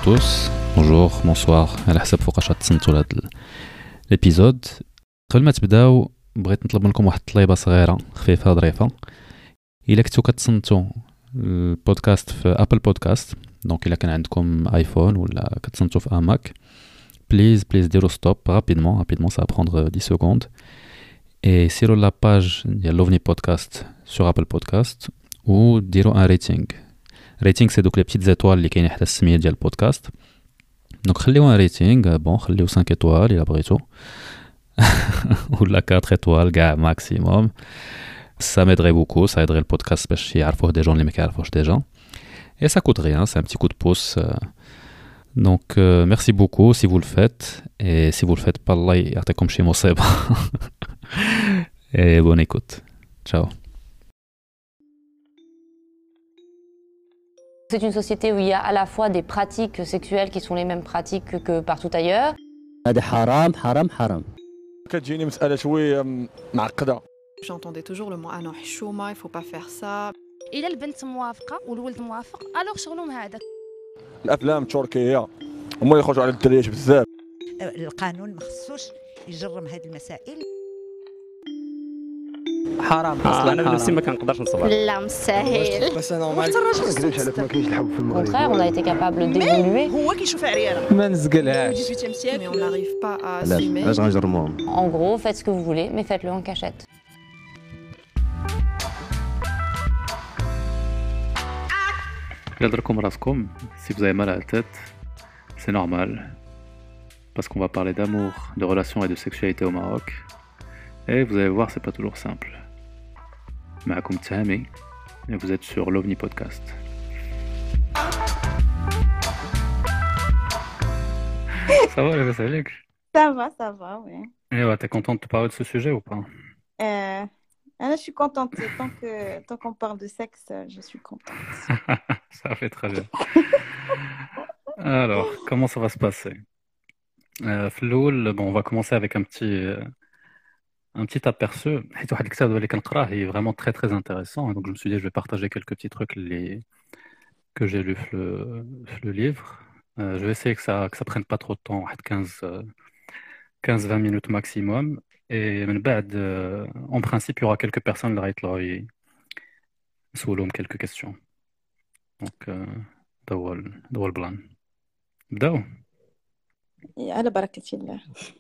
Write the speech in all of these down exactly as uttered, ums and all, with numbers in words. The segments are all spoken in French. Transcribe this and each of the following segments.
tous, bonjour, bonsoir, على حسب فوقاش تصنتوا لهاد الابيزود. قبل ما تبداو بغيت نطلب منكم واحد الطليبه صغيره خفيفه ظريفه. الا كنتو كتصنتوا البودكاست في ابل بودكاست، دونك الا كان عندكم ايفون ولا كتصنتوا في اماك، بليز بليز ديروا ستوب رابيدمون رابيدمون ça va prendre dix secondes et سيروا لا باج ديال لوفني بودكاست sur ابل بودكاست وديروا ان ريتينغ. ريتينغ سي دوك لي بيتيت زيتوال اللي كاينين حتى السميه ديال البودكاست. دونك خليو ان ريتينغ بون، خليو خمسة ايطوال الا بغيتو ولا أربعة ايطوال كاع ماكسيموم. ça m'aiderait beaucoup, ça aiderait le podcast باش يعرفوه دي جون اللي ما كيعرفوش ديجا. Et ça coûte rien, c'est un petit coup de pouce. Donc euh, merci beaucoup si vous le faites, et si vous le faites pas, Allah يعطيكم شي مصيبة. Et bonne écoute. Ciao. C'est une société où il y a à la fois des pratiques sexuelles qui sont les mêmes pratiques que, que partout ailleurs. هذا حرام حرام حرام. كتجيني مسألة شوية معقدة. J'entendais toujours le mot ah non حشومة, il faut pas faire ça. إلا البنت موافقة والولد موافق ألوغ شغلهم هذاك. الأفلام التركية هما يخرجوا على الدريات بزاف. القانون ما خصوش يجرم هذه المسائل. حرام اصلا انا بالنسبه ما كنقدرش نصبر. لا مستحيل. بس انا ما كنكذبش عليك، ما كاينش الحب في Au المغرب. contraire, on a été capable d'évoluer. هو كيشوف عريانة. ما نزقلهاش. dix-huitième siècle, mais on n'arrive pas à علاش assumer. علاش غنجرموهم؟ En gros, faites ce que vous voulez, mais faites-le en cachette. Garderez raskom, si vous avez mal à la tête, c'est normal. Parce qu'on va parler d'amour, de relations et de sexualité au Maroc. Et vous allez voir, c'est pas toujours simple. معكم تهامي et vous êtes sur l'OVNI Podcast. Ça va, les Salik? Ça va, ça va, oui. Et ouais, t'es contente de te parler de ce sujet ou pas? Euh, là, je suis contente. Tant que, tant qu'on parle de sexe, je suis contente. Ça fait très bien. Alors, comment ça va se passer? Euh, Floul, bon, on va commencer avec un petit, euh, un petit aperçu. حيت واحد الكتاب اللي كنقراه est vraiment très très intéressant. Donc je me suis dit je vais partager quelques petits trucs les... que j'ai lus dans le... le livre. Euh, je vais essayer que ça que ça prenne pas trop de temps, quinze vingt minutes maximum. Et من بعد, euh, en principe, il y aura quelques personnes اللي غيطلعوا يسولهم quelques questions. Donc euh, ده هو ال- ده هو البلان. نبداو. على بركة الله.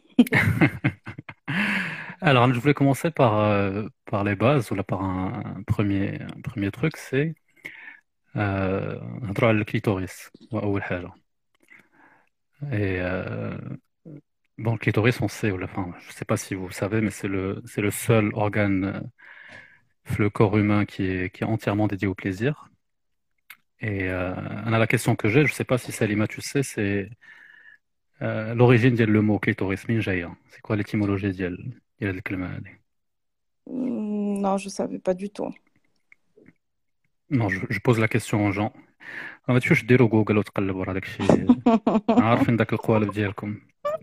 Alors, je voulais commencer par, euh, par les bases, ou là par un, un premier, un premier truc, c'est euh, نهضروا على الكليتوريس هو أول حاجة. Et euh, bon, le clitoris, on sait, ou la- enfin, je ne sais pas si vous savez, mais c'est le, c'est le seul organe euh, le corps humain qui est, qui est entièrement dédié au plaisir. Et euh, on a la question que j'ai, je ne sais pas si Salima, tu sais, c'est euh, l'origine du mot clitoris, min jaya. C'est quoi l'étymologie ديال ديال هاد الكلمة هادي؟ Hmm, Non, je ne savais pas du tout. Non, je, je pose la question aux gens. ما تمشيوش ديروا جوجل وتقلبوا على داك الشيء. عارفين داك القوالب ديالكم.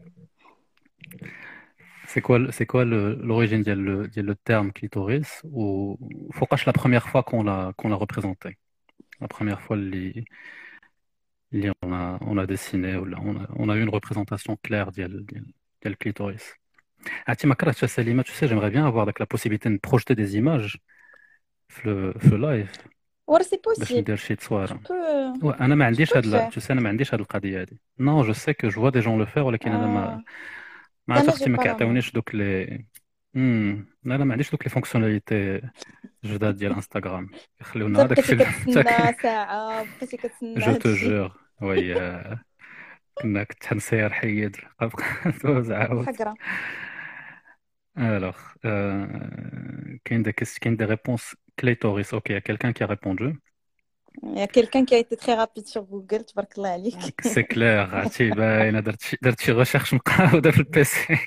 C'est quoi, le- c'est quoi le- l'origine ديال le, ديال le terme clitoris ou فوقاش la première fois qu'on l'a qu'on l'a représenté? La première fois اللي اللي on a on a dessiné ou là, on a on a eu une représentation claire ديال ديال ديال le clitoris. عرفتي ما كرهتش سليمة, tu sais, j'aimerais bien avoir like, la possibilité de projeter des images في le- في le live Or, c'est باش possible. ندير شي Je تصويره. peux, Ouais, انا ما عنديش peux هاد le لا- faire. tu sais انا ما عنديش هاد القضيه هادي. Non, je sais que je vois des gens le faire ولكن انا ما Ah, ما ça, عرفت là, اختي j'ai ما pas la main. كيعطيونيش دوك لي امم لا لا ما عنديش دوك لي فونكسيوناليتي جداد ديال انستغرام يخليونا انت هذاك بقيتي الشيء كتسنى ساعة بقيتي كتسنى جو تو هادشي. جور. وي آه، كنا كنت حنسير حيد دوز عاود. حقرا. Alors, euh, كاين des ques- كاين des réponses clitoris. Ok, il y a quelqu'un qui a répondu. Il y a quelqu'un qui a été très rapide sur Google, تبارك الله عليك. C'est clair, عرفتي باينه درت شي درت شي ريشيرش مقاوده في البيسي.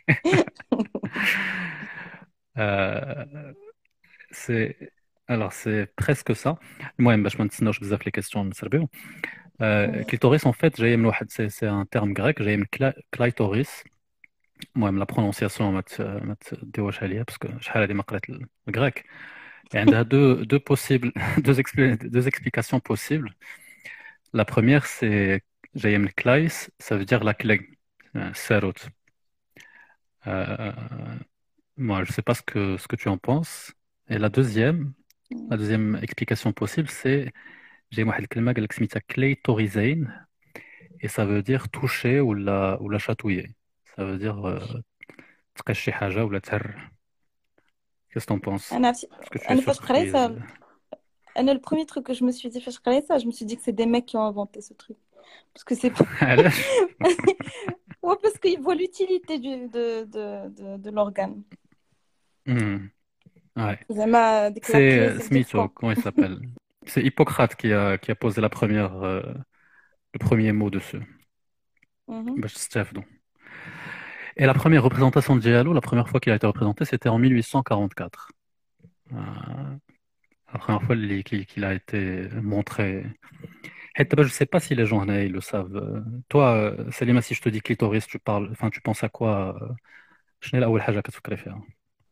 Euh, c'est alors c'est presque ça. المهم باش ما نتسناوش بزاف لي كيسيون نسربيو. Euh, clitoris en fait جاي من واحد c'est c'est un terme grec جاي من cla- clitoris. المهم la prononciation ما ت- ما تديوش عليا باسكو شحال هادي ما قريت الغريك. Et عندها deux deux possibles deux expli- deux explications possibles. La première c'est جاية من كلايس, ça veut dire la clé, euh, ساروت. Euh, moi, je sais pas ce que, ce que tu en penses. Et la deuxième, la deuxième explication possible, c'est j'ai واحد الكلمة قال لك سميتها كليتوريزين, et ça veut dire toucher ou la, ou la chatouiller. Ça veut dire euh, تقش شي حاجة ولا تهر. Qu'est-ce que t'en penses? أنا Est-ce que tu es أنا فاش قريت surprise? ça, أنا le premier truc que je me suis dit فاش قريت ça, je me suis dit que c'est des mecs qui ont inventé ce truc. Parce que c'est pas... علاش؟ Ouais, parce qu'ils voient l'utilité du, de, de, de, de l'organe. Hmm. Ouais. زعما ديك la clé, C'est ça veut dire Smith, quoi? comment il s'appelle? C'est Hippocrate qui a, qui a posé la première, euh, le premier mot dessus. Mhm. باش تستافدوا. Et la première représentation de Diallo, la première fois qu'il a été représenté, c'était en mille huit cent quarante-quatre. Euh, la première fois qu'il qu'il- qu'il a été montré. Et d'abord, je ne sais pas si les gens là, ils le savent. Euh, Toi, euh, Salima, si je te dis clitoris, tu parles, enfin, tu penses à quoi? euh, شنو هي الأول حاجة كتفكري فيها؟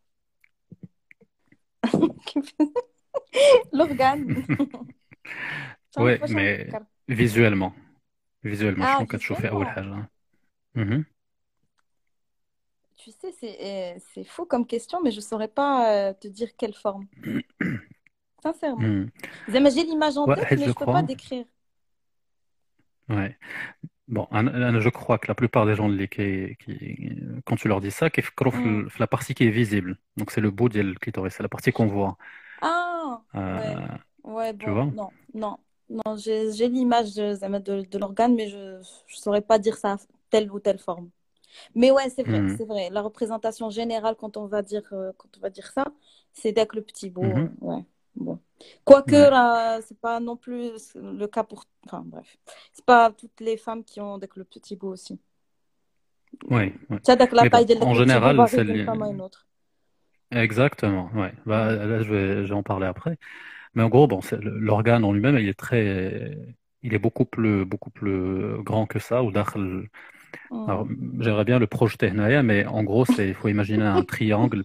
L'organe. Ouais, فاش mais نفكر. visuellement. Visuellement, Ah, شنو كتشوفي أول visuellement. حاجة؟ Mhm. Tu sais, c'est euh, c'est fou comme question, mais je saurais pas euh, te dire quelle forme. Sincèrement. Hmm. زعما j'ai l'image en Ouais, tête, حيت mais je je peux pas crois. décrire. Ouais. Bon, أنا- أنا je crois que la plupart des gens اللي qui, qui, quand tu leur dis ça, كيفكروا في, Mm. ال- في la partie qui est visible. Donc c'est le bout du clitoris, c'est la partie qu'on voit. Ah, Euh, ouais. Ouais, tu bon, vois? non, non, non, j'ai j'ai l'image de, زعما de, de l'organe, mais je je saurais pas dire ça telle ou telle forme. Mais ouais, c'est vrai, Mhm. c'est vrai. La représentation générale, quand on va dire, euh, quand on va dire ça, c'est dès que le petit bout. Mhm. euh, ouais, bon. Quoique, Ouais. là, c'est pas non plus le cas pour. Enfin, bref. C'est pas toutes les femmes qui ont dès que le petit bout aussi. Ouais, ouais. Tu as dès que la Mais bon, taille de en le petit bout général, varie c'est d'une li- femme à une autre. exactement. Ouais. Bah, Mm. là, je vais, je vais en parler après. Mais en gros, bon, c'est le- l'organe en lui-même, il est très, il est beaucoup plus, beaucoup plus grand que ça. Ou داخل- Alors, Mm. j'aimerais bien le projeter هنايا, mais en gros, c'est, il faut imaginer un triangle.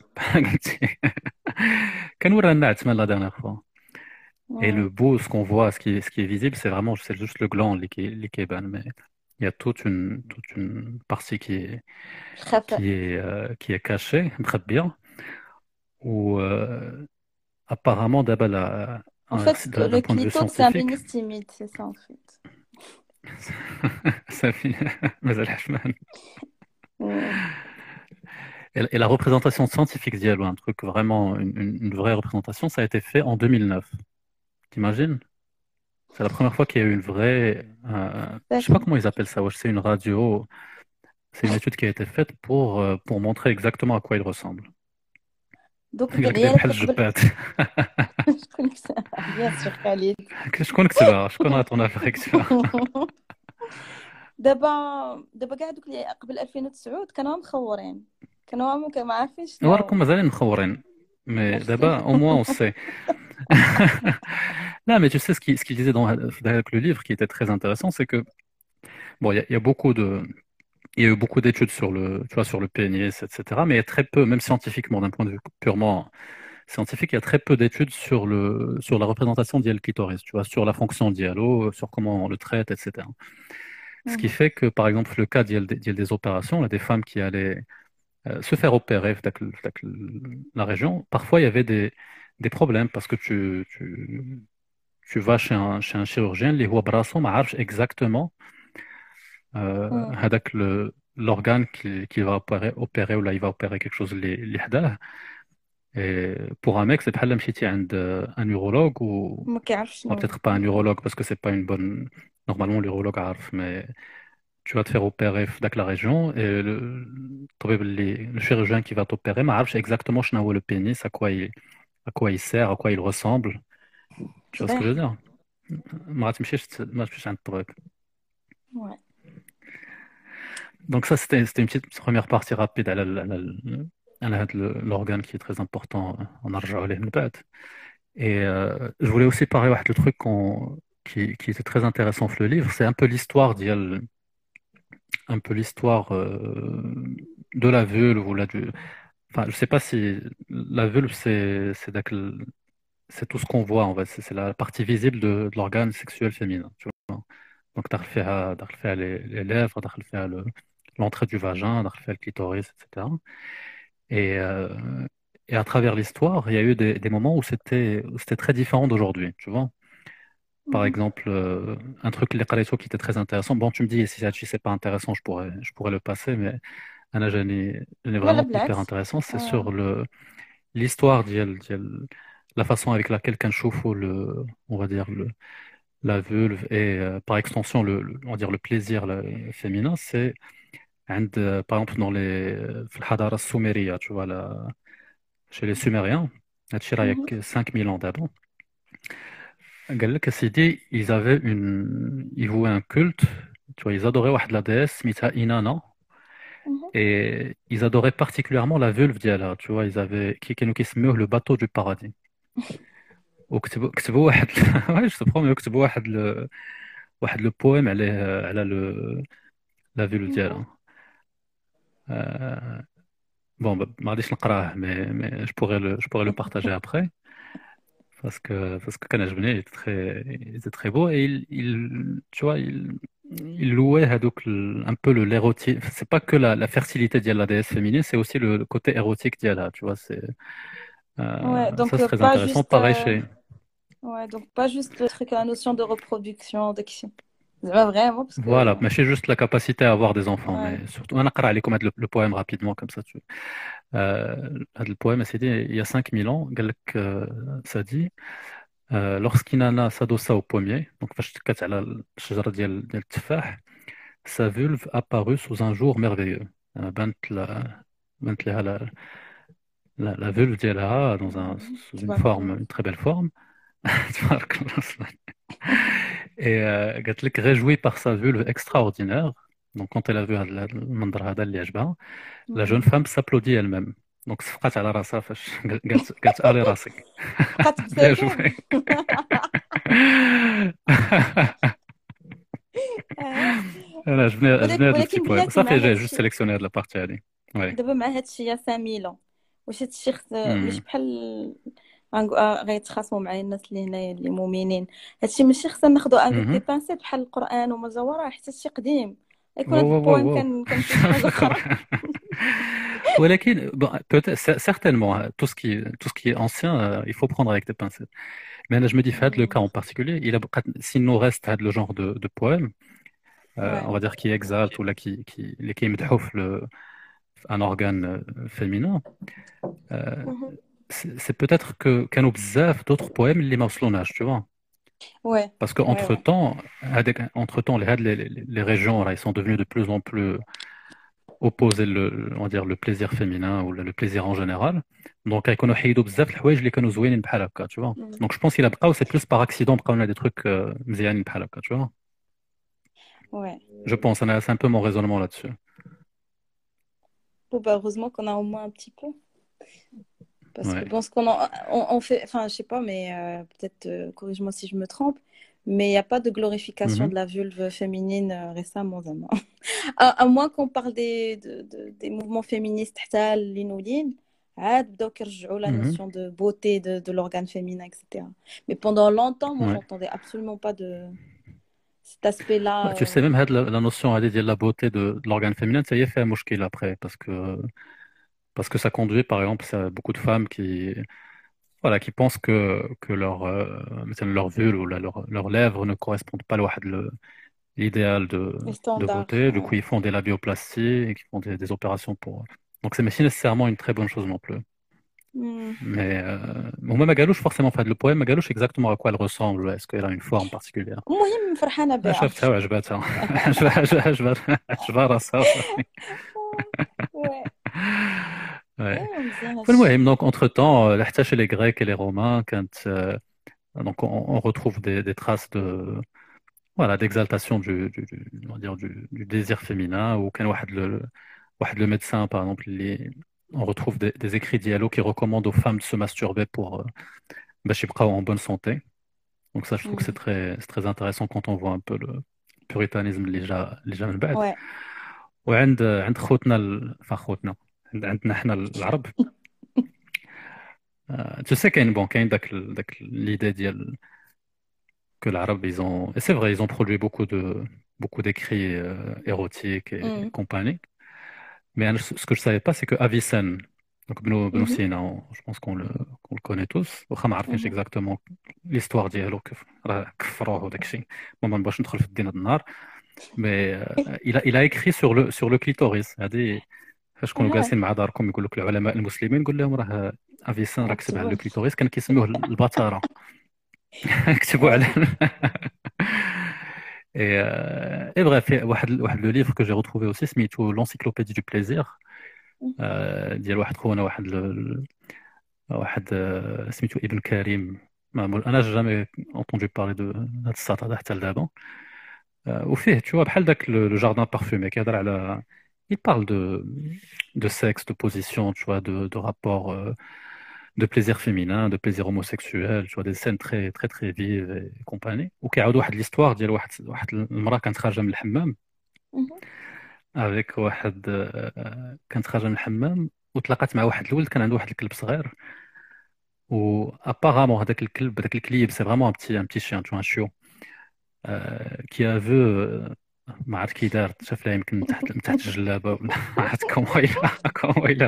كان ورانا عثمان la dernière fois. Et Mm. le beau, ce qu'on voit, ce qui est, ce qui est visible, c'est vraiment, c'est juste le gland, les qui, les qui est ban, mais il y a toute une, toute une partie qui est, خفاء. qui est, euh, qui est cachée, très bien, où euh, apparemment, d'abord, la- En un- fait, d'un le d'un point de vue clito, c'est un scientifique, pénis timide, c'est ça en fait. ça fait- مازال حشمان. Mm. Et, et la représentation scientifique d'Yalo, un truc vraiment, une, une- une vraie représentation, ça a été fait en deux mille neuf. T'imagines? C'est la première fois qu'il y a eu une vraie, euh, je sais pas comment ils appellent ça, ouais, c'est une radio. C'est une étude qui a été faite pour, euh, pour montrer exactement à quoi il ressemble. Donc, قال لك العيال بحال اللي قبل الجبات. شكون bien sûr خالد. شكون كتبها؟ شكون عطونا في كتبها؟ دابا دابا كاع دوك اللي قبل ألفين وتسعة كانوا مخورين كانوا ما ما عارفين شنو راكم مازالين مخورين. Mais Merci. d'abord, au moins, on sait. Là, mais tu sais, ce qu'il ce qu'il disait dans, dans le livre qui était très intéressant, c'est que, bon, il y, a- il y a beaucoup de, il y a eu beaucoup d'études sur le, tu vois, sur le pénis, et cetera. Mais il y a très peu, même scientifiquement, d'un point de vue purement scientifique, il y a très peu d'études sur le, sur la représentation d'Iel clitoris, tu vois, sur la fonction d'Ialo, sur comment on le traite, et cetera. Ce qui Mhm. fait que, par exemple, le cas d'Iel d'Iel des opérations, là, des femmes qui allaient euh, se faire opérer dans la région, parfois il y avait des, des problèmes parce que tu, tu, tu vas chez un, chez un chirurgien, les brasso m'arrachent exactement euh, Mhm. هذاك le- l'organe qui, qui va opérer, opérer ou là il va opérer quelque chose اللي اللي حداه. Et pour un mec, c'est بحال مشيتي عند un urologue ou ما كيعرفش bon, شنو peut-être pas un urologue parce que c'est pas une bonne. Normalement, l'urologue عارف, mais tu vas te faire opérer dans la région et le, الطبيب اللي- le chirurgien qui va t'opérer ما عارفش exactement شنو هو le pénis, à quoi il, à quoi il sert, à quoi il ressemble. Tu vois ce que je veux dire? ما غاتمشيش ت- ما تمشيش عند الطبيب. Ouais. Donc ça, c'était c'était une petite première partie rapide à la- la- la- à la- le- l'organe qui est très important. On a rejoué من بعد. Et euh, je voulais aussi parler واحد le truc qu'on- qui, qui était très intéressant dans le livre, c'est un peu l'histoire d'Iel, un peu l'histoire euh, de la vulve ou la du... Enfin, je sais pas si la vulve c'est c'est d'ac- c'est tout ce qu'on voit en fait, c'est c'est la partie visible de, de l'organe sexuel féminin. Tu vois. Donc داخل فيها داخل فيها les les lèvres, داخل فيها le l'entrée du vagin, داخل فيها le clitoris, et cetera. Et, euh, et à travers l'histoire, il y a eu des, des moments où c'était où c'était très différent d'aujourd'hui, tu vois. Par Mhm. exemple, euh, un truc les قريتو qui était très intéressant. Bon, tu me dis si ça c'est pas intéressant, je pourrais je pourrais le passer, mais أنا جاني جاني لا لا vraiment hyper بالعكس. intéressant. C'est Ouais. sur le l'histoire ديال ديال la façon avec laquelle كنشوفوا le on va dire le la vulve et euh, par extension le, le- on va dire le plaisir le- féminin, c'est عند euh, par exemple dans les في الحضارة السومرية, tu vois la chez les Sumériens, هادشي راه Mhm. ياك cinq mille ans d'avant. قال لك سيدي ils avaient une ils vouaient un culte, tu vois, ils adoraient واحد la déesse سميتها Inanna, Mhm. et ils adoraient particulièrement la vulve ديالها, tu vois, ils avaient qui كانوا كيسميوه le bateau du paradis. وكتبوا كتبوا واحد ouais, je te promets, كتبوا واحد le واحد le poème عليه على le la vulve Ouais. ديالها. Euh, bon, bah, ما غاديش نقراه, mais mais je pourrais le je pourrais le partager après. Parce que, parce que كان il était très, il était très beau et il, il, tu vois, il, il louait هذوك ال- un peu le l'érotisme. C'est pas que la, la fertilité de la déesse féminine, c'est aussi le, le côté érotique d'Yala, tu vois. C'est, Ouais, euh, ça, donc c'est euh, très pas intéressant. juste, Pareil euh, chez. ouais, donc pas juste le truc, la notion de reproduction, d'action. C'est pas vraiment parce que, Voilà, mais c'est juste la capacité à avoir des enfants. ouais. Mais surtout, on a قرأ عليكم هذا le, le poème rapidement, comme ça. Tu... Euh, هذا le poème, c'est dit il y a cinq mille ans, قال لك, euh, ça dit. Euh, lorsqu'Inanna s'adossa au pommier, donc فاش تكات على الشجرة ديال ديال التفاح, sa vulve apparut sous un jour merveilleux. Euh, بانت لا- بانت لها la, la, la vulve ديالها dans un, Mhm. sous une تبارك forme, الله. une très belle forme. تبارك الله. Et euh, قالت لك réjouie par sa vulve extraordinaire. Donc quand elle a vu هذا المنظر هذا اللي عجبها, la jeune Mhm. femme s'applaudit elle-même. Donc صفقات على راسها فاش قالت قالت آلي راسك. بقات Bien تبتسم. joué. آه. انا عجبني عجبني ولكن هذا البتي ولكن بويم بلاتي مع صافي. هاد جاي جوست الشيء سيليكسيوني هاد لابارتي هادي. وي. دابا مع هاد الشيء يا ساميلة، واش هاد الشيء خص ماشي امم بحال غنقو- آه، غيتخاصموا معايا الناس اللي هنايا اللي مؤمنين، هادشي ماشي خصنا ناخدو افيك دي اها بانسيت بحال القرآن وما جا وراه، حتى شي قديم يكون واو هاد واو البويم واو كان كان فيه شي حاجة أخرى. ولكن bon, peut-être cer- certainement hein, tout ce qui tout ce qui est ancien, euh, il faut prendre avec des pincettes. Mais là je me dis fait le cas en particulier, il a s'il nous reste had le genre de, de poème, euh, Ouais. on va dire qui exalte ou là qui qui les qui مدحوف le un organe euh, féminin. euh, Mhm. c'est c'est peut-être que كانوا بزاف d'autres poèmes اللي ما وصلوناش, tu vois. Ouais, Parce que ouais, entre ouais. temps, entre temps, les, les, les- les régions là, ils sont devenus de plus en plus opposer le, on va dire, le plaisir féminin ou le, le plaisir en général. Donc, كانوا يحيدوا بزاف الحوايج اللي كانوا زوينين بحال هكا, tu vois. Mm. Donc, je pense qu'il a بقاو, c'est plus par accident بقاو لنا des trucs euh, مزيانين بحال هكا, tu vois. Ouais. Je pense, أنا- c'est un peu mon raisonnement là-dessus. Bon, bah, heureusement qu'on a au moins un petit peu. Parce que Ouais. bon, ce qu'on en- on, on fait, enfin, je sais pas, mais euh, peut-être euh, corrige-moi si je me trompe, mais il n'y a pas de glorification Mhm. de la vulve féminine euh, récemment, زعما. À, à moins qu'on parle des, de, de- des mouvements féministes حتى اللي نولين عاد بداو كيرجعوا la Mhm. notion de beauté de, de l'organe féminin, et cetera. Mais pendant longtemps, moi, Ouais. j'entendais absolument pas de cet aspect-là. Ouais, tu euh. sais, même had la, la notion هذه ديال la beauté de, de l'organe féminin, ça y est, fait un مشكل après, parce que, parce que ça conduit, par exemple, à beaucoup de femmes qui, voilà, qui pensent que, que leur, euh, مثلا leur vulve ou la- leur, leurs lèvres ne correspondent pas à l'واحد le- l'idéal de, Les de standards. beauté. Du coup, Ouais. ils font des labioplasties et qui font des, des opérations pour. Donc, c'est mais c'est nécessairement une très bonne chose non plus. Hmm. Mais euh, bon, même Magalouche, forcément, fait le poème, Magalouche, exactement à quoi elle ressemble. Est-ce qu'elle a une forme particulière? المهم فرحانة Ah, بها. شفتها وعجبتها. عجبها عجبها عجبها راسها وصافي. Ouais. Ouais. ايوا مزيان هادشي. فالمهم, donc, entre-temps, euh, حتى chez les Grecs et les Romains, quand, euh, donc, on, on retrouve des, des traces de, voilà, d'exaltation du, du, du- on va dire du, du désir féminin, ou كان واحد le, واحد le médecin, par exemple, les- on retrouve des, des écrits dialogues qui recommandent aux femmes de se masturber pour euh, باش يبقاو en bonne santé. Donc ça, je trouve que c'est Hmm. très, c'est très intéressant quand on voit un peu le puritanisme اللي جا اللي جا من بعد. Ouais. وعند عند خوتنا ال... enfin خوتنا عند- عندنا احنا العرب. آه، tu sais كاين bon كاين داك ال- داك l'idée ديال que l'arabe, ils ont... Et c'est vrai, ils ont produit beaucoup de beaucoup d'écrits euh, érotiques et, et Mm. compagnie. Mais hein, ce ce que je savais pas, c'est que Avicenne, donc Bnou Bnou Mhm. Sina, on- je pense qu'on le, qu'on le connaît tous. واخا ما عارفينش Mhm. exactement l'histoire ديالو كيف راه كفروه وداك الشيء. ما ما نبغاش ندخل في الدين هاد النهار. Mais euh, il a il a écrit sur le sur le clitoris. هذه فاش كونوا آه، جالسين مع داركم يقول لك العلماء المسلمين نقول لهم راه افيسان راه كتب على أكتبوا. لو كليتوريس كان كيسموه البطاره. كتبوا على آه. et, euh, et bref واحد واحد لو livre que j'ai retrouvé aussi سميتو l'encyclopédie du plaisir آه، ديال واحد خونا واحد ال- واحد آه، سميتو ابن كريم ما مول- انا جامي entendu parler de هذا الساط هذا حتى لدابا آه، وفيه tu vois بحال داك لو جاردان بارفومي كيهضر على il parle de de sexe de position tu vois de de rapport euh, de plaisir féminin de plaisir homosexuel tu vois des scènes très très très vives et compagnie وكيعاود واحد l'histoire ديال واحد واحد المراه كانت خارجه من الحمام Mhm. افيك واحد آه، كانت خارجه من الحمام وتلاقات مع واحد الولد كان عنده واحد الكلب صغير و apparemment هذاك الكلب هذاك الكليب سي فريمون ان بتي ان بتي شيان تو ان شيو كي ا فو ما عرفت كي دار شاف لها يمكن من تحت من تحت الجلابه ولا ما عرفت كومون إلى كومون إلى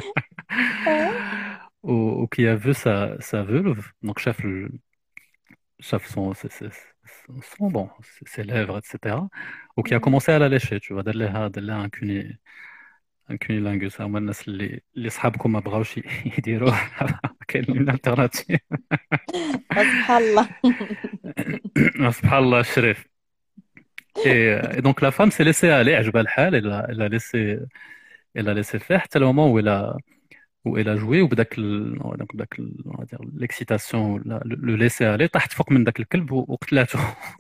و كي ا فو سا سا فولف دونك شاف ال- شاف son ses- ses- son bon ses ses lèvres et cetera وكي a Mhm. commencé à la lécher tu vois دار لها دار لها un cuni un cunilingus هما الناس اللي اللي صحابكم ما بغاوش يديروه كاين une alternative سبحان الله. سبحان الله الشريف. Et, euh, et donc la femme s'est laissée aller, عجبها الحال, elle a, elle a laissé, elle a laissé faire حتى le moment où elle a, où elle a joué وبداك ال- donc بداك ال- on va dire l'excitation, la- le, le laisser aller, طاحت فوق من داك الكلب و- وقتلاته.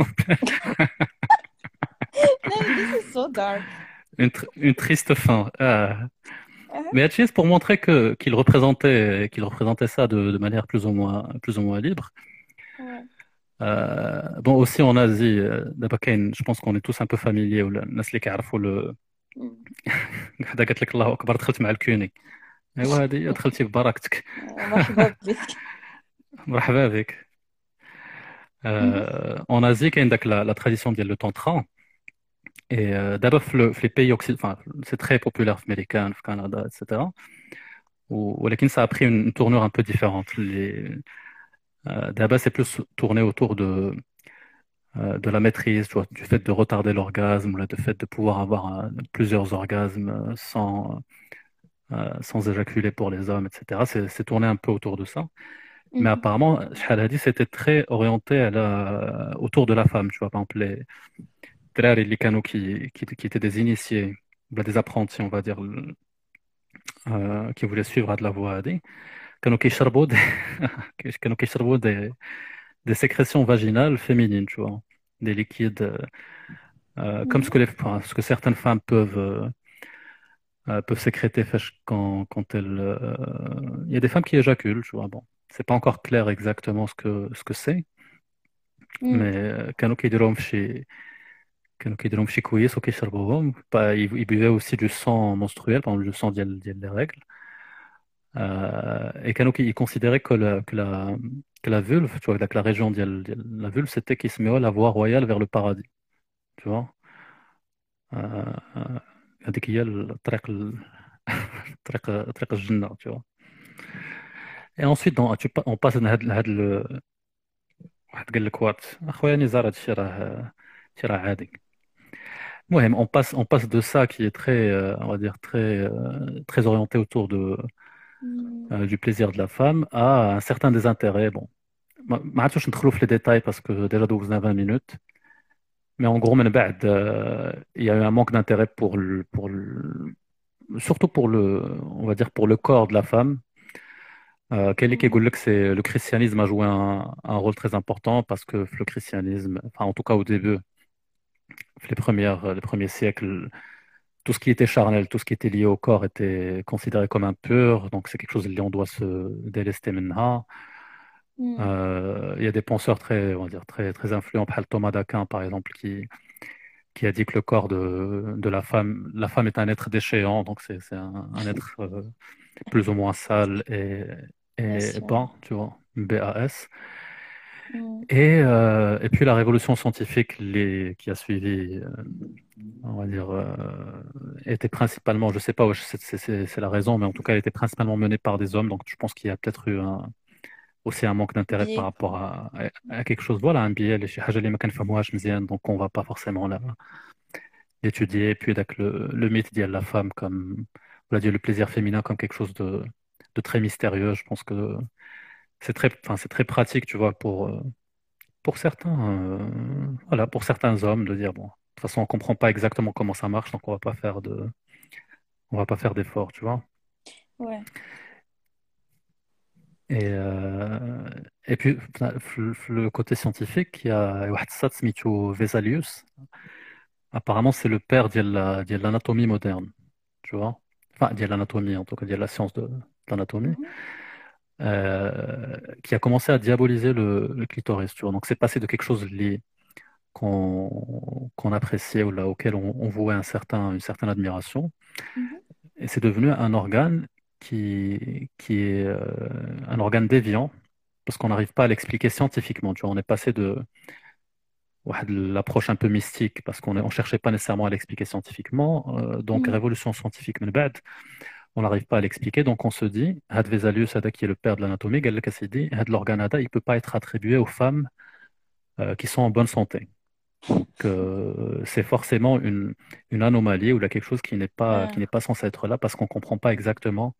No, this is so dark. Une, tr- une triste fin. Ah. Uh-huh. Mais Hachis, pour montrer que qu'il représentait, qu'il représentait ça de, de manière plus ou moins, plus ou moins libre. Ouais. Euh, bon, aussi en Asie, euh, d'abord, كاين- je pense qu'on est tous un peu familiers, ولا الناس اللي كيعرفوا le Mm. حدا قالت لك الله اكبر دخلت مع الكوني ايوا هذه دخلتي ببركتك. آه، مرحبا بك. مرحبا بك. Mhm. Euh, en Asie كاين داك la, la tradition ديال le tantra et euh, d'abord في le- في les pays occidentaux enfin c'est très populaire في américain في Canada et cetera و- ولكن ça a pris une, une tournure un peu différente les euh, d'abord c'est plus tourné autour de euh, de la maîtrise tu vois, du fait de retarder l'orgasme ou là, du fait de pouvoir avoir euh, plusieurs orgasmes euh, sans euh, sans éjaculer pour les hommes et cetera c'est c'est tourné un peu autour de ça. Mais Mhm. apparemment, Shahal Hadi, c'était très orienté à la- autour de la femme. Tu vois, par exemple, les drari, les canaux qui, qui, qui étaient des initiés, bah, des apprentis, on va dire, euh, qui voulaient suivre de la voie Hadi, كانوا كيشربوا des, كانوا كيشربوا des, des sécrétions vaginales féminines, tu vois, des liquides, euh, comme ce Mhm. que, les, enfin, ce que certaines femmes peuvent, euh, euh, peuvent sécréter فاش- quand, quand elles. euh, Il y a des femmes qui éjaculent, tu vois. Bon, c'est pas encore clair exactement ce que, ce que c'est. Mm. Mais كانوا كيديروهم في شي كانوا كيديروهم في شي كويس وكيشربوهم با- ils ils buvaient aussi du sang menstruel par exemple, le sang ديال ديال les règles euh, et كانوا كي- ils considéraient que la que la que la vulve tu vois que la région ديال ديال la vulve c'était qui se met la voie royale vers le paradis tu vois euh, euh, هذيك هي الطريق ال- طريق طريق الجنة tu vois et ensuite dans, tu, pa- on passe لهاد لهاد ال- واحد قال لك وات اخويا نزار هادشي راه هادشي راه عادي. Ouais, on passe, on passe de ça qui est très, euh, on va dire, très, euh, très orienté autour de, Mm. euh, du plaisir de la femme à un certain désintérêt. Bon, ما ما عرفتش ندخلوا في les détails parce que déjà دوزنا vingt minutes. Mais en gros, من بعد, euh, il y a eu un manque d'intérêt pour le, pour le, surtout pour le, on va dire pour le corps de la femme. Euh, Kelly Mm. كيقول لك c'est le christianisme a joué un, un rôle très important parce que le christianisme, enfin en tout cas au début, les premières, les premiers siècles. Tout ce qui était charnel, tout ce qui était lié au corps était considéré comme impur, donc c'est quelque chose dont on doit se délester maintenant. Mm. Euh, il y a des penseurs très, on va dire, très, très influents, par Thomas d'Aquin par exemple, qui, qui a dit que le corps de, de la femme, la femme est un être déchéant, donc c'est c'est un, un être euh, plus ou moins sale et, Bien et sûr. bas, tu vois, B A S. Mm. Et, euh, et puis la révolution scientifique les, qui a suivi, euh, on va dire, euh, était principalement, je sais pas, ouais, c'est c'est- c'est- c'est la raison, mais en tout cas, elle était principalement menée par des hommes. Donc je pense qu'il y a peut-être eu un, aussi un manque d'intérêt par Biais. rapport à, à- à quelque chose. Voilà, un biais, les حاجة اللي ما كنفهموهاش مزيان, donc on va pas forcément la- l'étudier. Puis avec le, le mythe de la femme comme, on va dire, le plaisir féminin comme quelque chose de, de très mystérieux. Je pense que c'est très, enfin, c'est très pratique, tu vois, pour, euh, pour certains, euh, voilà, pour certains hommes de dire, bon, de toute façon, on comprend pas exactement comment ça marche, donc on va pas faire de, on va pas faire d'efforts, tu vois. Ouais. Et, euh, et puis, enfin, le le côté scientifique, il y a واحد السات سميتو Vesalius. Apparemment, c'est le père de la- de l'anatomie moderne, tu vois. Enfin, de l'anatomie, en tout cas, de la science de, de l'anatomie, Mhm. euh, qui a commencé à diaboliser le, le clitoris, tu vois. Donc, c'est passé de quelque chose lié qu'on qu'on appréciait ou là, auquel on, on vouait un certain, une certaine admiration, Mhm. et c'est devenu un organe qui, qui est euh, un organe déviant, parce qu'on n'arrive pas à l'expliquer scientifiquement, tu vois. On est passé de ouais, de l'approche un peu mystique, parce qu'on ne cherchait pas nécessairement à l'expliquer scientifiquement. Euh, donc, Mhm. révolution scientifique, من بعد, on n'arrive pas à l'expliquer. Donc, on se dit, Had Vesalius, هذا qui est le père de l'anatomie, قال لك أسيدي, هذا l'organe هذا, il ne peut pas être attribué aux femmes euh, qui sont en bonne santé. Que c'est forcément une, une anomalie ou là, quelque chose qui n'est pas, qui Ah. n'est pas censé être là parce qu'on ne comprend pas exactement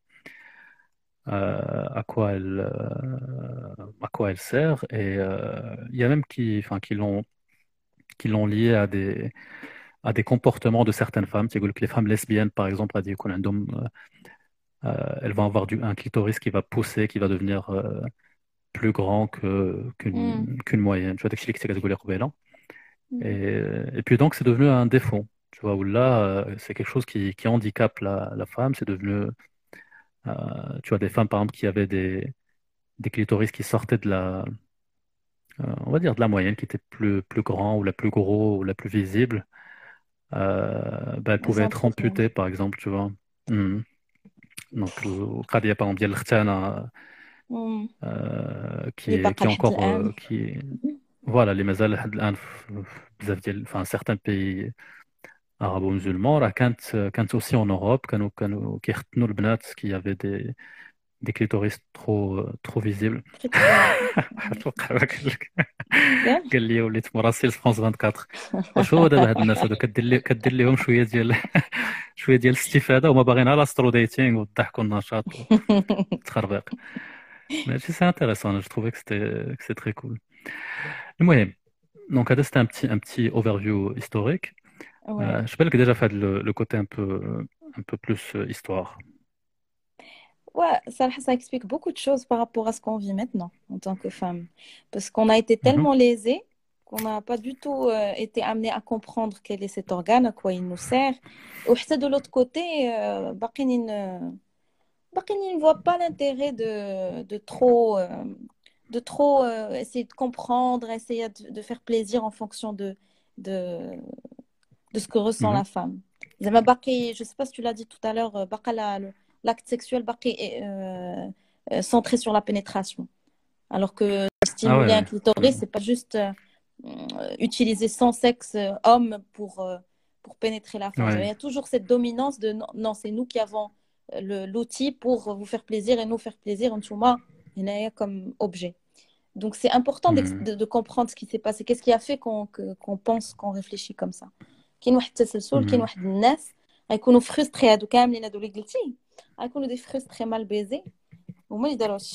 euh, à quoi elle, euh, à quoi elle sert. Et euh, il y a même qui, enfin, qui l'ont, qui l'ont lié à des, à des comportements de certaines femmes. Tu sais, que les femmes lesbiennes, par exemple, à dire qu'on a un homme, euh, euh, elles vont avoir du, un clitoris qui va pousser, qui va devenir euh, plus grand que, Mm. qu'une, qu'une moyenne. Tu vois, داكشي اللي كنت كتقولي قبيلة. Mhm. Et, et puis donc, c'est devenu un défaut. Tu vois, où là, euh, c'est quelque chose qui, qui handicape la, la femme. C'est devenu, euh, tu vois, des femmes, par exemple, qui avaient des, des clitoris qui sortaient de la, euh, on va dire, de la moyenne, qui étaient plus, plus grands ou la plus gros ou la plus visible. Euh, ben, elles Elles pouvaient sont être entretenues. amputées, par exemple, tu vois. Mhm. Donc, القضية par exemple ديال الختانة Mm. euh, qui اللي est, باقا qui est لحد encore الآن. euh, qui voilà les مازال لحد الآن في في بزاف ديال enfin certains pays arabo-musulmans راه كانت كانت aussi en Europe كانوا كانوا كيختنوا البنات qui avaient des des clitoris trop euh, trop visibles. Très trop. اتوقع ما قال لك ياك. قال لي وليت مراسل في فرانس أربعة وعشرين وشو دابا هاد الناس هادو كدير لي كدير لهم شويه ديال شويه ديال الاستفاده وما باغيين على سترو ديتينغ والضحك والنشاط والتخربيق. ماشي سي انتريسون جو trouvais que c'était que c'est très cool. المهم donc هذا c'était un petit un petit overview historique. Ouais. Euh, je sais pas que déjà fait le, le côté un peu un peu plus euh, histoire. Ouais, ça, ça explique beaucoup de choses par rapport à ce qu'on vit maintenant en tant que femme. Parce qu'on a été Mhm. tellement lésés qu'on n'a pas du tout euh, été amené à comprendre quel est cet organe, à quoi il nous sert. Ou peut-être de l'autre côté, euh, باقيين ن- باقيين ne voient pas l'intérêt de, de trop, euh, de trop euh, essayer de comprendre, essayer de, de faire plaisir en fonction de, de, de ce que ressent Mhm. la femme. زعما باقي, je sais pas si tu l'as dit tout à l'heure, euh, باقا la- le- l'acte sexuel باقي euh, euh, centré sur la pénétration. Alors que Ah ouais, stimuler un ouais. clitoris, Mhm. c'est pas juste euh, euh, utiliser son sexe euh, homme pour, euh, pour pénétrer la femme. Il Ouais. y a toujours cette dominance de non, non, c'est nous qui avons euh, le- l'outil pour vous faire plaisir et nous faire plaisir, Nchouma, comme objet. Donc c'est important d'ex- Mhm. de, de comprendre ce qui s'est passé. Qu'est-ce qui a fait qu'on que- qu'on pense, qu'on réfléchit comme ça. كاين واحد التسلسل كاين Mhm. واحد الناس غيكونوا فرستري هادو كاملين هادو اللي قلتي غيكونوا دي فرستري مال بيزي وما يداروش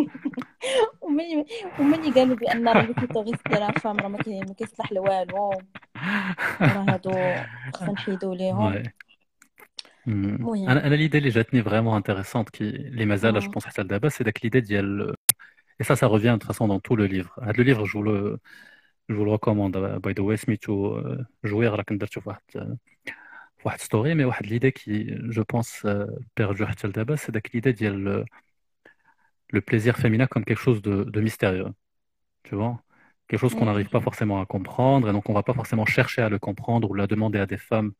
وما ي- وما اللي قالوا بان راه لو كليتوريس ديال فام راه ما كاين ما كيصلح لوالو وراه هادو خصنا نحيدو ليهم Ouais. Mhm. المهم. أنا أنا l'idée اللي جاتني vraiment intéressante qui les مازال je مم. pense حتى لدابا c'est داك l'idée ديال et ça ça revient de toute façon dans tout le livre. هذا le livre je vous le je vous le recommande by the way سميتو euh, جوير راه كنت درتو في واحد في واحد ستوري مي واحد l'idée qui je pense euh, perdue حتى لدابا c'est داك l'idée ديال le plaisir féminin comme quelque chose de, de mystérieux, tu vois. Quelque chose qu'on مم. n'arrive pas forcément à comprendre, et donc on va pas forcément chercher à le comprendre ou la demander à des femmes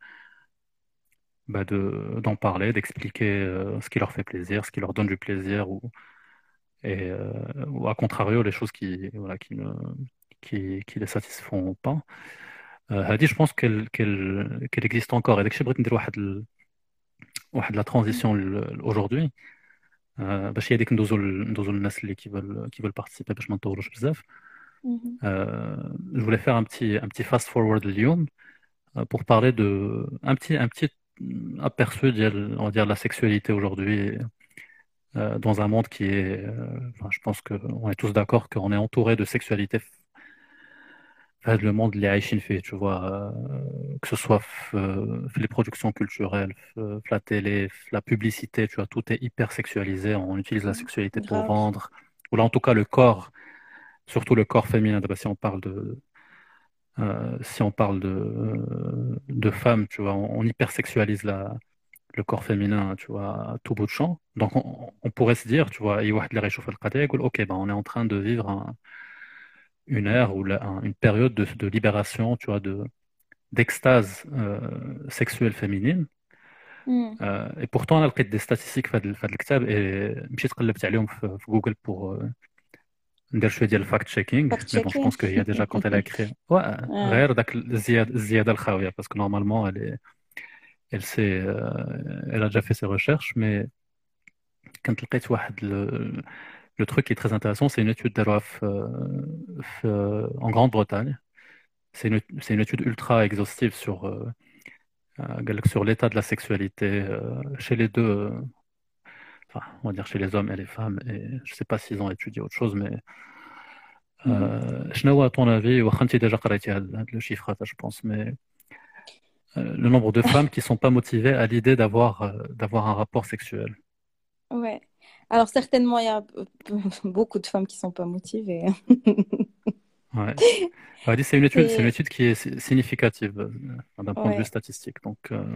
bah, de, d'en parler, d'expliquer euh, ce qui leur fait plaisir, ce qui leur donne du plaisir. Ou... et euh, ou à contrario les choses qui voilà qui ne qui, qui les satisfont pas. Euh, هذه je pense qu'elle qu'elle qu'elle existe encore. Et dès que je بغيت ندير واحد ال- واحد la transition ل- aujourd'hui euh, باش هي ديك ندوزو ل- ندوزو للناس اللي qui veulent qui veulent participer باش ما نطولوش بزاف. Mhm. Euh, je voulais faire un petit un petit fast forward اليوم euh, pour parler de un petit un petit aperçu ديال on va dire la sexualité aujourd'hui euh, dans un monde qui est euh, enfin, je pense que on est tous d'accord qu'on est entouré de sexualité. هذا le monde اللي عايشين فيه tu vois euh, que ce soit في في les productions culturelles في في la télé في la publicité tu vois tout est hyper sexualisé, on utilise la sexualité pour Grave. vendre ou là en tout cas le corps, surtout le corps féminin. D'abord, si on parle de euh, si on parle de de femmes tu vois on, on hypersexualise la le corps féminin tu vois à tout bout de champ. Donc on, on pourrait se dire tu vois أي واحد اللي غيشوف القضية يقول ok ben on est en train de vivre un- une ère ou la- un- une période de, de libération tu vois de d'extase euh, sexuelle féminine. Mm. Euh, et pourtant انا لقيت des statistiques في هذا في هذا الكتاب et مشيت قلبت عليهم في, في جوجل pour euh, ندير شويه ديال الفاكت تشيكينغ. Fact mais bon je pense checking. qu'il y a déjà quand elle a écrit ouais Ouais. غير داك الزياده الزياده الخاويه parce que normalement elle est elle sait euh, elle a déjà fait ses recherches. mais كانت لقيت واحد le, le truc qui est très intéressant, c'est une étude داروها في, في en Grande-Bretagne. C'est une, c'est une étude ultra exhaustive sur euh, euh, sur l'état de la sexualité euh, chez les deux, euh, enfin, on va dire chez les hommes et les femmes. Et je ne sais pas s'ils ont étudié autre chose, mais euh, شنو هو à ton avis, واخا انت déjà قريتي هاد هاد le chiffre هذا, je pense, mais euh, le nombre de femmes qui ne sont pas motivées à l'idée d'avoir euh, d'avoir un rapport sexuel. Ouais. Alors certainement, il y a beaucoup de femmes qui sont pas motivées. Ouais. Elle dit, c'est une étude, c'est une C'est étude qui est si- significative euh, d'un point de vue ouais. statistique. Donc, euh,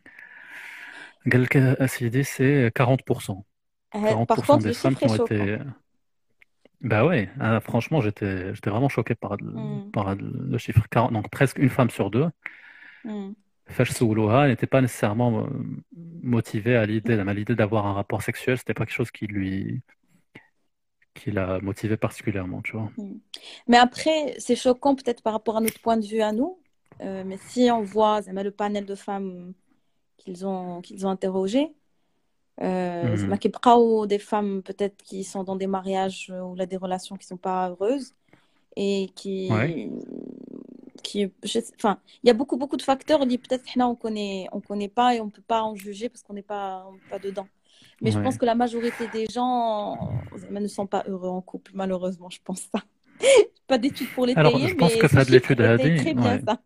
قال لك أسيدي, c'est quarante pour cent. Euh, quarante Par pour cent contre, des le femmes chiffre qui est ont choquant. été. Bah ouais, ah, franchement, j'étais, j'étais vraiment choqué par, le- Mm. par le chiffre quarante. Donc, presque une femme sur deux, Mm. فاش سولوها, n'était pas nécessairement euh, motivée à l'idée, à l'idée d'avoir un rapport sexuel. C'était pas quelque chose qui lui, qui l'a motivé particulièrement, tu vois. Mm. Mais après, c'est choquant peut-être par rapport à notre point de vue à nous. Euh, mais si on voit zama, le panel de femmes qu'ils ont, qu'ils ont interrogé, euh, zama, Mhm. كيبقاو des femmes peut-être qui sont dans des mariages ou là, des relations qui sont pas heureuses et qui, Ouais. qui je sais- enfin, il y a beaucoup beaucoup de facteurs qui peut-être حنا, on connaît on connaît pas et on peut pas en juger parce qu'on n'est pas on n'est pas dedans. Mais je pense Ouais. que la majorité des gens zama, ne sont pas heureux en couple, malheureusement, je pense ça. Pas d'études pour Alors, l'étayer, je pense mais que ce fait de chiffre l'étude était هذه, très bien ouais. ça.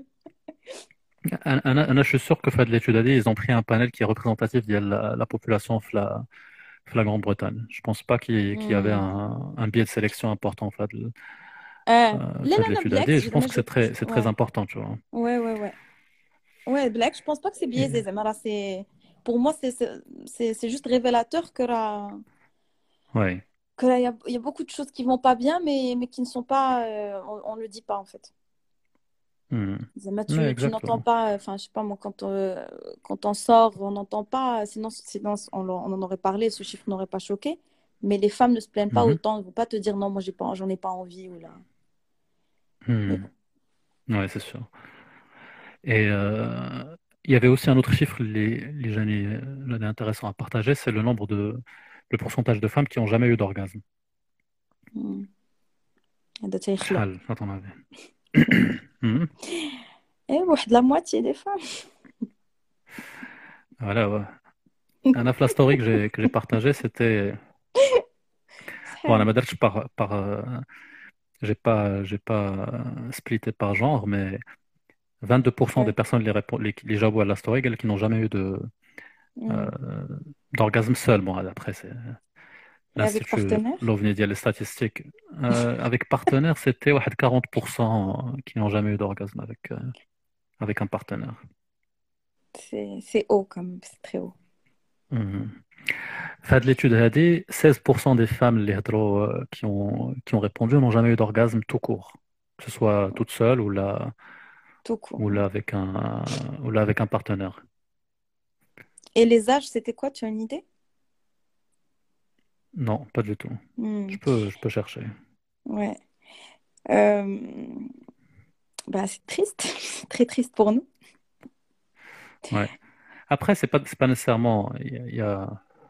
أنا أنا je suis sûr que fait de l'étude هذه, ils ont pris un panel qui est représentatif de la, la population de la, de la Grande-Bretagne. Je pense pas qu'il qu'il y avait Hmm. un, un biais de sélection important fait de, آه. euh, لا fait لا de لا l'étude هذه. بالعكس Et je زعما pense que جو c'est très, c'est très ouais important, tu vois. ouais ouais ouais ouais بالعكس je pense pas que c'est biaisé Et- زعما راه c'est pour moi c'est c'est c'est c'est juste révélateur que راه ouais. que là il y a, il y a beaucoup de choses qui vont pas bien mais mais qui ne sont pas euh, on, on le dit pas en fait. Mhm. Zama, tu Ouais, tu n'entends exactement. pas enfin je sais pas moi quand on, quand on sort on n'entend pas sinon sinon on, l'en- on en aurait parlé, ce chiffre n'aurait pas choqué, mais les femmes ne se plaignent pas Mhm. autant, elles vont pas te dire non moi j'ai pas j'en ai pas envie ou là. Mais Mhm. bon. Ouais, c'est sûr. Et euh, il y avait aussi un autre chiffre, les, les jeunes, euh, intéressant à partager, c'est le nombre de, le pourcentage de femmes qui n'ont jamais eu d'orgasme. Hmm. هذا تيخلق. شحال, à ton avis? Mhm. Eh, واحد la moitié des femmes. Voilà, ouais. Un af la story que j'ai que j'ai partagé, c'était bon, on a pas par par euh, j'ai pas j'ai pas euh, splitté par genre, mais vingt-deux pour cent Ouais. des personnes les répondent les, les jawabu à la story, elles qui n'ont jamais eu de Hmm. euh, d'orgasme seul. Bon, après c'est Et avec l'institut partenaire? l'OVNI dit les statistiques. Euh, avec partenaire, c'était ouais, quarante pour cent qui n'ont jamais eu d'orgasme avec euh, avec un partenaire. C'est c'est haut quand même, c'est très haut. Mhm. Fait de l'étude هذه, seize pour cent des femmes اللي هضروا, euh, qui ont, qui ont répondu n'ont jamais eu d'orgasme tout court, que ce soit toute seule ou là, Tout court. ou là avec un, ou là avec un partenaire. Et les âges, c'était quoi? Tu as une idée? Non, pas du tout. Hmm, Je peux, je peux chercher. ouais. Euh, bah, c'est triste, c'est très triste pour nous. Ouais. Après, c'est pas, c'est pas nécessairement. Il y a, il y a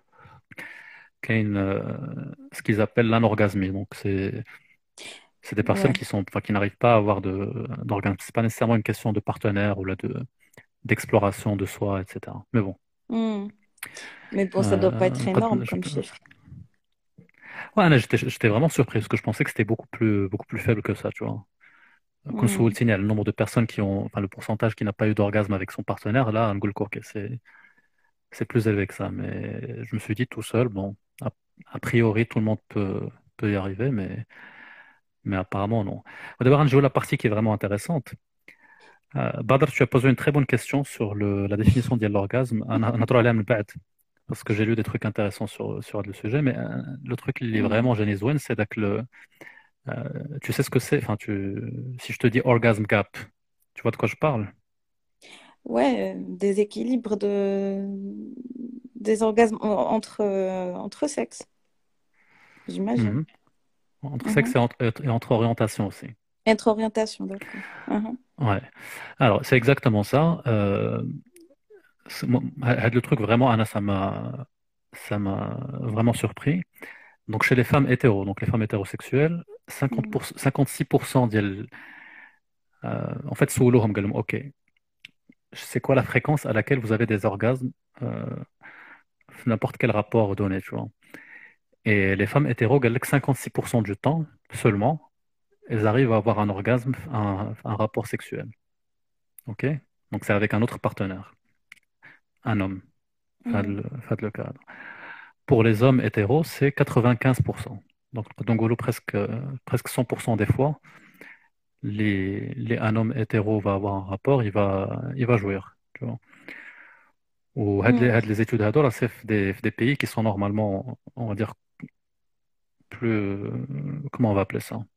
qu'une, euh, ce qu'ils appellent l'anorgasmie. Donc, c'est, c'est des personnes Ouais. qui sont, enfin, qui n'arrivent pas à avoir de, d'orgasme. C'est pas nécessairement une question de partenaire ou là de, d'exploration de soi, et cetera. Mais bon. Hmm. Mais bon, ça doit pas Euh, être énorme comme chiffre. ouais, أنا j'étais, j'étais vraiment surpris parce que je pensais que c'était beaucoup plus, beaucoup plus faible que ça, tu vois. Quand Hmm. il y a le nombre de personnes qui ont, enfin, le pourcentage qui n'a pas eu d'orgasme avec son partenaire, là, un ok, c'est, c'est plus élevé que ça. Mais je me suis dit tout seul, bon, a, a priori, tout le monde peut, peut y arriver, mais, mais apparemment, non. D'abord, on joue la partie qui est vraiment intéressante. Euh, Badr, tu as posé une très bonne question sur le, la définition de l'orgasme. On a- on a trop allé à me battre, parce que j'ai lu des trucs intéressants sur, sur le sujet, mais euh, le truc qui est Hmm. vraiment génial, c'est que le, euh, tu sais ce que c'est, enfin, tu, si je te dis orgasm gap, tu vois de quoi je parle? Ouais, euh, des équilibres de... des orgasmes en- entre, euh, entre sexes, j'imagine. Mhm. Entre Mhm. sexe et entre, et entre orientation aussi. Entre orientation, d'accord. Mhm. Ouais. Alors, c'est exactement ça. Euh, c'est- moi, le truc vraiment, Anna, ça m'a, ça m'a vraiment surpris. Donc, chez les femmes hétéros, donc les femmes hétérosexuelles, cinquante Hmm. pour cent, cinquante-six pour cent ديال euh, en fait, سولوهم قال لهم, OK, c'est quoi la fréquence à laquelle vous avez des orgasmes euh, n'importe quel rapport donné, tu vois. Et les femmes hétéros, قال لك cinquante-six pour cent du temps seulement, elles arrivent à avoir un orgasme, un, un rapport sexuel. OK? Donc, c'est avec un autre partenaire, un homme. Faites Hmm. le, faites le cadre. Pour les hommes hétéros, c'est quatre-vingt-quinze pour cent. Donc, donc gros, presque, euh, presque cent pour cent des fois, les, les, un homme hétéro va avoir un rapport, il va, il va jouir. Tu vois. Ou had les, Hmm. had les études هذولا, c'est des, des pays qui sont normalement, on va dire, plus, euh, comment on va appeler ça?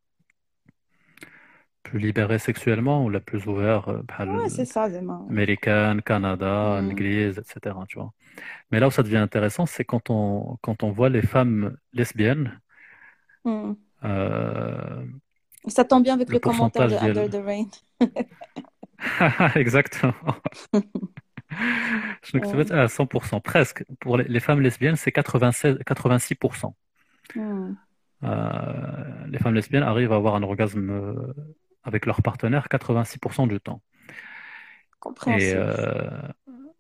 Plus libérés sexuellement ou la plus ouvert, euh, Ouais, c'est بحال ça, Zema. américaine, Canada, Hmm. anglaise, et cetera. Tu vois. Mais là où ça devient intéressant, c'est quand on, quand on voit les femmes lesbiennes, Hmm. euh, Ça tombe bien avec le le commentaire de pourcentage Under ديال the Rain. exactement. Je Ouais. ne à cent pour cent, presque. Pour les, les femmes lesbiennes, c'est quatre-vingt-seize, quatre-vingt-six pour cent. Hmm. Euh, les femmes lesbiennes arrivent à avoir un orgasme euh, avec leur partenaire quatre-vingt-six pour cent du temps. Et Compréhensible. euh,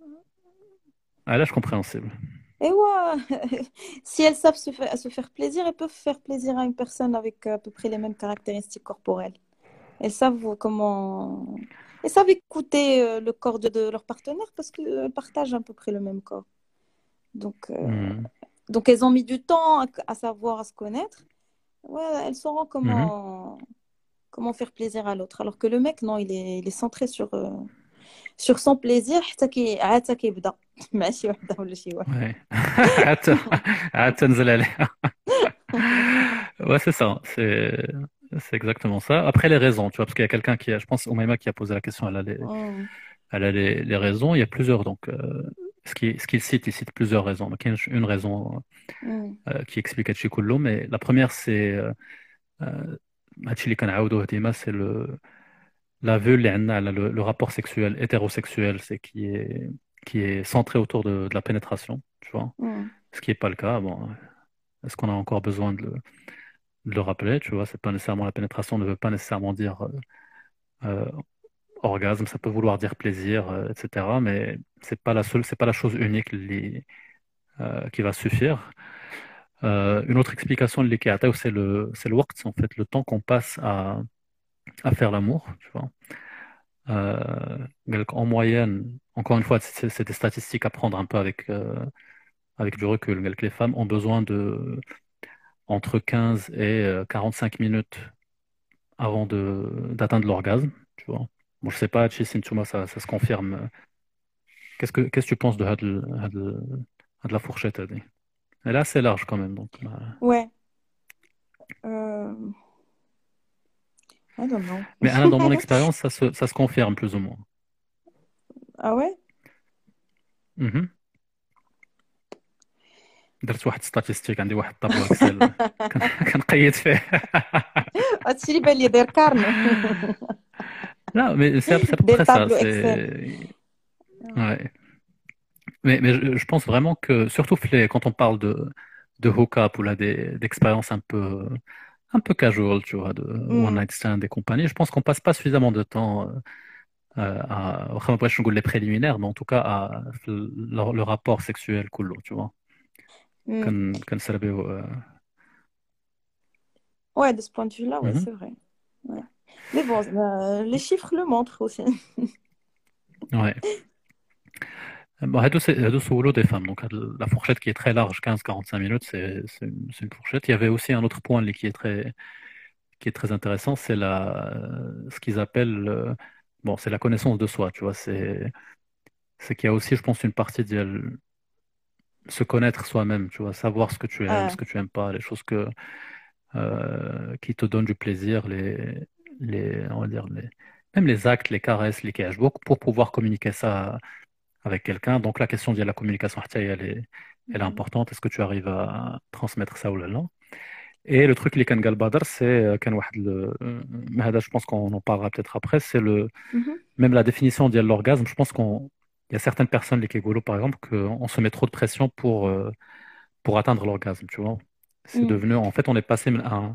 à l'âge compréhensible. Et ouais, si elles savent se faire, se faire plaisir, elles peuvent faire plaisir à une personne avec à peu près les mêmes caractéristiques corporelles. Elles savent comment... Elles savent écouter euh, le corps de, de leur partenaire parce qu'elles partagent à peu près le même corps. Donc, euh, Mhm. donc elles ont mis du temps à, à savoir, à se connaître. Ouais, elles sauront Mhm. comment, comment faire plaisir à l'autre. Alors que le mec, non, il est, il est centré sur, euh, sur son plaisir حتى كي عاد كيبدا مع شي وحده ولا شي واحد. Ouais. عاد عاد تنزل عليها. Ouais, c'est ça. C'est c'est exactement ça. Après, les raisons, tu vois, parce qu'il y a quelqu'un qui a, je pense, Oumaima qui a posé la question, elle a les, Mm, elle a les, les raisons. Il y a plusieurs, donc, euh, ce qu'il ce qu'il cite, il cite plusieurs raisons. Donc, il y a une, une raison mm, euh, qui explique Hachi Kullu, mais la première, c'est euh, euh, Hachi اللي كنعاودوه ديما, c'est le la vue اللي عندنا على le, le rapport sexuel hétérosexuel, c'est qui est qui est centré autour de, de la pénétration, tu vois. mm. Ce qui n'est pas le cas. Bon, est-ce qu'on a encore besoin de le, de le rappeler, tu vois, c'est pas nécessairement la pénétration ne veut pas nécessairement dire euh, euh, orgasme, ça peut vouloir dire plaisir, euh, et cetera. Mais c'est pas la seule, c'est pas la chose unique li- euh, qui va suffire. Euh, une autre explication de l'ikea, c'est le, c'est le waqt, en fait, le temps qu'on passe à, à faire l'amour, tu vois. Euh, donc, en moyenne, encore une fois, c'est c'est des statistiques à prendre un peu avec, euh, avec du recul. Donc, les femmes ont besoin de entre quinze et euh, quarante-cinq minutes avant de d'atteindre l'orgasme, tu vois. Bon, je sais pas, Chi Sintuma, ça, ça se confirme. Qu'est-ce que qu'est-ce que tu penses de, had l- had l- had la fourchette? Elle elle est assez large quand même, donc. euh, Ouais. Euh, I don't know. Mais Anna, dans mon expérience, ça se, ça se confirme plus ou moins. Ah ouais? Mhm. درت واحد ستاتيستيك عندي واحد طابلو اكسل كنقيد فيه. هادشي اللي بان لي داير كارنو. لا mais c'est c'est à peu Des près ça tableaux Excel. c'est ouais mais mais je, je pense vraiment que surtout les- quand on parle de de hook-up ou là des d'expériences un peu un peu casual, tu vois, de one Mm. night stand et compagnie, je pense qu'on passe pas suffisamment de temps euh, à واخا ما بغيتش نقول les préliminaires mais en tout cas à le, le rapport sexuel كله, tu vois. Mm. كن كنسربيو euh, Ouais, de ce point de vue-là, ouais, mhm. c'est vrai. Ouais. Mais bon, euh, les chiffres le montrent aussi. Ouais. Bon, هادو سي- هادو سولو des femmes. Donc, la fourchette qui est très large, quinze à quarante-cinq minutes, c'est c'est une, c'est une fourchette. Il y avait aussi un autre point qui est très, qui est très intéressant, c'est la, ce qu'ils appellent, euh, bon, c'est la connaissance de soi, tu vois. C'est, c'est qu'il y a aussi, je pense, une partie de se connaître soi-même, tu vois, savoir ce que tu aimes, Ah, ce que tu aimes pas, les choses que, euh, qui te donnent du plaisir, les, les, on va dire, les, même les actes, les caresses, les cashbooks, pour pouvoir communiquer ça avec quelqu'un. Donc la question de la communication, elle est, elle est importante. Est-ce que tu arrives à transmettre ça ou là, là? Et le truc, les kan gal badr, c'est euh, kan واحد le- euh, mais hada, je pense qu'on en parlera peut-être après, c'est le, mhm. même la définition de l'orgasme. Je pense qu'on, il y a certaines personnes, les kégolo par exemple, qu'on se met trop de pression pour, euh, pour atteindre l'orgasme, tu vois. C'est Mm. devenu, en fait, on est passé à un-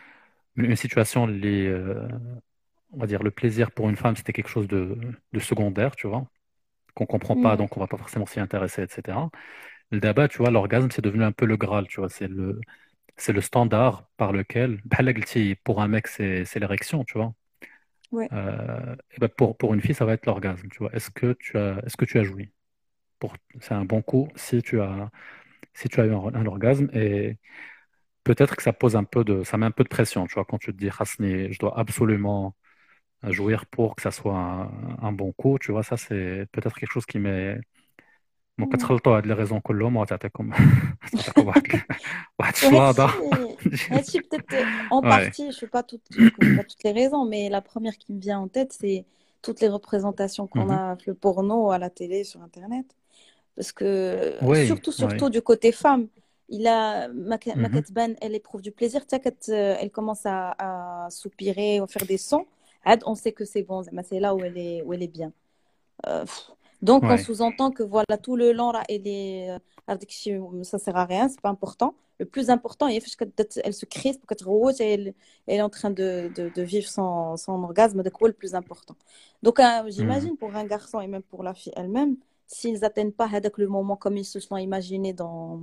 une situation, les, euh, on va dire, le plaisir pour une femme, c'était quelque chose de, de secondaire, tu vois, qu'on comprend pas, Mm. donc on va pas forcément s'y intéresser, et cetera. Le débat, tu vois, l'orgasme, c'est devenu un peu le Graal, tu vois, c'est le, c'est le standard par lequel, بحال قلتي, pour un mec, c'est c'est l'érection, tu vois. Ouais. Euh, et ben pour, pour une fille, ça va être l'orgasme, tu vois. Est-ce que tu as, est-ce que tu as joui? Pour, c'est un bon coup si tu as, si tu as eu un, un orgasme, et peut-être que ça pose un peu de, ça met un peu de pression, tu vois, quand tu te dis, Hasni, je dois absolument jouir pour que ça soit un, un bon coup, tu vois, ça c'est peut-être quelque chose qui met. Donc, Mm. كتخلطوا هاد les raisons كلهم وتعطيكم تعطيكم واحد واحد Ouais, الشلاضة. Hachi, Hachi, peut-être euh, en Ouais. partie, je sais pas toutes, je connais pas toutes les raisons, mais la première qui me vient en tête, c'est toutes les représentations qu'on Mhm. a, le porno à la télé, sur Internet. Parce que, Oui, surtout, oui. surtout du côté femme, il a, ma, ma Mhm. Katban, elle éprouve du plaisir. T'as qu'elle, euh, elle commence à, à soupirer ou faire des sons. Ad, on sait que c'est bon, mais c'est là où elle est, où elle est bien. Euh, pff. Donc, on Ouais. sous-entend que voilà, tout le long, là, elle est, euh, avec chi- ça sert à rien, c'est pas important. Le plus important, il faut qu'elle elle se crispe, qu'elle rouge, et elle, elle est en train de, de, de vivre son, son orgasme, de quoi le plus important. Donc, euh, Mhm. j'imagine pour un garçon et même pour la fille elle-même, s'ils n'atteignent pas avec le moment comme ils se sont imaginés dans,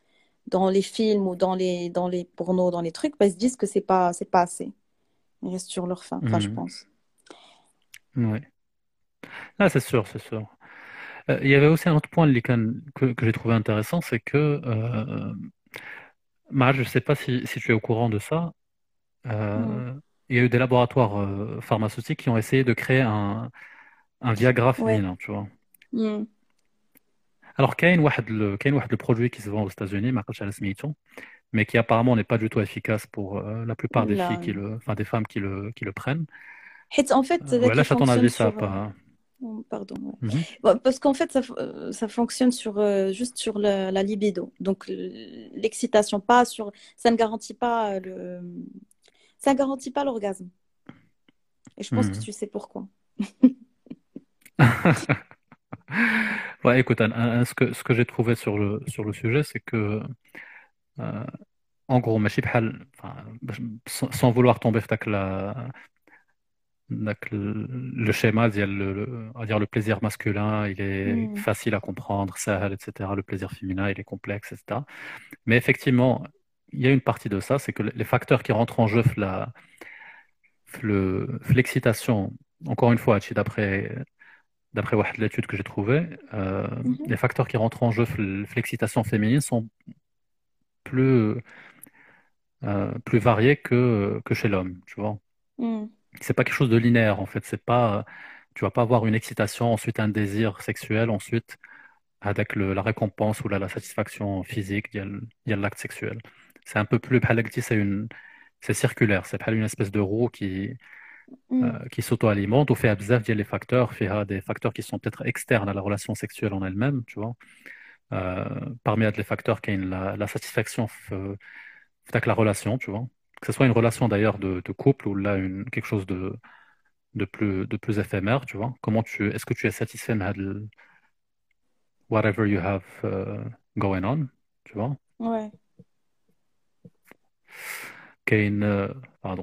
dans les films ou dans les, dans les pornos, dans les trucs, bah, ils se disent que c'est pas, c'est pas assez. Ils restent sur leur faim, enfin, je Mhm. pense. Ouais. Ah, c'est sûr, c'est sûr. Euh, il y avait aussi un autre point les can- que, que j'ai trouvé intéressant, c'est que, euh, Maaj, je ne sais pas si, si tu es au courant de ça, Mm. euh, il y a eu des laboratoires euh, pharmaceutiques qui ont essayé de créer un, un Viagra Ouais. féminin, tu vois. Mm. Alors, كاين واحد le, كاين واحد le produit qui se vend aux États-Unis, ما عرفتش على سميتو, mais qui apparemment n'est pas du tout efficace pour euh, la plupart des filles Là, qui le, enfin des femmes qui le, qui le prennent. Hit, en fait, Euh, là ouais, là, qui à ton avis, fonctionne ça a sur. euh, pas. oh, Pardon. Ouais. Mhm. Bon, parce qu'en fait, ça, f- euh, ça fonctionne sur, euh, juste sur la, la libido. Donc, l- l'excitation, pas sur. Ça ne garantit pas euh, le. Ça ne garantit pas l'orgasme. Et je pense que Mhm. tu sais pourquoi. Ouais, écoute, Anne, Anne, ce que, ce que j'ai trouvé sur le, sur le sujet, c'est que, euh, en gros, ماشي بحال- enfin, sans, sans vouloir tomber في la, داك le, le schéma, ديال le, le- on va dire le plaisir masculin, il est Mm. facile à comprendre, سهل, et cetera. Le plaisir féminin, il est complexe, et cetera. Mais effectivement, il y a une partie de ça, c'est que les facteurs qui rentrent en jeu, la, le- l'excitation, encore une fois, هادشي d'après d'après واحد l'étude que j'ai trouvée, euh, Mhm. les facteurs qui rentrent en jeu, l'excitation féminine, sont plus, euh, plus variés que, que chez l'homme, tu vois. Mm. C'est pas quelque chose de linéaire, en fait. C'est pas, tu vas pas avoir une excitation, ensuite un désir sexuel, ensuite avec le, la récompense ou la, la satisfaction physique, il y a le- il y a l'acte sexuel. C'est un peu plus, بحال قلتي, c'est une, c'est circulaire, c'est pas une espèce de roue qui, Mm. euh, qui s'auto-alimente ou fait بزاف ديال les facteurs, فيها des facteurs qui sont peut-être externes à la relation sexuelle en elle-même, tu vois. Euh, parmi les facteurs qui la, la satisfaction avec la relation, tu vois. Que ce soit une relation d'ailleurs de, de couple ou là une, quelque chose de, de, plus, de plus éphémère, tu vois. Comment tu, est-ce que tu es satisfait de whatever you have uh, going on, tu vois. Ouais. Qu'une, euh, pardon.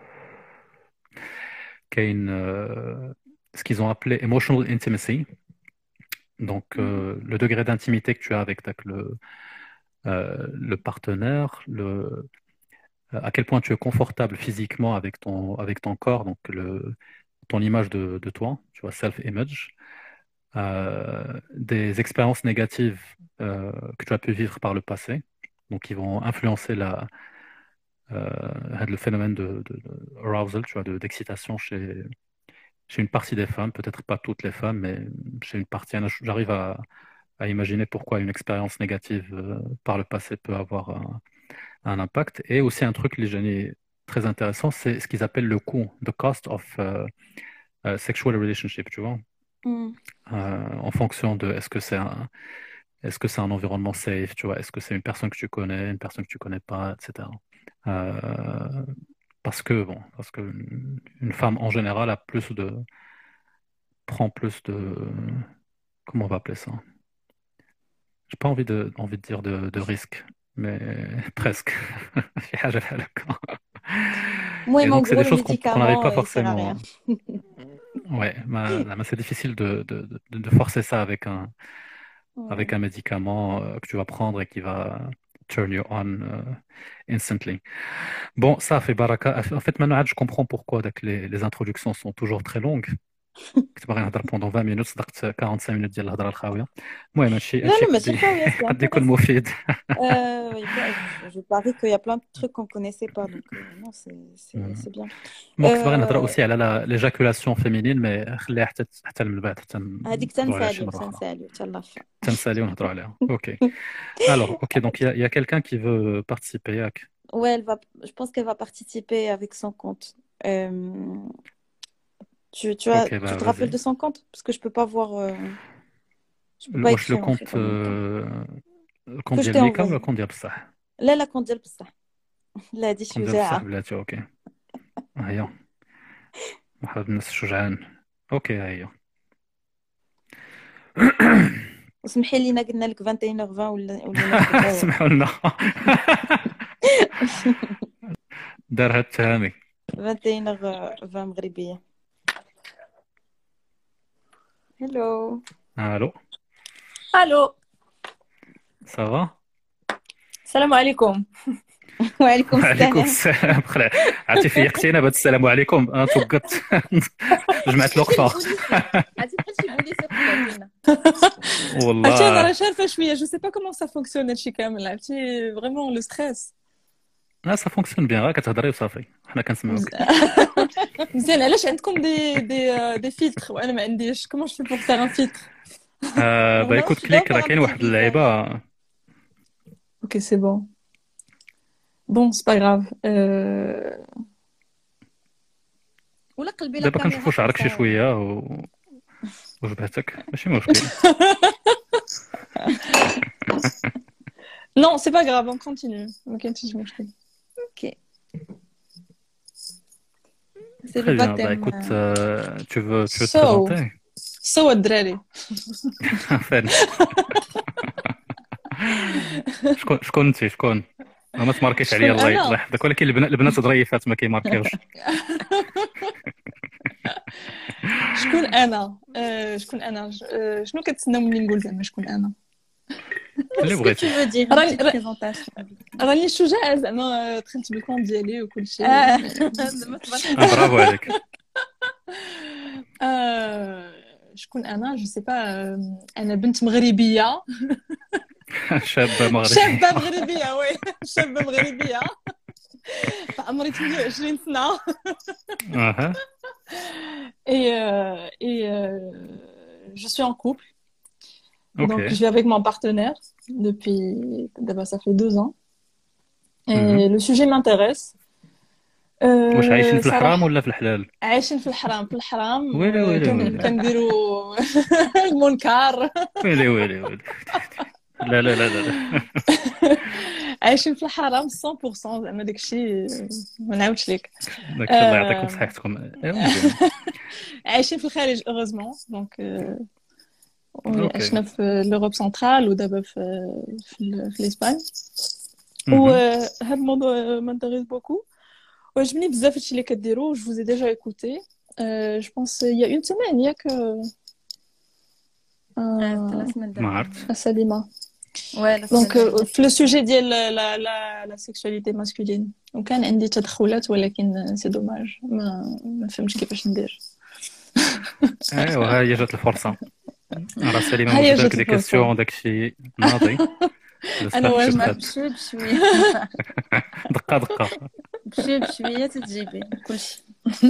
Qu'une, euh, ce qu'ils ont appelé emotional intimacy. Donc, euh, le degré d'intimité que tu as avec le, euh, le partenaire, le, à quel point tu es confortable physiquement avec ton, avec ton corps, donc le, ton image de, de toi, tu vois, self-image, euh, des expériences négatives euh, que tu as pu vivre par le passé, donc qui vont influencer la, euh, le phénomène de, de, de arousal, tu vois, de, d'excitation chez, chez une partie des femmes, peut-être pas toutes les femmes, mais chez une partie, j'arrive à, à imaginer pourquoi une expérience négative euh, par le passé peut avoir un, un impact. Et aussi un truc, les génies très intéressant, c'est ce qu'ils appellent le coût, the cost of uh, uh, sexual relationship, tu vois. Mm. Euh, en fonction de est-ce que c'est un, est-ce que c'est un environnement safe, tu vois, est-ce que c'est une personne que tu connais, une personne que tu connais pas, et cetera. Euh, parce que bon, parce que une femme en général a plus de prend plus de comment on va appeler ça? J'ai pas envie de envie de dire de, de risque, mais presque. Moi, et donc c'est des choses qu'on n'arrive pas euh, forcément. Ouais, bah, bah, c'est difficile de, de, de, de forcer ça avec un ouais. avec un médicament euh, que tu vas prendre et qui va turn you on uh, instantly. Bon, ça fait baraka. En fait, maintenant, je comprends pourquoi les, les introductions sont toujours très longues. كنت باغي نهضر pendant vingt minutes صدقت quarante-cinq minutes ديال الهضره الخاويه. المهم هادشي لا لا ماشي خاويه قد يكون مفيد. Je parie qu'il y a plein de trucs qu'on connaissait pas donc non c'est c'est c'est bien. مو كنت باغي نهضر aussi على l'éjaculation féminine mais خليها حتى حتى من بعد حتى هذيك تنسالي تنسالي حتى لافا تنسالي ونهضروا عليها. OK. Alors, OK, donc il y a, y a quelqu'un qui veut participer. Yak. Ouais, elle va je pense qu'elle va participer avec son compte. Euh... Tu, tu, as, okay, bah, tu te rappelles de son compte? Parce que je peux pas voir. Euh... Je peux pas écrire, le compte. En fait, euh... Le compte ديال ميكا ولا الكونت ديال بصح؟ لا لا كونت ديال بصح. لا هادي شجاعة. بلاتي اوكي. ها هي. واحد الناس شجعان. اوكي ها هي. اسمحي لينا قلنا لك vingt et une heures vingt ولا ولا سمحوا لنا. دارها التهامي. vingt et une heures vingt مغربية. Hello. Allô. Allô. Ça va? Salam alaikum. وعليكم السلام. وعليكم السلام. خلا عرفتي فيقتينا بهذا السلام عليكم انا توقت جمعت الوقفه. عرفتي بحال شي بوليس يقتلنا. والله. عرفتي انا راه شارفه شويه جو سي با كومون سا فونكسيون هادشي كامل عرفتي فريمون لو ستريس. لا سا فونكسيون بيان غير كتهضري وصافي حنا كنسمعوك. مزيان علاش عندكم دي دي دي فيلتر وانا ما عنديش كومون جو في بور فير ان فيلتر؟ با écoute كليك راه كاين واحد اللعيبه. اوكي سي بون. بون سي با غراف. ولا قلبي دابا كنشوفوا شعرك شي شويه و وجبهتك ماشي مشكل. Non, c'est pas grave, on continue. On continue, mon chéri. Ok. C'est Très le bien, baptême. Bah, écoute, euh, tu veux, tu veux so, te présenter? So, الدراري. فين؟ شكون شكون انت شكون؟ ما تماركيش عليا الله الله يحفظك ولكن البنات ظريفات ما كيماركيوش. شكون انا؟ شكون انا؟ شنو كتسناو مني نقول زعما شكون انا؟ اللي بغيتي. راني شجاعة زعما دخلت بالكون ديالي وكل شيء. برافو عليك. شكون انا؟ جو سي با. انا بنت مغربية. شابة مغربية. شابة مغربية وي شابة مغربية. عمري ثمانية وعشرين سنة. اها. Et et je suis en couple. Okay. Donc, je vis avec mon partenaire depuis... D'abord, ça fait deux ans. Et mm-hmm. le sujet m'intéresse. واش عايشين في الحرام ولا في الحلال؟ عايشين في الحرام في الحرام. ويلي ويلي كنديروا المنكر. ويلي ويلي ويلي. لا لا لا لا عايشين في الحرام مية بالمية زعما داكشي ما نعاودش لك. داك الله يعطيكم صحتكم. ايوا مزيان. عايشين في الخارج اوغوزمون دونك أوكي. عشنا في لوروب سنترال ودابا في في, في الاسبان. مهم. وهذا الموضوع مانتيريس بوكو وعجبني بزاف هادشي اللي كديروا. جو فوز ديجا ايكوتي جو بونس يا اون سيمين ياك ثلاث سنين ما عرفت. سليمه. Ouais, دونك في لو سوجي ديال لا لا لا سيكسواليتي ماسكولين وكان عندي تدخلات ولكن سي دوماج ما ما فهمتش كيفاش ندير. ايوا ها هي جات الفرصه. راه سليمه ها هي موجوده جات لك دي الفرصة. كيسيون داكشي ناضي. أنا واجد ما دقه بشوي بشويه دقه بشوي بشويه تتجيبي كلشي.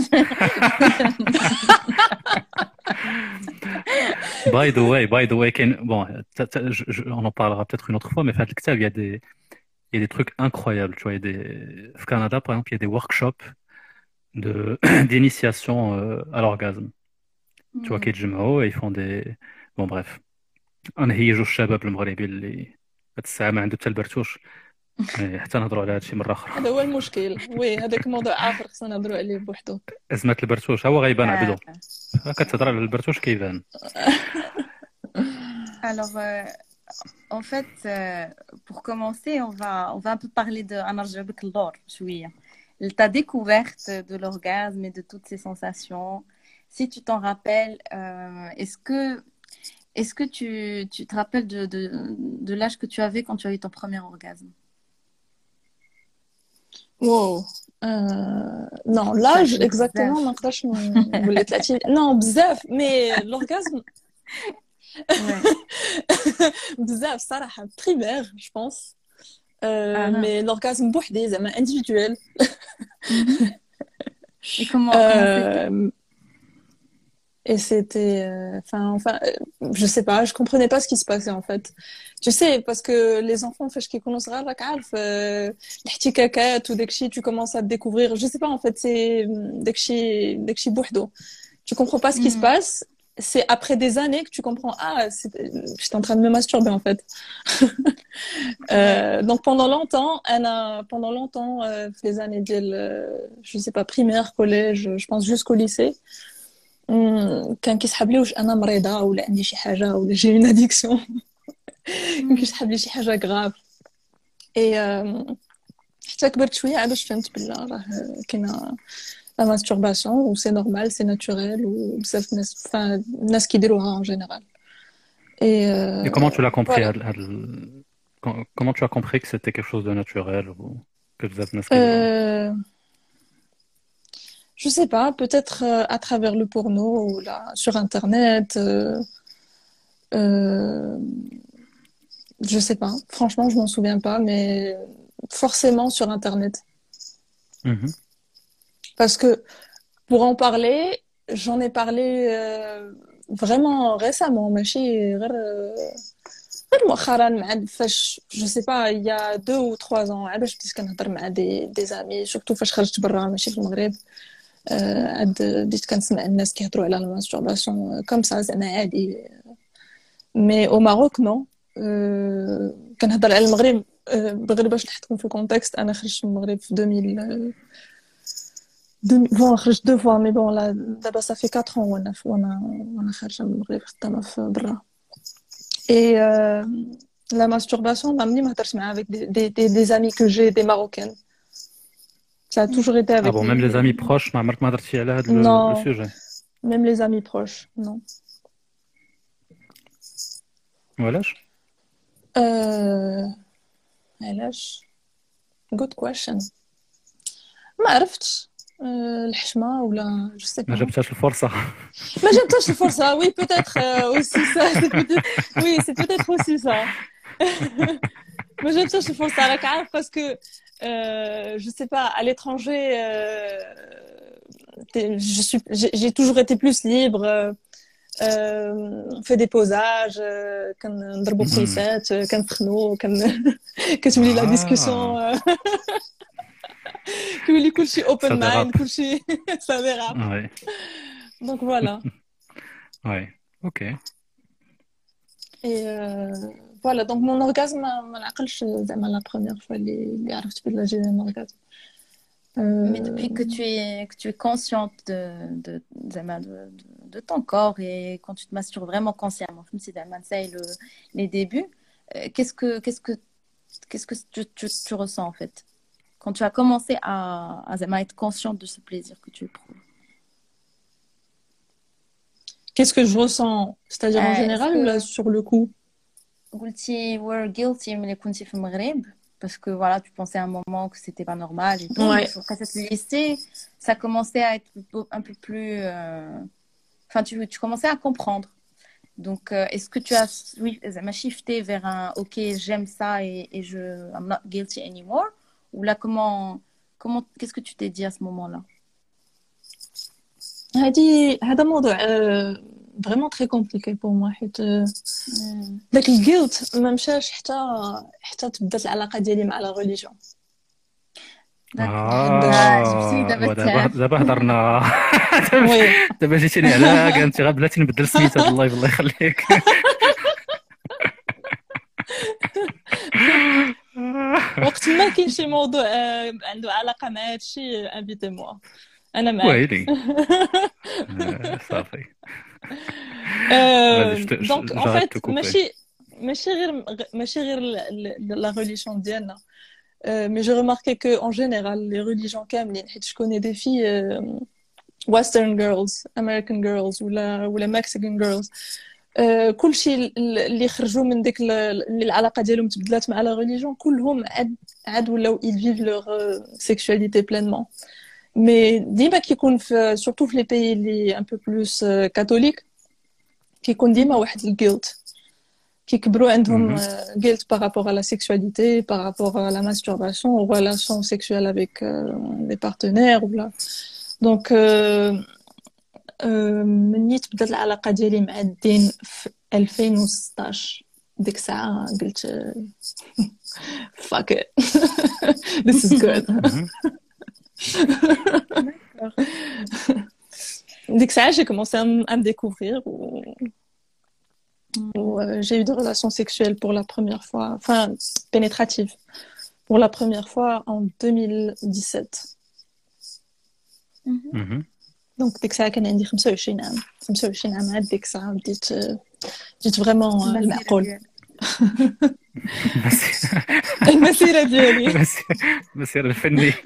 By the way, by the way, Ken- bon, ça- ça- je- je- on en parlera peut-être une autre fois, mais fait le Ktab, il y a des, il y a des trucs incroyables. Tu vois, il y a des, au Canada, par exemple, il y a des workshops de, d'initiation euh, à l'orgasme. Tu vois, كيتجمعوا et ils font des, bon bref. نهيجوا الشباب المغربي اللي هاد الساعة ما عنده حتى البرتوش إيه، حتى نهضروا على هادشي مرة أخرى. هذا هو المشكل. وي هذاك موضوع اخر خصنا نهضروا عليه بوحدو. أزمة البرتوش هو غيبان عبدو. كتهضر على البرتوش كيبان. Alors, euh, en fait, euh, pour commencer, on va, on va un peu parler de Anarjabek Lor, chouïa. Ta découverte de l'orgasme et de toutes ces sensations. Si tu t'en rappelles, euh, est-ce que, est-ce que tu, tu te rappelles de, de, de l'âge que tu avais quand tu as eu ton premier orgasme? واو آه... نو لاج اكزاكتومون ما نقدرش نقول ثلاثين. نو بزاف مي لورغازم بزاف صراحه بريمير جو بونس مي لورغازم بوحدي زعما انديفيدويل. Et comment, comment c'était? Et c'était euh, enfin enfin euh, je sais pas, je comprenais pas ce qui se passait en fait. Tu sais parce que les enfants فاش كيكونوا صغار راك عارف الاحتكاكات وداكشي tu commences à te découvrir. Je sais pas en fait, c'est داكشي داكشي بوحدو. Tu comprends pas ce qui se passe. C'est après des années que tu comprends ah c'est... j'étais en train de me masturber en fait. euh, donc pendant longtemps انا pendant longtemps euh, les années ديال je sais pas primaire collège je pense jusqu'au lycée كان كيسحب لي واش انا مريضه ولا عندي شي حاجه ولا جي اون اديكسيون. كان كيسحب لي شي حاجه غراف. اي حتى كبرت شويه عاد باش فهمت بلا راه كاينه لا ماستورباسيون و سي نورمال سي ناتوريل وبزاف الناس فان الناس كيديروها ان جينيرال. اي Et comment tu l'as compris هاد- هاد ال- com- comment tu as compris que c'était quelque chose de naturel ou que بزاف الناس كيديروها؟ Euh, je sais pas, peut-être euh, à travers le porno ou là, sur Internet. Euh, euh, je sais pas. Franchement, je m'en souviens pas, mais forcément sur Internet. Mhm. Parce que pour en parler, j'en ai parlé euh, vraiment récemment. ماشي غير غير مؤخرا مع فاش جو سي با يا دو ou trois ans عاد باش بديت كنهضر مع دي دي زامي سورتو فاش خرجت برا ماشي في المغرب. عاد بديت كنسمع الناس كيهضروا على الماستورباسيون كوم سا زعما عادي. مي او ماروك نو. كنهضر على المغرب بغير باش نحطكم في الكونتكست. انا خرجت من المغرب في deux mille بون خرجت دو فوا مي بون لا دابا صافي quatre ans وانا وانا وانا خارجه من المغرب خدامه في برا. اي لا ماستورباسيون عمرني ما هضرت معها avec des des des, des amis que j'ai des marocaines. Ça a toujours été avec Ah bon, même les amis proches ما عمرك ما هضرتي على هاد Non. le sujet. même les amis proches non. وعلاش؟ euh علاش good question ما عرفتش. euh, الحشمه ولا je sais ما pas. جبتهاش الفرصة. ما جاتش الفرصه. oui peut-être euh, aussi ça c'est peut-être oui c'est peut-être aussi ça. ما جاتش الفرصه راك عارف parce que euh, je sais pas à l'étranger euh, je suis j'ai, j'ai toujours été plus libre. euh, on fait des posages كنضربوا قيسات كنسخنوا كن كتولي لا ديسكوسيون كيولي كلشي اوبن مايند كلشي ça dérape. Ouais. donc voilà. Ouais. Ok. Et euh, فوالا دونك مون اورغازم ما نعقلش زعما لا بروميير فوا اللي اللي عرفت بلا جي ان اورغازم. Mais depuis que tu es, que tu es consciente de, de, de, de, de ton corps et quand tu te masturbes vraiment consciemment, même si c'est le, les débuts, euh, qu'est-ce que, qu'est-ce que, qu'est-ce que tu, tu, tu ressens en fait quand tu as commencé à, à, à être consciente de ce plaisir que tu éprouves? Qu'est-ce que je ressens? C'est-à-dire en euh, général que... ou là sur le coup? Tu were guilty mais quand tu fais Maghreb parce que voilà, tu pensais à un moment que c'était pas normal et tout. Ouais. Après cette lycée, ça commençait à être un peu plus euh... enfin tu, tu commençais à comprendre. Donc euh, est-ce que tu as oui, m'a shifté vers un OK, j'aime ça et, et je I'm not guilty anymore ou là comment comment qu'est-ce que tu t'es dit à ce moment-là? هادي هذا موضوع vraiment très compliqué pour moi حيت داك الجيلت ما مشاش حتى حتى تبدات العلاقه ديالي مع لا ريليجيون. دابا دابا هضرنا دابا جيتيني على قالتي غير بلاتي نبدل سميتها الله الله يخليك. وقت ما كاين شي موضوع عنده علاقه مع هادشي انفيتي موا انا معاك. ويلي صافي. دونك ان فيت ماشي ماشي غير ماشي غير لا ريليجيون ديالنا مي جو ريماركي كو ان جينيرال لي ريليجيون كاملين حيت جو كوني دي في ويسترن جيرلز امريكان جيرلز ولا ولا مكسيكان جيرلز كلشي اللي خرجوا من ديك اللي العلاقه ديالهم تبدلات مع لا ريليجيون كلهم عاد عاد ولاو ils vivent leur sexualité pleinement. مي ديما كيكون في سورتو في لي بيي اللي ان بو بلوس كاثوليك كيكون ديما واحد الجيلت كيكبروا عندهم جيلت بارابور على لا سيكسواليتي بارابور على لا ماستورباسيون او ريلاسيون سيكسوال افيك لي بارتنير ولا دونك مني تبدات العلاقه ديالي مع الدين في ألفين وستطاش ديك الساعه قلت fuck it this is good. Dès que ça, j'ai commencé à, m- à me découvrir où, où euh, j'ai eu des relations sexuelles pour la première fois, enfin pénétratives, pour la première fois en deux mille dix-sept. Mm-hmm. Donc dès que ça, كان عندي خمسة وعشرين عام خمسة وعشرين عام عاد ديك الساعة بديت بديت vraiment المعقول. المسيرة ديالي المسيرة الفنية.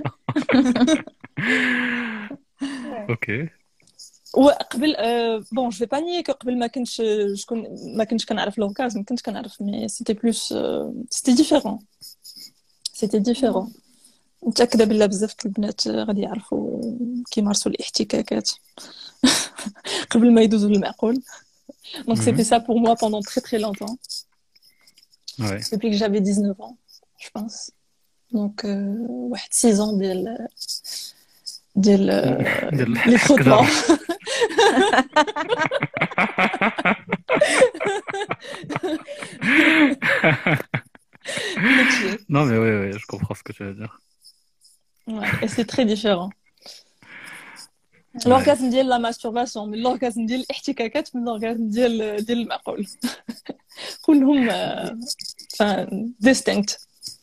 اوكي. وقبل بون جو في با نيي كو قبل ما كنتش شكون ما كنتش كنعرف لورغازم كنت كنعرف مي سيتي بلوس سيتي ديفيرون سيتي ديفيرون متاكده بلا بزاف البنات غادي يعرفوا كيمارسوا الاحتكاكات قبل ما يدوزوا للمعقول. دونك سيتي سا بور موا بوندون تري تري لونتون depuis que j'avais dix-neuf ans je pense. Donc واحد six ans ديال ديال لي خطبه. Non mais oui, oui, je comprends ce que tu veux dire. Ouais, et c'est très différent. L'orgasme ديال la masturbation من l'orgasme ديال الاحتكاكات من l'orgasme ديال ديال المعقول. كلهم enfin distinct.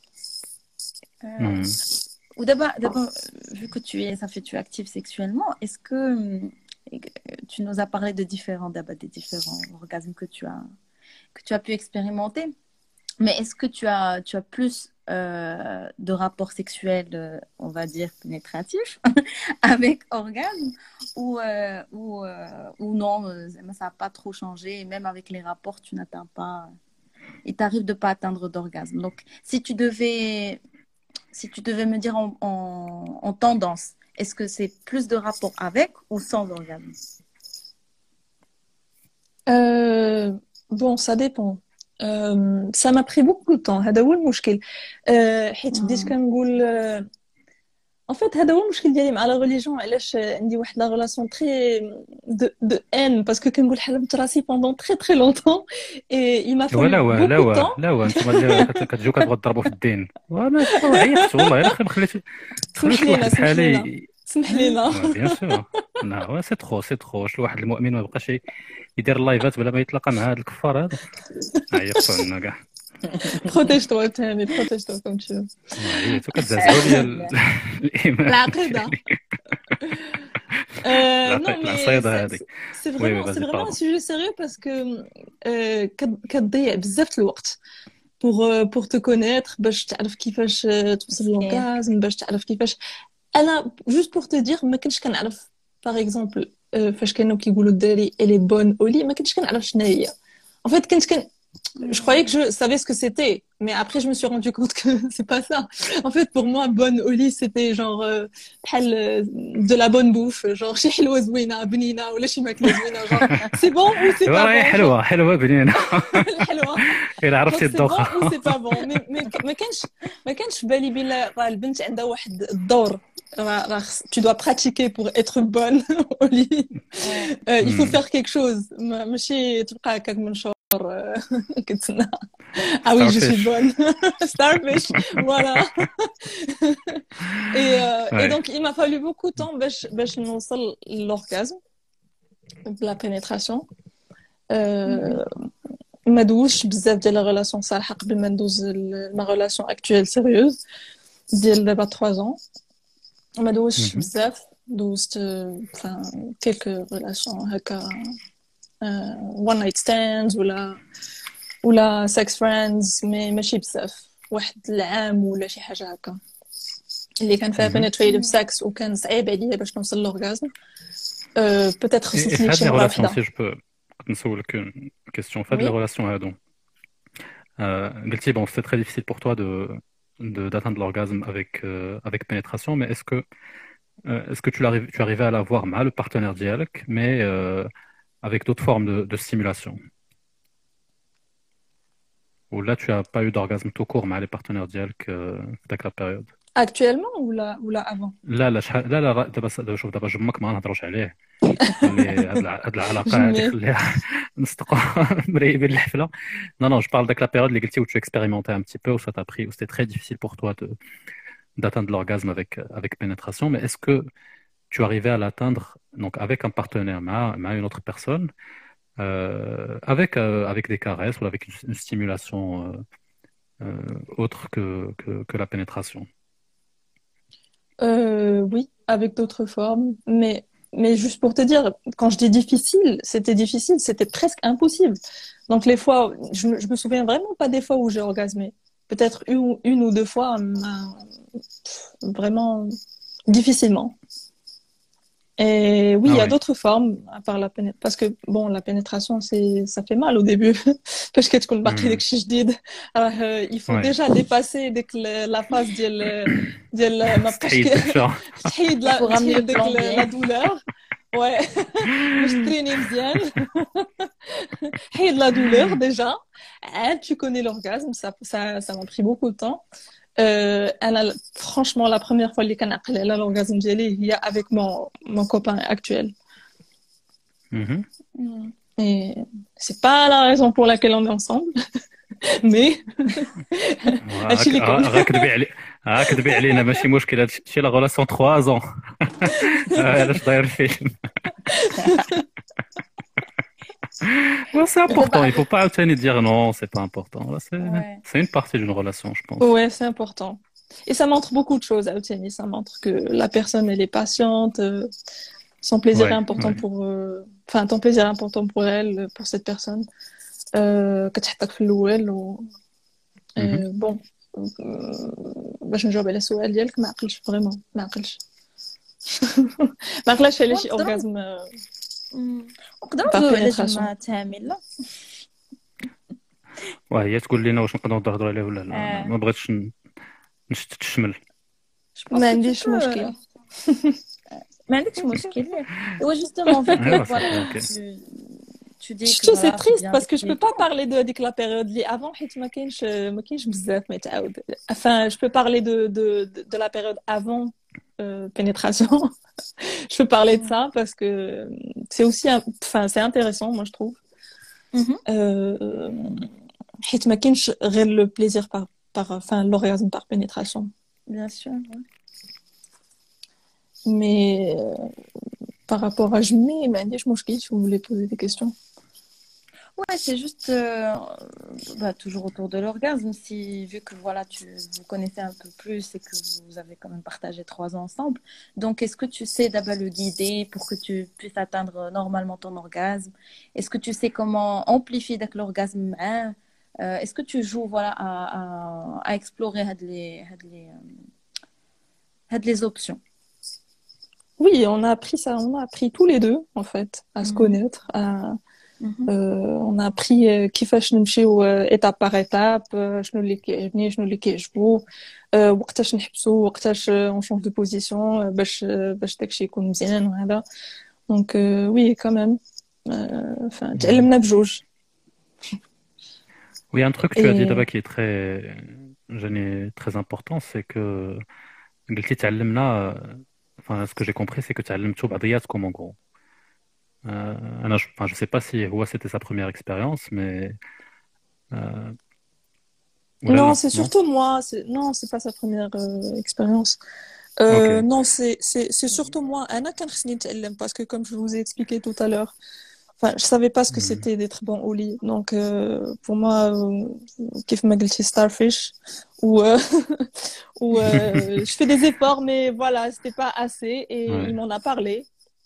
Ou d'abord, d'abord, vu que tu es, ça fait tu es active sexuellement, est-ce que tu nous as parlé de différents, d'abord des différents orgasmes que tu as, que tu as pu expérimenter, mais est-ce que tu as, tu as plus euh, de rapports sexuels, euh, on va dire pénétratifs, avec orgasme, ou euh, ou euh, ou non, euh, ça n'a pas trop changé, et même avec les rapports, tu n'atteins pas, il t'arrive de pas atteindre d'orgasme. Donc, si tu devais Si tu devais me dire en, en, en tendance, est-ce que c'est plus de rapport avec ou sans orgasme? euh, Bon, ça dépend. Euh, ça m'a pris beaucoup de temps. هذا هو المشكل. حيت بديت كنقول en fait هذا هو المشكل ديالي مع لا ريليجيون علاش عندي واحد لا ريلاسيون تري دو دو ان باسكو كنقول حلمت راسي بوندون تري تري لونطون اي il m'a fallu لا وا لا beaucoup de وا temps. لا وا انتم اللي كتجيو كتبغوا تضربوا في الدين وانا عيطت والله الا خليت خليت سمح خليت لينا واحد سمح بحالي. لينا سمح لينا. بيان سور لا سي ترو سي ترو شي واحد المؤمن ما بقاش يدير اللايفات بلا ما يتلاقى مع هاد الكفار هذا عيطوا لنا كاع. Protège-toi, Tani, protège-toi comme tu veux. وي تو كتزعزعوا لي ال- الايمان العقيدة. Euh, non, العقيد mais العصيده c'est هذه. c'est- c'est وي وي vraiment, c'est فازي vraiment un باردون. sujet sérieux parce que euh, كت- كتضيع بزاف الوقت pour euh, pour te connaître باش تعرف كيفاش آه، توصل مسكين. للأورغازم باش تعرف كيفاش انا juste pour te dire ما كنتش كنعرف par exemple آه، فاش كانوا كيقولوا الدراري elle est bonne au lit ما كنتش كنعرف شنو هي en fait كنت كن je croyais que je savais ce que c'était mais après je me suis rendu compte que c'est pas ça en fait pour moi bonne au lit c'était genre euh, بحال euh, de la bonne bouffe genre شي حلوه زوينه بنينه ولا شي ماكله زوينه genre c'est bon ou c'est ايوا pas راهي bon genre حلوه حلوه بنينه الحلوه الا genre عرفتي c'est bon الذوقه. ou c'est pas bon mais mais ما كانش ما كانش في بالي بلا راه البنت عندها واحد الدور راه راه خص- tu dois pratiquer pour être bonne au lit Euh, il faut Hmm. faire quelque chose ما- ماشي تبقى هكاك من شهور آه، كتسنى ah oui je suis Starfish. bonne starfish voilà et euh, et Ouais. donc il m'a fallu beaucoup de temps باش باش نوصل l'orgasme de la pénétration euh, ما دوزش بزاف ديال لا ريلاسيون صالحه قبل ما ندوز ل- ما ريلاسيون اكطويل سيريوز ديال دابا ثلاثة ans ما دوزش Mhm. بزاف دوزت enfin quelques relations هكا uh, one night stands ولا ولا sex friends مي ماشي بزاف واحد العام ولا شي حاجه هكا اللي كان فيها Mhm. penetrative sex وكان صعيب عليا باش نوصل للأورغازم أه peut-être Et, et خصني في شي هاد لي مره ريلاسيون وحده سي جو بو نسولك اون كيستيون في هاد لي oui ريلاسيون هادو euh, قلتي bon c'est très difficile pour toi de de d'atteindre l'orgasme avec euh, avec pénétration mais est-ce que euh, est-ce que tu l'arrives tu arrivais à l'avoir مع le partenaire ديالك mais euh, avec d'autres formes de, de stimulation ou là tu as pas eu d'orgasme tout court مع les partenaires ديالك euh, في داك la période. actuellement ولا ولا avant لا لا شحال لا لا راه دابا دابا شوف دابا جمك ما نهضروش عليه خلي هاد الع- هاد العلاقه هادي jamais خليها نصدقوا مريبين الحفله. Non non je parle de la période اللي قلتي où tu expérimentais un petit peu où ça t'a pris où c'était très difficile pour toi de d'atteindre l'orgasme avec avec pénétration mais est-ce que tu arrivais à l'atteindre donc avec un partenaire مع مع une autre personne euh, avec euh, avec des caresses ou avec une, une stimulation euh, euh, autre que, que que la pénétration. Euh, oui, avec d'autres formes. Mais, mais juste pour te dire, quand je dis difficile, c'était difficile, c'était presque impossible. Donc les fois, je, me- je me souviens vraiment pas des fois où j'ai orgasmé. Peut-être une, ou- une ou deux fois, mais vraiment difficilement. Et oui, Ah il y a ouais. d'autres formes à part la pénétration. Parce que, bon, la pénétration, c'est, ça fait mal au début. Parce que tu connais Hmm. داك الشيء جديد. Alors, euh, il faut Ouais. déjà dépasser ديك ال- la phase ديال ديال ما بقاش تحيد كي- الحشا. تحيد Il لا faut ramener تحيد le ديك plombier. لا douleur. Ouais. باش تريني مزيان. حيد la douleur déjà. Hein, tu connais l'orgasme, ça, ça, ça m'a pris beaucoup de temps. Euh, أنا franchement la première fois اللي كنعقل على l'orgasme ديالي هي avec mon mon copain actuel. Mhm. Et c'est pas la raison pour laquelle on est ensemble, mais هادشي اللي كاين. راك تبيع علي راك تبيع علينا ماشي مشكل هادشي لا غولاسيون ثلاثة ans. علاش داير الفيلم. Non, c'est important, il faut pas عاوتاني dire non, c'est pas important. Là, c'est Ouais. c'est une partie d'une relation, je pense. Ouais, c'est important. Et ça montre beaucoup de choses, Aouteni. Ça montre que la personne, elle est patiente, euh, son plaisir Ouais, est important ouais. pour... euh, Enfin, ton plaisir est important pour elle, pour cette personne. Euh, كتحطك في الأول و... Mhm. Euh, bon, euh, باش نجاوب على السؤال ديالك ما عقلش فريمون ما عقلش ما عقلش على شي نقدروا اورغازم نقدروا Par ندويو على pénétration. جمعة تامين لا وهي تقول لنا واش نقدروا نهضروا عليه ولا لا. آه. أنا ما بغيتش ن- نشتت الشمل. ما عنديش مشكل. ما عندكش مشكل. هو justement vu que ايوا voilà صافي اوكي. tu tu dis que شتو سي voilà c'est تريست bien باسكو جو بو fait. با بارلي دو هذيك لا بيريود اللي افون حيت ما كاينش ما كاينش بزاف ما يتعاود. enfin je peux parler de de de, de la période avant euh, pénétration. Je peux parler de ça parce que c'est aussi un- enfin c'est intéressant moi je trouve. Mhm. Euh, حيت ما كاينش غير le plaisir par par enfin l'orgasme par pénétration. Bien sûr. ouais. Mais euh, par rapport à jamais, ما عنديش مشكل si vous voulez poser des questions. Ouais, c'est juste euh, bah, toujours autour de l'orgasme. Si, vu que voilà, tu vous connaissez un peu plus et que vous avez quand même partagé trois ans ensemble. Donc, est-ce que tu sais d'abord le guider pour que tu puisses atteindre normalement ton orgasme? Est-ce que tu sais comment amplifier donc l'orgasme? Hein? Euh, est-ce que tu joues voilà, à, à, à explorer had les, had les, euh, had les options? Oui, on a appris ça, on a appris tous les deux, en fait, à se Mhm. connaître, à, Mhm. euh, on a appris euh, كيفاش نمشيو euh, étape par étape, euh, شنو اللي كيعجبني شنو اللي كيعجبو euh, وقتاش نحبسو وقتاش euh, on change de position euh, باش euh, باش داكشي يكون مزيان وهذا. Donc euh, oui, quand même. Euh, enfin, Mhm. تعلمنا بجوج. Oui, un truc que tu as dit Et d'abord qui est très, gêné- très important, c'est que قلتي تعلمنا enfin ce que j'ai compris c'est que تعلمتوا بعضياتكم en gros. Euh, أنا je, enfin, je sais pas si هو c'était sa première expérience mais euh, ولا non, لا c'est non? surtout moi. C'est... Non, c'est pas sa première euh, expérience. Ok. Euh, non, c'est, c'est, c'est surtout moi. Anna كان خصني نتعلم parce que comme je vous ai expliqué tout à l'heure, enfin, je savais pas ce que Mhm. c'était d'être bon au lit. Donc, euh, pour moi, euh, كيف ما قلتي starfish, ou, euh, ou euh, je fais des efforts, mais voilà, c'était pas assez. Et Ouais. il m'en a parlé.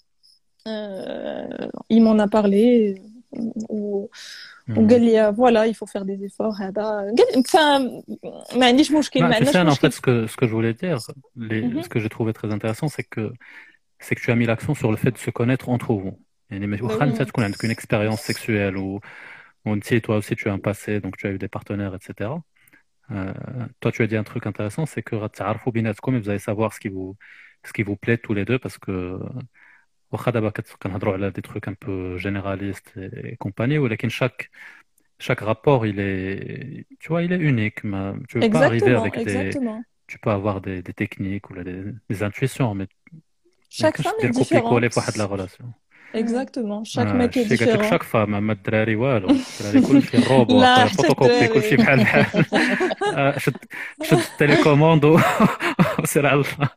Euh, il m'en a parlé. Ou, Mhm. وقال لي voilà, il faut faire des efforts. هذا قال enfin ما عنديش مشكل Bah, ما tu عندناش sais, en fait, مشكل. ce que, ce que je voulais dire, les, Mhm. ce que j'ai trouvé très intéressant, c'est que, c'est que tu as mis l'accent sur le fait de se connaître entre vous. يعني ما- Ben واخا oui. انت تكون عندك une expérience sexuelle ou ou tu sais, toi aussi tu as un passé, donc tu as eu des partenaires, et cetera. Euh, toi, tu as dit un truc intéressant, c'est que غتعرفوا بيناتكم et vous allez savoir ce qui vous, ce qui vous plaît tous les deux parce que واخا دابا كت- كنهضروا على des trucs un peu généralistes et, et compagnie, ولكن chaque chaque rapport il est, tu vois, il est unique. ما- Tu veux pas arriver Exactement, avec des, exactement. tu peux avoir des, des techniques ou des, des intuitions, mais ما Chaque يمكنش femme est دير copier-coller différente. في واحد la relation. Exactement. Chaque آه، mec est شتي قالت لك différent. chaque femme اما الدراري والو الدراري كلشي الروبو لا اخويا حتى فوتوكوبي كلشي الدراري. بحال بحال. آه، شد شد التليكوموند و- وسير على الله.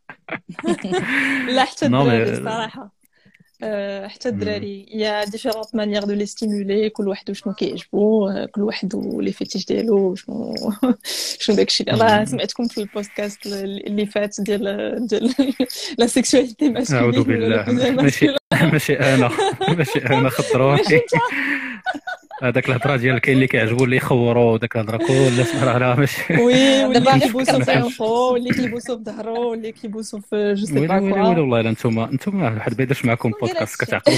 لا حتى Non الدراري mais الصراحة. أه حتى hmm. الدراري il y a différentes manières de les stimuler. كل واحد وشنو كيعجبو أه، كل واحد ولي فيتيش ديالو شنو شنو داكشي اللي راه Hmm. سمعتكم في البودكاست اللي فات ديال ديال لا سيكسواليتي أعوذ ماسكولين ولا بالله لو بيزار ماشي ماسكولين. ماشي أنا ماشي أنا خضروني. ماشي انت. هذاك الهضره ديال كاين اللي كيعجبو اللي يخوروا وداك الهضره كلها راه لا ماشي. وي واللي دابا كيبوسو ما في كانش. عنقو واللي كيبوسو في ظهرو واللي كيبوسو في جو سي ويلي با ويلي كوا. ويلي والله الا نتوما نتوما واحد ما يديرش معكم شكون قال بودكاست هادشي؟ كتعقلوا.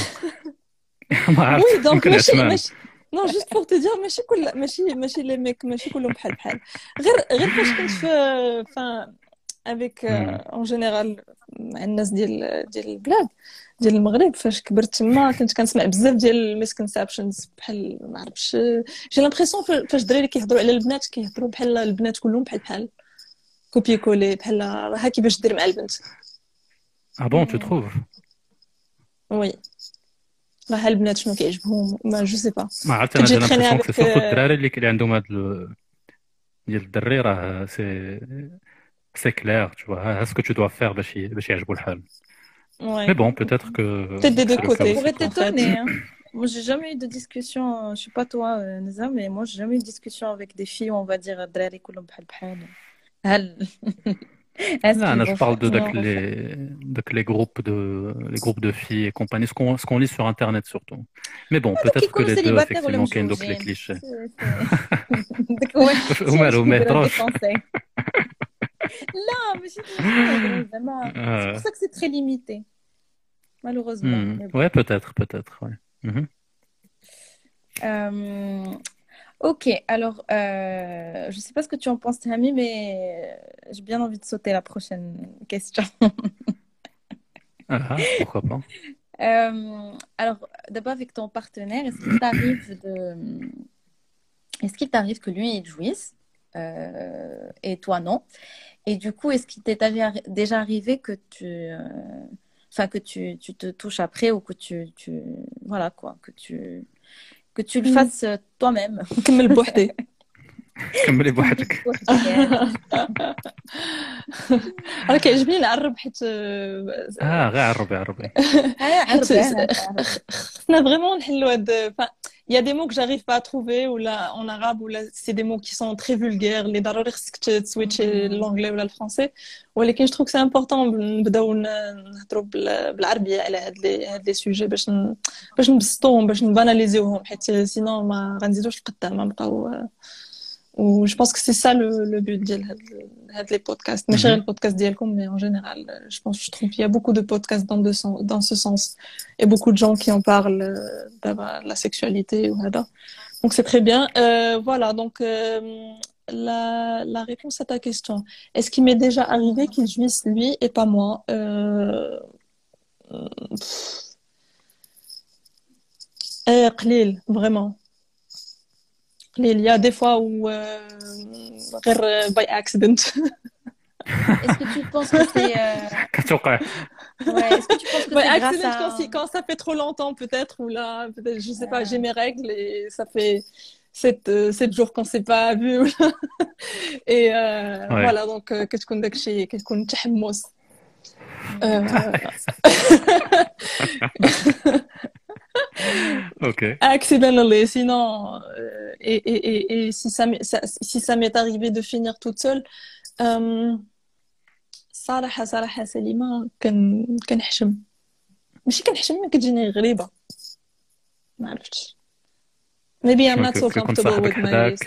ما عرفت وي دونك يمكن ماشي عثمان. ماشي نو جوست بور تي دير ماشي كل ماشي ماشي لي ميك ماشي كلهم بحال بحال. غير غير فاش كنت في فان افيك Hmm. اون جينيرال مع الناس ديال ديال البلاد ديال المغرب. فاش كبرت تما كنت كنسمع بزاف ديال الميسكونسبشنز بحال ما عرفتش جي لامبريسيون فاش الدراري كيهضروا على البنات كيهضروا بحال البنات كلهم بحال بحال كوبي كولي بحال راه كيفاش دير مع البنت. Ah bon, tu trouves? وي راه البنات شنو كيعجبهم ما جو سي با. ما عرفت كنت انا جي جا تريني لامبريسيون كو افيك سي سورتو الدراري اللي اللي عندهم هاد ال- ديال الدري راه سي سي كلير tu vois ها ce que tu dois faire باش ي- باش يعجبوا الحال. Mais ouais bon, peut-être que peut-être des deux c'est le cas Ça côtés aussi pourrait pour. en fait. t'étonner, hein. Moi, j'ai jamais eu de discussion, je sais pas toi, euh, Neza, mais moi, j'ai jamais eu de discussion avec des filles où on va dire الدراري كلهم بحال بحال. هل est-ce Non, qu'ils non, je vont parle faire de, de non. les, de les groupes de les groupes de filles et compagnie, ce qu'on ce qu'on lit sur internet surtout. Mais bon, Donc, ils peut-être que sont les deux célibataires ولا effectivement qu'il y a donc les متزوجين. clichés. C'est- c'est- داك هو الشيء ومالو اللي ما كيديروا يهضروش. دي conseils. لا ماشي ماشي يهضروا زعما. C'est pour Euh, ça que c'est très limité, malheureusement. hmm, Mais bon. ouais, peut-être, peut-être, ouais. Mhm. Euh, Ok, alors euh, je sais pas ce que tu en penses, Tammy, mais j'ai bien envie de sauter la prochaine question. Ah, pourquoi pas. Euh, alors, d'abord avec ton partenaire, est-ce qu'il t'arrive de, est-ce qu'il t'arrive que lui il jouisse euh, et toi non? Et du coup, est-ce qu'il t'est arri- déjà arrivé que tu, euh, enfin que tu, tu te touches après ou que tu, tu, voilà quoi, que tu, que tu le Mm. fasses euh, toi-même. نكمل بوحدي. كملي بوحدك. راه كيعجبني نعرب حيت اه غير عربي عربي. آه، حيت عربي، آه، عربي. خصنا فريمون نحلوا هاد il y a des mots que j'arrive pas à trouver ou là en arabe ou là c'est des mots qui sont très vulgaires les ضروري خصك switcher l'anglais ou le français ولكن je trouve que c'est important نبداو نهضروا بالعربيه على هاد لي هاد لي سوجي باش باش نبسطوهم باش نباناليزيوهم حيت سينو ما غنزيدوش لقدام نبقاو و je pense que c'est ça le le but ديال هاد هاد les podcasts ماشي غير البودكاست ديالكم mais en général je pense je trouve qu'il y a beaucoup de podcasts dans de dans ce sens et beaucoup de gens qui en parlent de la sexualité ou هذا donc c'est très bien euh, voilà donc euh, la la réponse à ta question est-ce qu'il m'est déjà arrivé qu'il jouisse lui et pas moi euh... euh, قليل vraiment il y a des fois où غير uh, by accident. Est-ce que tu penses que c'est euh... ouais, est-ce que tu penses que by c'est accident grâce à... quand, si, quand ça fait trop longtemps peut-être ou là peut-être je sais pas j'ai mes règles et ça fait sept euh, sept jours qu'on s'est pas vu et euh, ouais. Voilà donc كتكون داكشي كتكون تحمس Ok. Accidentally, sinon, euh, et, et, et, et si ça, ça, si ça m'est arrivé de finir toute seule, euh, صراحة صراحة سليمة كن كنحشم ماشي كنحشم ما كتجيني غريبة ما عرفتش maybe I'm not so comfortable with myself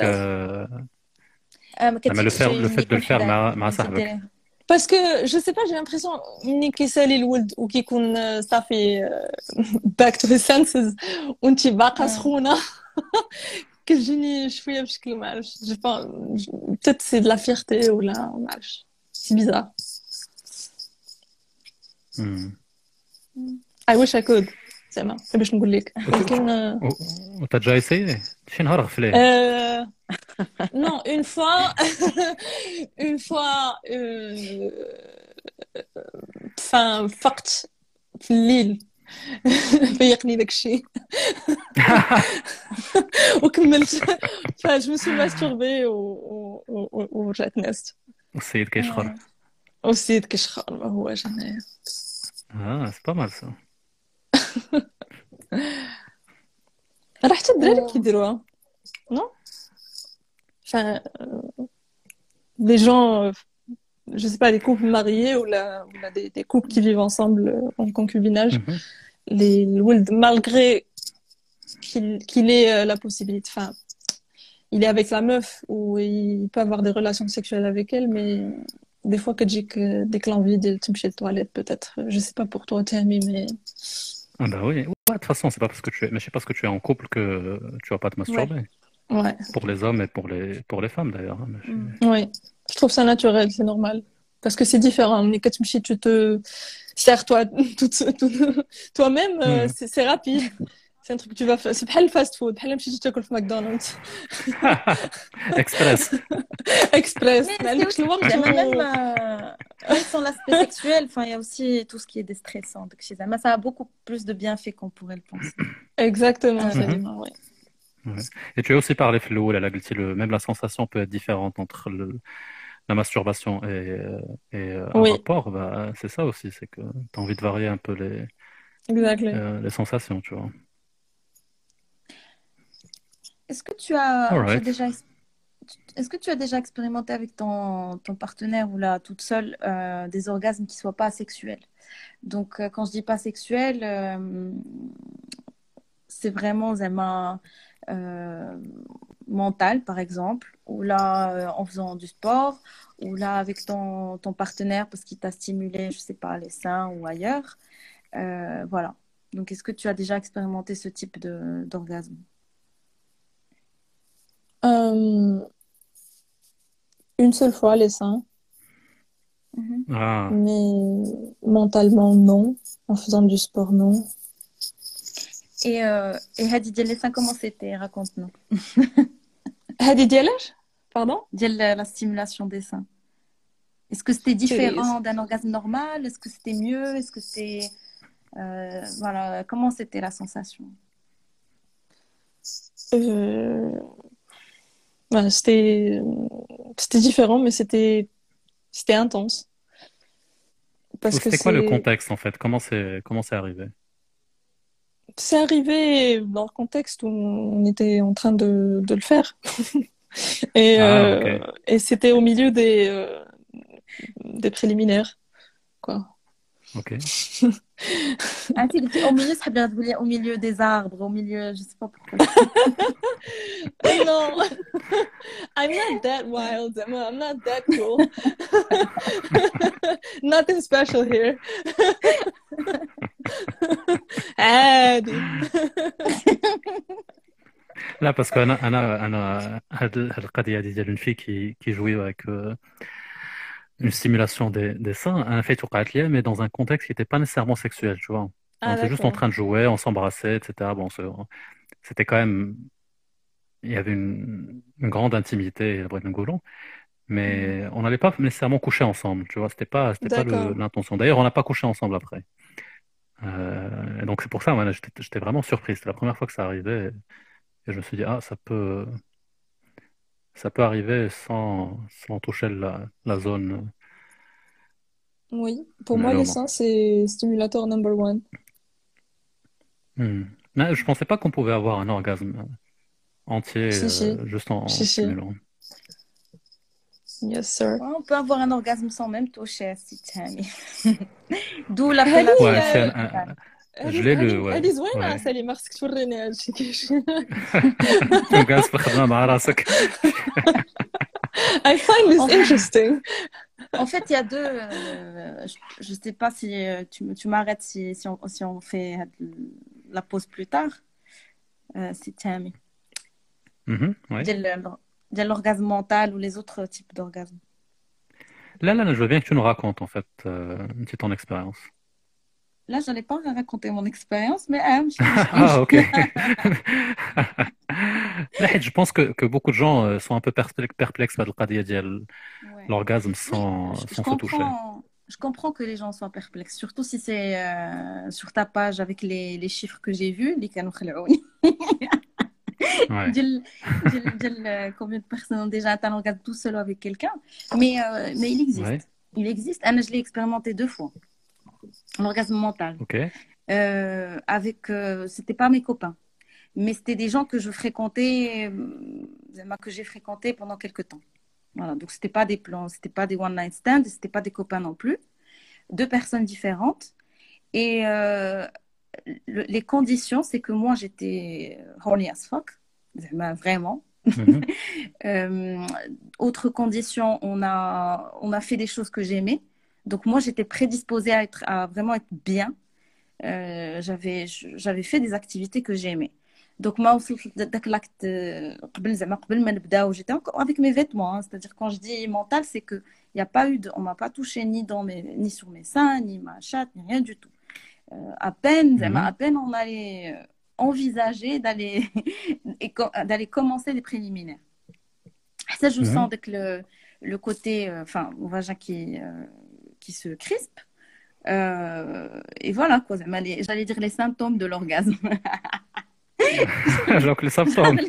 لما le faire le fait de le faire مع مع صاحبك parce que je sais pas j'ai l'impression ملي كيسالي الولد وكيكون صافي back to his senses وانتي باقا سخونة كتجيني شوية بشكل ما عرفتش je pense peut-être c'est de la fierté ولا ما عرفتش c'est bizarre hmm. I wish I could زعما باش نقول لك ولكن وانت جاي سي شي نهار غفليه non une fois une fois enfin فقت في الليل فيقني داك الشيء وكملت فاش مسو ماستوربي ورجعت نست والسيد كيشخر والسيد كيشخر ما هواش هنايا اه سي با مال سا راه حتى الدراري كيديروها نو enfin des gens je sais pas des couples mariés ou la, ou la des, des couples qui vivent ensemble en concubinage mm-hmm. les الولد malgré qu'il qu'il ait euh, la possibilité enfin il est avec la meuf ou il peut avoir des relations sexuelles avec elle mais des fois que j'ai que dès que l'envie de تمشي toilette peut-être je sais pas pour toi Tammy mais ah bah oui ouais, de toute façon c'est pas parce que tu es mais c'est parce que tu es en couple que tu vas pas te masturber ouais. Ouais. Pour les hommes et pour les, pour les femmes d'ailleurs. Mm. Oui, je trouve ça naturel, c'est normal. Parce que c'est différent. Mais quand tu te sers toi, tout, tout, toi-même, mm. euh, c'est, c'est rapide. C'est un truc que tu vas faire. C'est pas le fast-food. C'est pas le truc que tu McDonald's. Express. Express. Mais c'est aussi, même, euh, même sans l'aspect sexuel, il y a aussi tout ce qui est déstressant. Donc, chez Zama, ça a beaucoup plus de bienfaits qu'on pourrait le penser. Exactement, euh, Salima, oui. Ouais. Et tu as aussi parlé Flo, la, le, même la sensation peut être différente entre le, la masturbation et, et oui. un rapport. Bah, c'est ça aussi, c'est que tu as envie de varier un peu les, exactly. euh, les sensations, tu vois. Est-ce que tu as, right. tu as déjà, est-ce que tu as déjà expérimenté avec ton, ton partenaire ou là toute seule euh, des orgasmes qui soient pas sexuels? Donc euh, quand je dis pas sexuels, euh, c'est vraiment Zema. Euh, mental par exemple ou là euh, en faisant du sport ou là avec ton, ton partenaire parce qu'il t'a stimulé je sais pas les seins ou ailleurs euh, voilà donc est-ce que tu as déjà expérimenté ce type de, d'orgasme? Euh, une seule fois les seins mm-hmm. ah. mais mentalement non en faisant du sport non. Et euh, et Hadi ديال les seins comment c'était raconte-nous. Hadi ديال pardon ديال la stimulation des seins. Est-ce que c'était différent d'un orgasme normal? Est-ce que c'était mieux? Est-ce que c'était euh, voilà comment c'était la sensation? Euh... Ouais, c'était c'était différent mais c'était c'était intense. Parce que c'était quoi le contexte en fait? Comment c'est comment c'est arrivé? c'est arrivé dans le contexte où on était en train de, de le faire. Et, Ah, euh, ok. et c'était au milieu des, euh, des préliminaires, quoi. Ok. Ah, tu dis au milieu, ça veut dire au milieu des arbres, au milieu, je sais pas pourquoi. Non, I'm not that wild, Emma. I'm not that cool. Nothing special here. عادي. Là, parce qu'Anna, Anna, Anna, هاد هاد القضية هادي ديال une fille qui qui jouait avec euh, une stimulation des, des seins, un fait وقعت ليا, mais dans un contexte qui n'était pas nécessairement sexuel, tu vois. On Ah, était juste en d'accord. train de jouer, on s'embrassait, et cetera. Bon, c'est- c'était quand même, il y avait une, une grande intimité, Mhm. mais on n'allait pas nécessairement coucher ensemble, tu vois. C'était pas, c'était pas le- D'accord. l'intention. D'ailleurs, on n'a pas couché ensemble après. Euh, et donc c'est pour ça, moi, j'étais j'étais vraiment surpris. C'était la première fois que ça arrivait, et je me suis dit, ah, ça peut, ça peut arriver sans, sans toucher la, la zone, Oui, pour mais moi, là, les non. seins, c'est stimulateur number one. Hmm. Mais je pensais pas qu'on pouvait avoir un orgasme entier Si, si. euh, juste en, en Si, si. stimulant. Yes, sir. Ouais, on peut avoir un orgasme sans même toucher, si Tammy. D'où هذه l'appellation. Ouais, c'est un- آه، un- je هذه l'ai lu, هذه ouais. هذه زوينة Ouais. سالي مارسك توريني هادشي كيفاش. Orgasme في الخدمة مع راسك. I find this En fait, interesting. en fait, il y a deux. euh, je ne sais pas si euh, tu, me- tu m'arrêtes si, si, on, si on fait la pause plus tard. Euh, si Tammy. Mhm, ouais. Il y a l'orgasme mental ou les autres types d'orgasmes. Là, là, je veux bien que tu nous racontes en fait euh, une petite ton expérience. Là, je n'allais pas raconter mon expérience, mais ah, je- je- Ah, ok. Là, je pense que, que beaucoup de gens euh, sont un peu perplex- perplexes par le قضية ديال Ouais. l'orgasme Oui, sans, je, je sans se toucher. comprends, je comprends que les gens soient perplexes, surtout si c'est euh, sur ta page avec les, les chiffres que j'ai vus, les كانوا خلعوني. Ouais. ديال- ديال- ديال combien de personnes ont déjà atteint l'orgasme tout seul avec quelqu'un. Mais, euh, mais il existe. Ouais. Il existe. Anna, je l'ai expérimenté deux fois. L'orgasme mental. Ok. Euh, avec, euh, c'était pas mes copains, mais c'était des gens que je fréquentais, euh, que j'ai fréquenté pendant quelques temps. Voilà, donc c'était pas des plans, c'était pas des one night stands, c'était pas des copains non plus, deux personnes différentes. Et euh, le- les conditions, c'est que moi j'étais horny as fuck, vraiment. Mhm. Euh, autre condition, on a, on a fait des choses que j'aimais. Donc moi j'étais prédisposée à être, à vraiment être bien. Euh, j'avais j'avais fait des activités que j'aimais. Donc moi aussi داك l'acte قبل زعما قبل ما نبداو j'étais encore avec mes vêtements, hein. C'est-à-dire quand je dis mental, c'est que il y a pas eu de, on m'a pas touché ni dans mes ni sur mes seins, ni ma chatte, ni rien du tout. Euh, à peine زعما Mhm. à peine on allait euh, envisager d'aller et co- d'aller commencer les préliminaires. Ça je sens Mhm. dès que le le côté euh, enfin mon vagin qui euh, qui se crispe. Euh, et voilà, quoi. زعما les- J'allais dire les symptômes de l'orgasme. Donc les symptômes.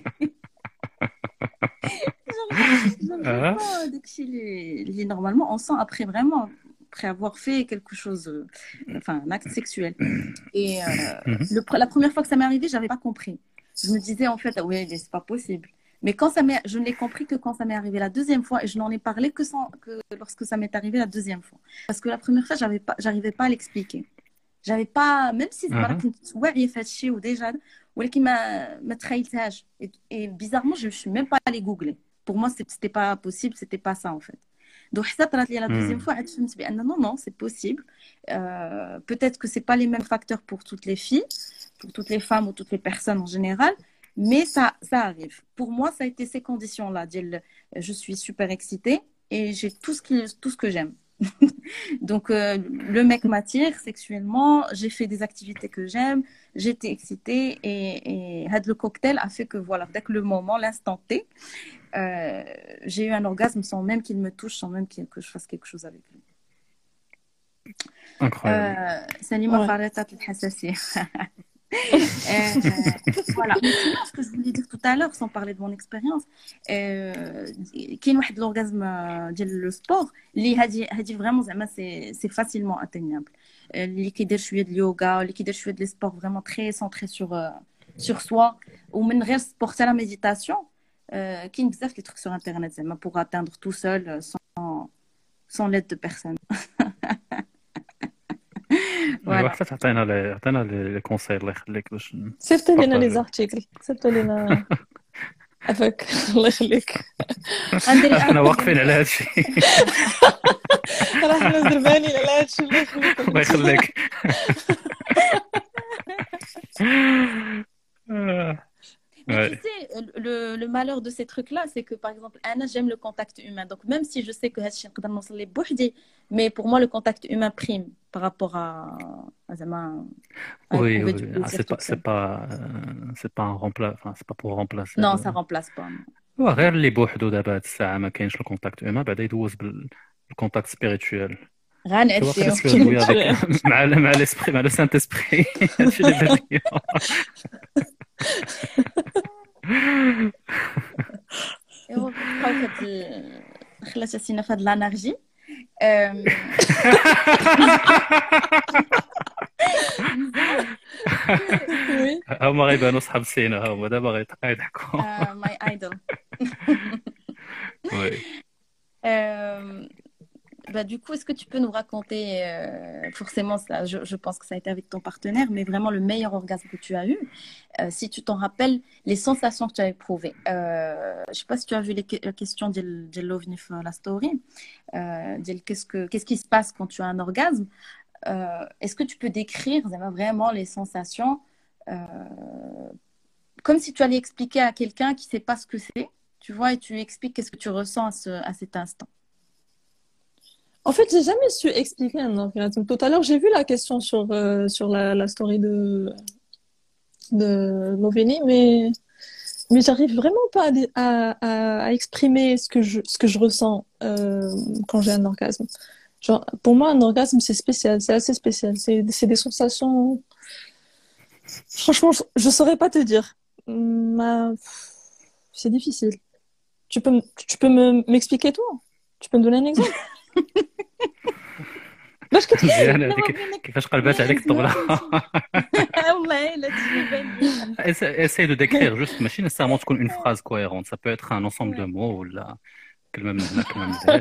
Genre, genre, je Ah. sens داكشي اللي اللي normalement on sent après vraiment, après avoir fait quelque chose, euh, enfin un acte sexuel. Et euh, Mhm. le pre- la première fois que ça m'est arrivé, j'avais pas compris. Je me disais en fait, ah ouais, mais c'est pas possible. Mais quand ça m'est, je ne l'ai compris que quand ça m'est arrivé la deuxième fois, et je n'en ai parlé que, sans, que lorsque ça m'est arrivé la deuxième fois. Parce que la première fois, j'avais pas, j'arrivais pas à l'expliquer. J'avais pas, même si زعما Mhm. كنت واعية في هادشي وديجا ولكن ما ما تخيلتهاش. Et, et bizarrement, je suis même pas allée googler. Pour moi, c'est- c'était pas possible, c'était pas ça en fait. Donc حتى طرات لي la deuxième Mhm. fois, عاد فهمت بأن non non, c'est possible. Euh, peut-être que c'est pas les mêmes facteurs pour toutes les filles, pour toutes les femmes ou toutes les personnes en général, mais ça ça arrive. Pour moi, ça a été ces conditions-là. ديال je suis super excitée et j'ai tout ce qui tout ce que j'aime. Donc, euh, le mec m'attire sexuellement, j'ai fait des activités que j'aime, j'étais excitée et, et had le cocktail a fait que voilà, dès que le moment, l'instant T, euh, j'ai eu un orgasme sans même qu'il me touche, sans même qu'il- que je fasse quelque chose avec lui. Incroyable. Euh, Salima Ouais. Faretat الحساسية. Euh, voilà. Mais sinon, ce que je voulais dire tout à l'heure, sans parler de mon expérience, euh, كاين واحد l'orgasme euh, ديال le sport اللي هادي هادي vraiment زعما c'est c'est facilement atteignable. Euh, اللي كيدير شويه د اليوغا اللي كيدير شويه د لي سبور vraiment très centré sur euh, sur soi ومن غير سبور حتى لا ميديتاسيون. euh, كاين بزاف لي trucs sur internet زعما pour atteindre tout seul euh, sans sans l'aide de personne. ايوا Voilà. حتى تعطينا لي عطينا لي كونساي الله يخليك باش صيفط لنا لي نبارطاجيو. زارتيكل صيفط لنا عفاك الله يخليك. غندير احنا واقفين على هذا الشيء. راه حنا زربانين على هادشي الله يخليك. الله يخليك. آه. Mais Ouais. tu sais, le, le malheur de ces trucs-là, c'est que par exemple, Anna, j'aime le contact humain. Donc même si je sais que هادشي نقدر نوصل ليه بوحدي, mais pour moi, le contact humain prime par rapport à, à, زعما, à Oui, éprouver oui, du ah, plaisir c'est pas, toute c'est seule. pas, euh, c'est pas un remplace, enfin, c'est pas pour remplacer. Non, le- ça remplace pas. هو غير اللي بوحدو دابا هاد الساعة ما كاينش الكونتاكت هيومان بعدا يدوز بالكونتاكت سبيريتوال. Tu vois, غنعديو. presque jouer avec مع ال- مع l'esprit, مع le Saint-Esprit. هادشي اللي بان ليا. ايوا بقاو في هاد ال- خلات اسينا في هاد لانرجي. أم، وي هما غيبانوا صحاب سينا هما دابا غيت- غيضحكوا. euh, my idol. Oui. Euh, bah, du coup, est-ce que tu peux nous raconter, euh, forcément, ça, je, je pense que ça a été avec ton partenaire, mais vraiment le meilleur orgasme que tu as eu, euh, si tu t'en rappelles, les sensations que tu as éprouvées. Euh, je ne sais pas si tu as vu les que- la question de de l'OVNI sur la story. Euh, de qu'est-ce que, qu'est-ce qui se passe quand tu as un orgasme? Euh, est-ce que tu peux décrire vraiment les sensations euh, comme si tu allais expliquer à quelqu'un qui ne sait pas ce que c'est, tu vois, et tu lui expliques qu'est-ce que tu ressens à, ce, à cet instant. En fait, j'ai jamais su expliquer un orgasme. Tout à l'heure, j'ai vu la question sur, euh, sur la, la story de, de Loveni, mais, mais j'arrive vraiment pas à, dé- à, à- à exprimer ce que je, ce que je ressens euh, quand j'ai un orgasme. Genre, pour moi, un orgasme, c'est spécial, c'est assez spécial. C'est, c'est des sensations. Franchement, je, je saurais pas te dire. Ma- C'est difficile. Tu peux, m- tu peux me, m'expliquer toi? Tu peux me donner un exemple? باش كتحس مزيان هذيك كيفاش قلبات عليك الطبلة. والله لا تجيبان لي. Essaie essaie de décrire juste ماشي nécessairement تكون une phrase cohérente, ça peut être un ensemble de mots ولا كلمة من هنا كلمة من هنا.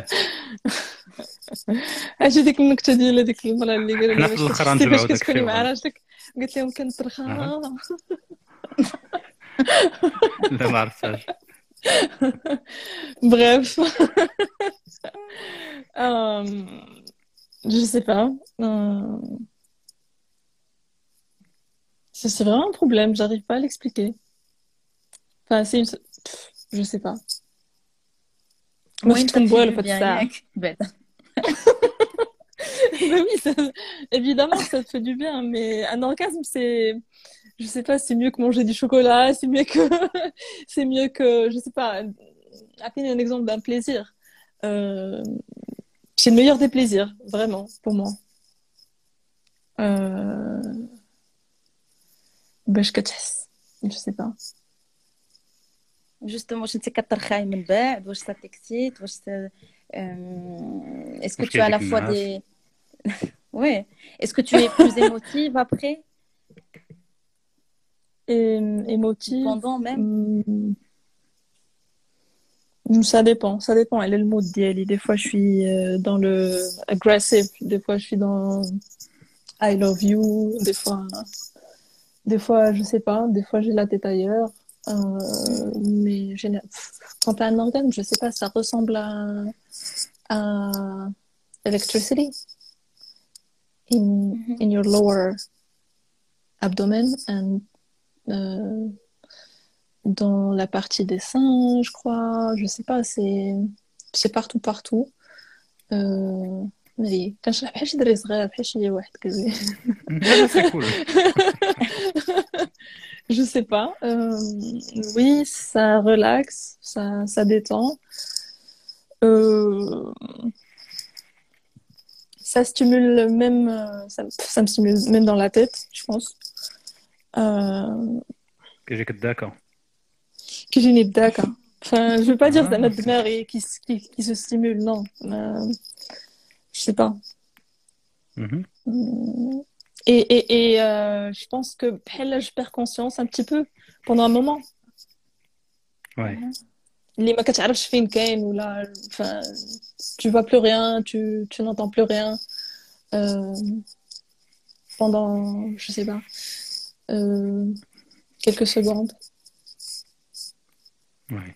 اجي ديك النكته ديال هذيك المراه اللي قالوا حنا لها في باش الآخر كتحسي غنجمعوا باش داك كتكوني الشيء مع وغن- راجلك قلت لهم كنطرخها لا ما عرفتهاش. bref Euh, je sais pas Euh, c'est c'est vraiment un problème, j'arrive pas à l'expliquer. Enfin, c'est une... Pff, je sais pas. Moi, وين je تكون بوالو تفيد في هاد bien الساعة. ياك بعدا. Ben oui, ça- évidemment, ça te fait du bien, mais un orgasme, c'est, je sais pas, c'est mieux que manger du chocolat, c'est mieux que, c'est mieux que, je sais pas, appeler un exemple d'un plaisir. Euh, c'est le meilleur des plaisirs, vraiment, pour moi. Euh... باش كتحس je sais pas. Justement, واش انت كترخاي من بعد واش ça t'excite واش ça- euh, est-ce que واش tu as à la كيعجبك fois النعاس؟ des ouais, est-ce que tu es plus émotive après Et émotive, pendant même hmm, ça dépend, ça dépend. Elle est le mood d'Yali. Des fois, je suis euh, dans le aggressive, des fois, je suis dans I love you, des fois, des fois, je sais pas, des fois, j'ai la tête ailleurs. Euh, mais géné- quand t'as un organe, je sais pas, ça ressemble à, à electricity in, in your lower abdomen and euh, dans la partie des seins, je crois, je sais pas, c'est c'est partout partout. Euh, mais كنشرح بحال شي دري صغير بحال شي واحد قال لي لا لا سي كول. je sais pas. Euh, oui, ça relaxe, ça ça détend. Euh, ça stimule même, euh, ça, ça me stimule même dans la tête, je pense. Euh, كيجيك الداكا. كيجيني الداكا. Enfin, je veux pas dire Ah. زعما دماغي qui, s- qui, qui se stimule, non. Euh, je sais pas. Mhm. Hum, Et, et, et euh, je pense que بحال je perds conscience un petit peu pendant un moment. Ouais. اللي ما كتعرفش فين كاين ولا enfin, tu vois plus rien, tu, tu n'entends plus rien euh, pendant, je sais pas, euh, quelques secondes. Ouais.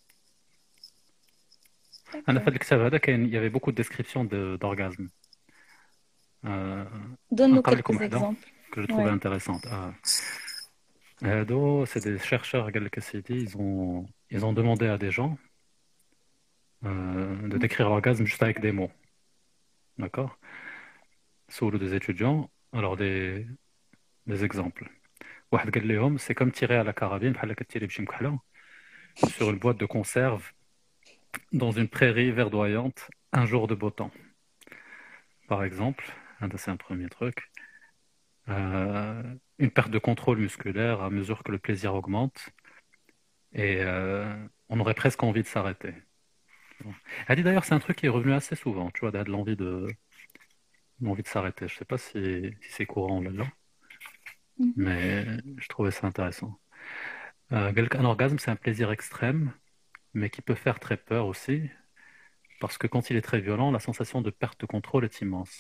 أنا في الكتاب هذا كاين il y avait beaucoup de descriptions de d'orgasme. Euh, Donne-nous نقرا لكم quelques وحده exemples. que je trouvais Ouais. intéressante. Ah. هادو c'est des chercheurs قال لك سيدي ils ont ils ont demandé à des gens euh, de décrire l'orgasme juste avec des mots. D'accord? Sous des étudiants, alors des des exemples. واحد قال لهم c'est comme tirer à la carabine بحال كتيري بشي مكحله sur une boîte de conserve dans une prairie verdoyante un jour de beau temps. Par exemple, ça, c'est un premier truc. Euh, une perte de contrôle musculaire à mesure que le plaisir augmente et euh, on aurait presque envie de s'arrêter. Elle dit d'ailleurs, c'est un truc qui est revenu assez souvent, tu vois, de l'envie de, l'envie de s'arrêter. Je sais pas si, si c'est courant là-dedans, Mhm. mais je trouvais ça intéressant. Euh, un orgasme, c'est un plaisir extrême, mais qui peut faire très peur aussi, parce que quand il est très violent, la sensation de perte de contrôle est immense.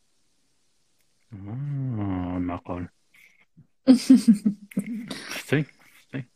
Ah, معقول. شفتي شفتي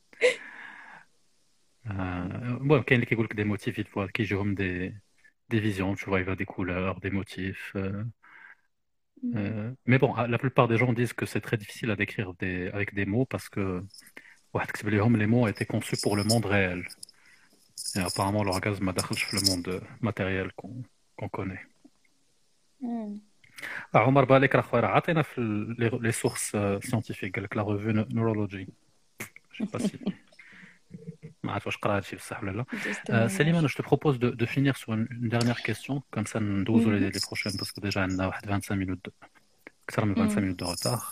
آه، bon, كاين اللي كيقول لك des motifs il faut كيجيهم des des visions, tu vois, il y a des couleurs, des motifs. euh, euh, mais bon, la plupart des gens disent que c'est très difficile à décrire des, avec des mots parce que واحد كتب لهم les mots ont été conçus pour le monde réel. Et apparemment l'orgasme ما دخلش في le monde matériel qu'on qu'on connaît. Hmm. Ah, عمر بالك راه خويا راه عطينا في ال- les, les sources euh, scientifiques قال لك la revue Neurology. Je sais pas si ما عرفت واش قرا هادشي بصح ولا لا. Juste Euh, témoignage. Célimane, je te propose de, de finir sur une, une dernière question, comme ça nous douze Mhm. les, les prochaines, parce que déjà on a واحد vingt-cinq minutes de, أكثر من vingt-cinq Hmm. minutes de retard.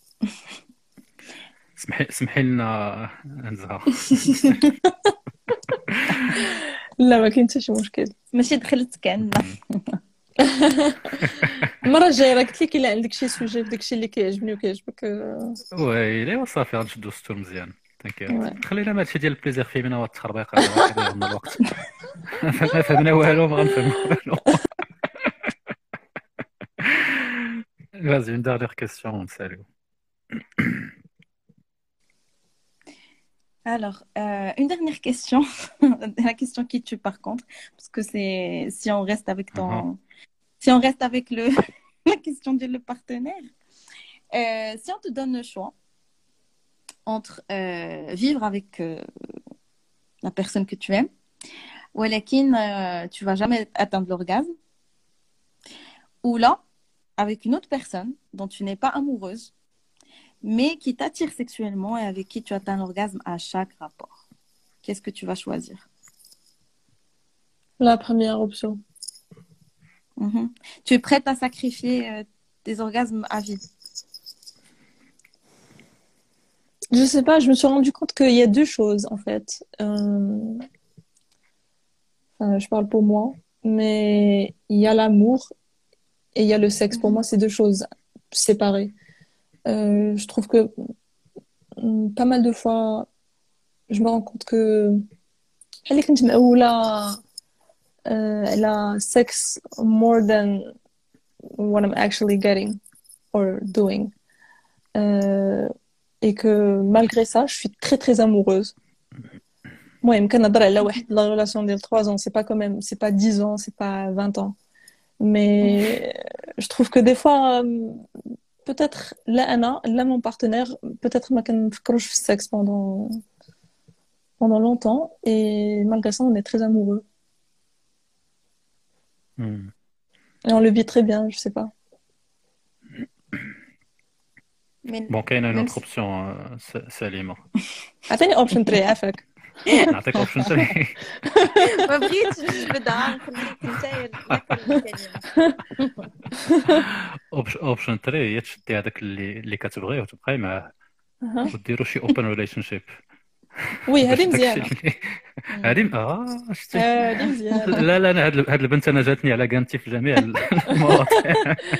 سمحي سمحي لنا نزهة. لا ما كاين حتى شي مشكل. ماشي دخلت كأننا. المره الجايه راه قلت لك الا عندك شي سوجي في داكشي اللي كيعجبني وكيعجبك آه، ويلي وصافي غنشدو ستور مزيان. ouais. تنكيت خلينا ما هادشي ديال البليزير فيمينا والتخربيق هذا راه كيضيع لنا الوقت. ما فهمنا والو ما غنفهمو والو. Vas-y, une dernière question, salut. Alors, euh, une dernière question. La question qui tue par contre, parce que c'est si on reste avec ton, Uh-huh. si on reste avec le la question de le partenaire. Euh, si on te donne le choix entre euh, vivre avec euh, la personne que tu aimes, ou lakin euh, tu vas jamais atteindre l'orgasme, ou là avec une autre personne dont tu n'es pas amoureuse, mais qui t'attire sexuellement et avec qui tu atteins l'orgasme à chaque rapport. Qu'est-ce que tu vas choisir? La première option. Mhm. Tu es prête à sacrifier euh, tes orgasmes à vie? Je sais pas, je me suis rendu compte qu'il y a deux choses en fait. Euh, enfin, je parle pour moi, mais il y a l'amour et il y a le sexe. Pour Mhm. moi, c'est deux choses séparées. Euh, je trouve que mm, pas mal de fois, je me rends compte que elle est كنت مقولة euh, elle a sex more than what I'm actually getting or doing. Euh, et que malgré ça, je suis très très amoureuse. Moi, يمكن نهضر على واحد la relation ديال trois ans, c'est pas quand même, c'est pas dix ans, c'est pas vingt ans. Mais je trouve que des fois, euh, peut-être là, Anna, là, mon partenaire, peut-être ما كنفكروش في الsexe pendant pendant longtemps et malgré ça, on est très amoureux. Hmm. Et on le vit très bien, je sais pas. Mais Bon, كاينه une même autre si... option, euh, S- Salima. عطيني اوبشن ثلاثة عافاك. نعطيك اوبشن ثاني. ما بغيتش نبدا نخليك نتايا لك الكلمة. اوبشن ثلاثة هي تشدي هذاك اللي اللي كتبغيه وتبقاي معاه أها. وديروا شي اوبن ريليشن شيب وي باش هذه داكشي مزيانة اللي هادي اه شتي هذه مزيانة لا لا انا هاد هاد البنت انا جاتني على كانتي في جميع المواضيع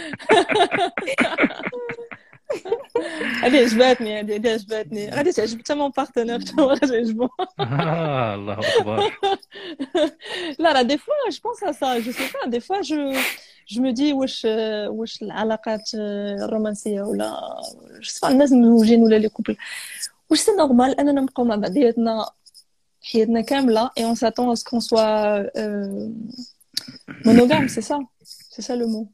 هذه عجبتني هذه هذه عجبتني غادي تعجب حتى مون بارتنير حتى هو غادي يعجبو آه الله اكبر لا لا دي فوا جو بونس ا سا جو سي با دي فوا جو جو مو دي واش واش العلاقات الرومانسيه ولا جو سي با الناس مزوجين ولا لي كوبل واش سي نورمال اننا نبقاو مع بعضياتنا حياتنا كامله et on s'attend à ce qu'on soit euh, monogame c'est ça c'est ça le mot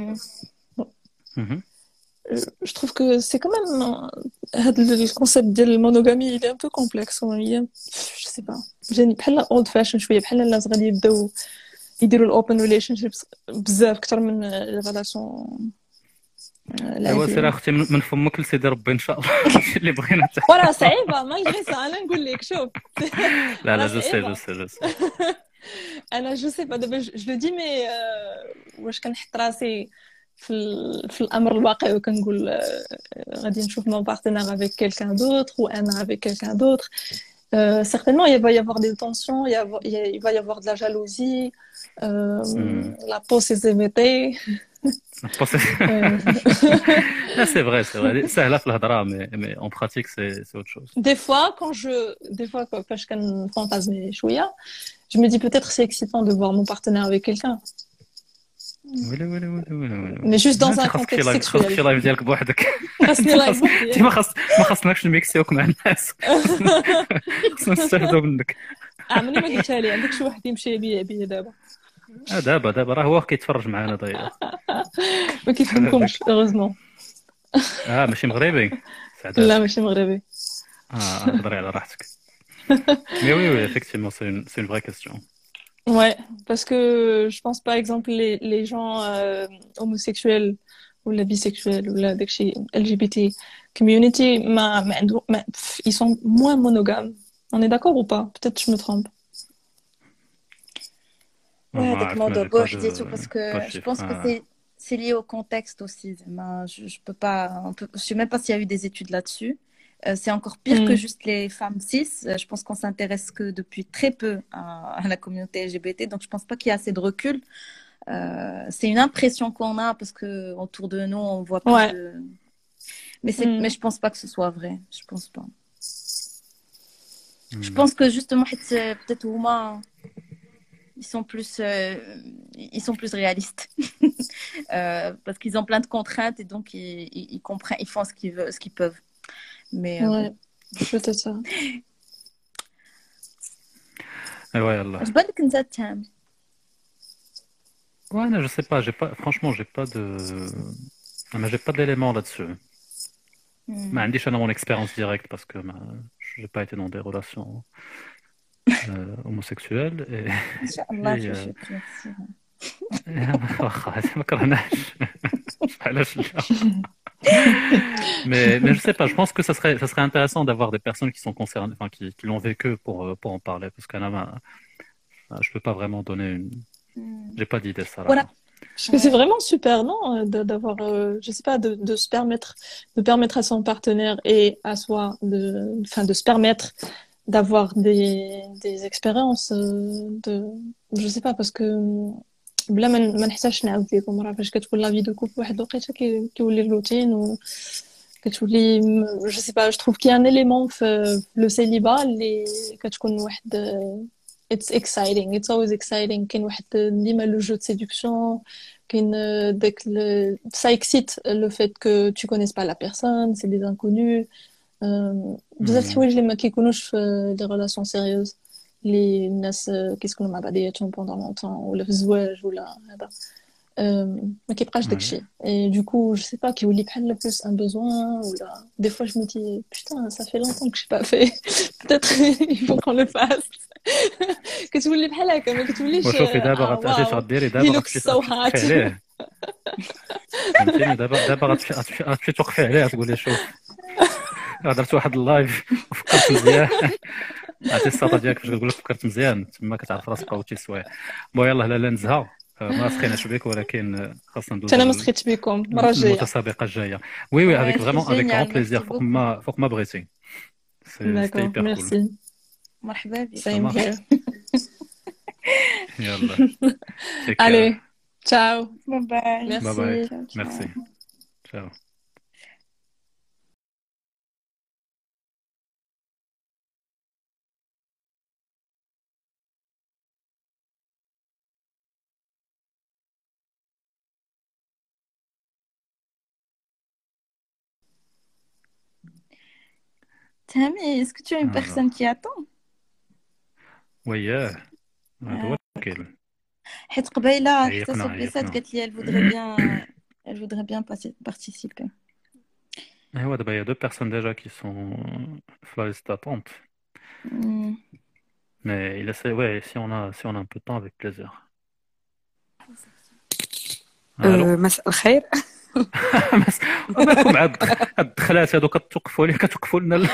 Mhm. je trouve que c'est quand même هذا le concept ديال المونوغامي il est un peu complexe il est je sais pas جاني بحال old fashion شويه بحال الناس غادي يبداو يديروا الاوبن ريليشن شيبس بزاف اكثر من ريلاسيون ايوا سير اختي من فمك لسيدي ربي ان شاء الله اللي بغينا ولا صعيبه ما يجي انا نقول لك شوف لا لا جو سي جو سي جو سي انا جو سي با دابا جو لو دي مي واش كنحط راسي في في الامر الواقع وكنقول غادي نشوف مون بارتنير افيك كيلكان دوتر و انا افيك كيلكان دوتر Euh, certainement, il va y avoir des tensions, il, y avoir, il va y avoir de la jalousie, euh, mm. la possessivité. Ah, c'est vrai, c'est vrai. Ça, là, mais, mais en pratique, c'est, c'est autre chose. Des fois, quand je, des fois, quand je fantasme chouïa, je me dis peut-être c'est excitant de voir mon partenaire avec quelqu'un. ويلي ويلي ويلي ويلي Mais juste dans un contexte sexuel. خاصك شي لايف ديالك بوحدك خاصني لايف ما خاص ما خاصناكش نميكسيوك مع الناس خاصنا نستافدوا منك عمرني ما قلتها لي عندك شي واحد يمشي بيا بيا دابا اه دابا دابا راه هو كيتفرج معنا ضيع ما كيفهمكمش هeureusement اه ماشي مغربي لا ماشي مغربي اه هضري على راحتك مي وي وي effectivement c'est une c'est une vraie question. Ouais, parce que je pense par exemple les, les gens euh, homosexuels ou la bisexuelle ou la L G B T community, ma, ma, ma, ils sont moins monogames. On est d'accord ou pas? Peut-être que je me trompe. Ouais, avec Mando Bosch, parce que je pense que c'est, c'est lié au contexte aussi. Je, je peux pas, on peut, je sais même pas s'il y a eu des études là-dessus. Euh, c'est encore pire mm. que juste les femmes cis. Je pense qu'on s'intéresse que depuis très peu à, à la communauté L G B T, donc je pense pas qu'il y a assez de recul. Euh, c'est une impression qu'on a parce que autour de nous on voit pas. Ouais. De... Mais c'est, mm. mais je pense pas que ce soit vrai. Je pense pas. Mm. Je pense que justement peut-être Ouma, ils sont plus, euh, ils sont plus réalistes euh, parce qu'ils ont plein de contraintes et donc ils, ils, ils comprennent, ils font ce qu'ils veulent, ce qu'ils peuvent. Mais ouais, euh... peut-être ça. Ouais, Allah. Je pense que ça tient. Ouais, je sais pas, j'ai pas, franchement, j'ai pas de, mais j'ai pas d'éléments là-dessus. Mm. Mais j'ai mon expérience directe parce que j'ai pas été dans des relations euh, homosexuelles et. Inch'Allah, je suis mais, mais je sais pas, je pense que ça serait, ça serait intéressant d'avoir des personnes qui sont concernées, enfin qui, qui l'ont vécu pour, pour en parler, parce que là, je peux pas vraiment donner une, j'ai pas d'idée ça. Là. Voilà. Parce que c'est vraiment super, non, d'avoir, euh, je sais pas, de, de se permettre, de permettre à son partenaire et à soi, de, enfin, de se permettre d'avoir des, des expériences, de, je sais pas, parce que. بلا ما ما نحتاجش نعاود لكم راه فاش كتكون لا في دو كوب واحد الوقيته كيولي الروتين و كتولي جو سي با جو تروف كي ان اليمون في لو سيليبا اللي كتكون واحد اتس اكسايتينغ اتس اولويز اكسايتينغ كاين واحد ديما لو جو دو سيدكسيون كاين داك سا اكسيت لو فيت كو تو كونيس با لا بيرسون سي دي انكونو بزاف الحوايج اللي ما كيكونوش في لي ريلاسيون سيريوز اللي الناس كيسكنوا مع بعضياتهم بوندون لونطون ولا في الزواج ولا هذا ما كيبقاش داكشي اي دوكو جو سي با كيولي بحال بلوس ان بوزوان ولا دي فوا جو مي دي بوتان ça fait longtemps que j'ai pas fait peut-être il faut qu'on le fasse كتولي بحال هكا ما كتوليش وشوفي دابا غتمشي غديري دابا غتمشي عليه فهمتيني دابا دابا غتمشي غتمشي توقفي عليه تقولي شوف هضرت واحد اللايف وفكرت مزيان عرفتي الساطه ديالك فاش كتقول لك فكرت مزيان تما كتعرف راسك بقاوتي سوايع بون يلاه لا لا نزهه ما سخيناش بك ولكن خاصنا ندوزو انا ما سخيتش بكم المره الجايه. المتسابقه الجايه. وي وي افيك Ouais, c'est فريمون افيك génial, غون merci بليزير فوق beaucoup. ما فوق ما بغيتي. سي سيتي D'accord, هيبر كول. merci. مرحبا بك. Same marche. here. يلا تيك Allez, ciao. Bye bye. Merci. باي باي. Ciao, ciao. ميرسي. تشاو. Tammy, est-ce que tu as une Alors. personne qui attend? وياه هذا هو الكيل. حيت قبيلة حتى عيقنا صبيسات عيقنا. قالت لي elle voudrait bien elle voudrait bien passer- participer. ايوا دابا يا دو بيرسون ديجا كي سون في لا ليست d'attente. Hmm. Mais il essaie, ouais, si on a, si on a un peu de temps, avec plaisir. الو. مساء الخير. مالكم عاد هاد الدخلات هادو كتوقفوا لي كتوقفوا لنا ال-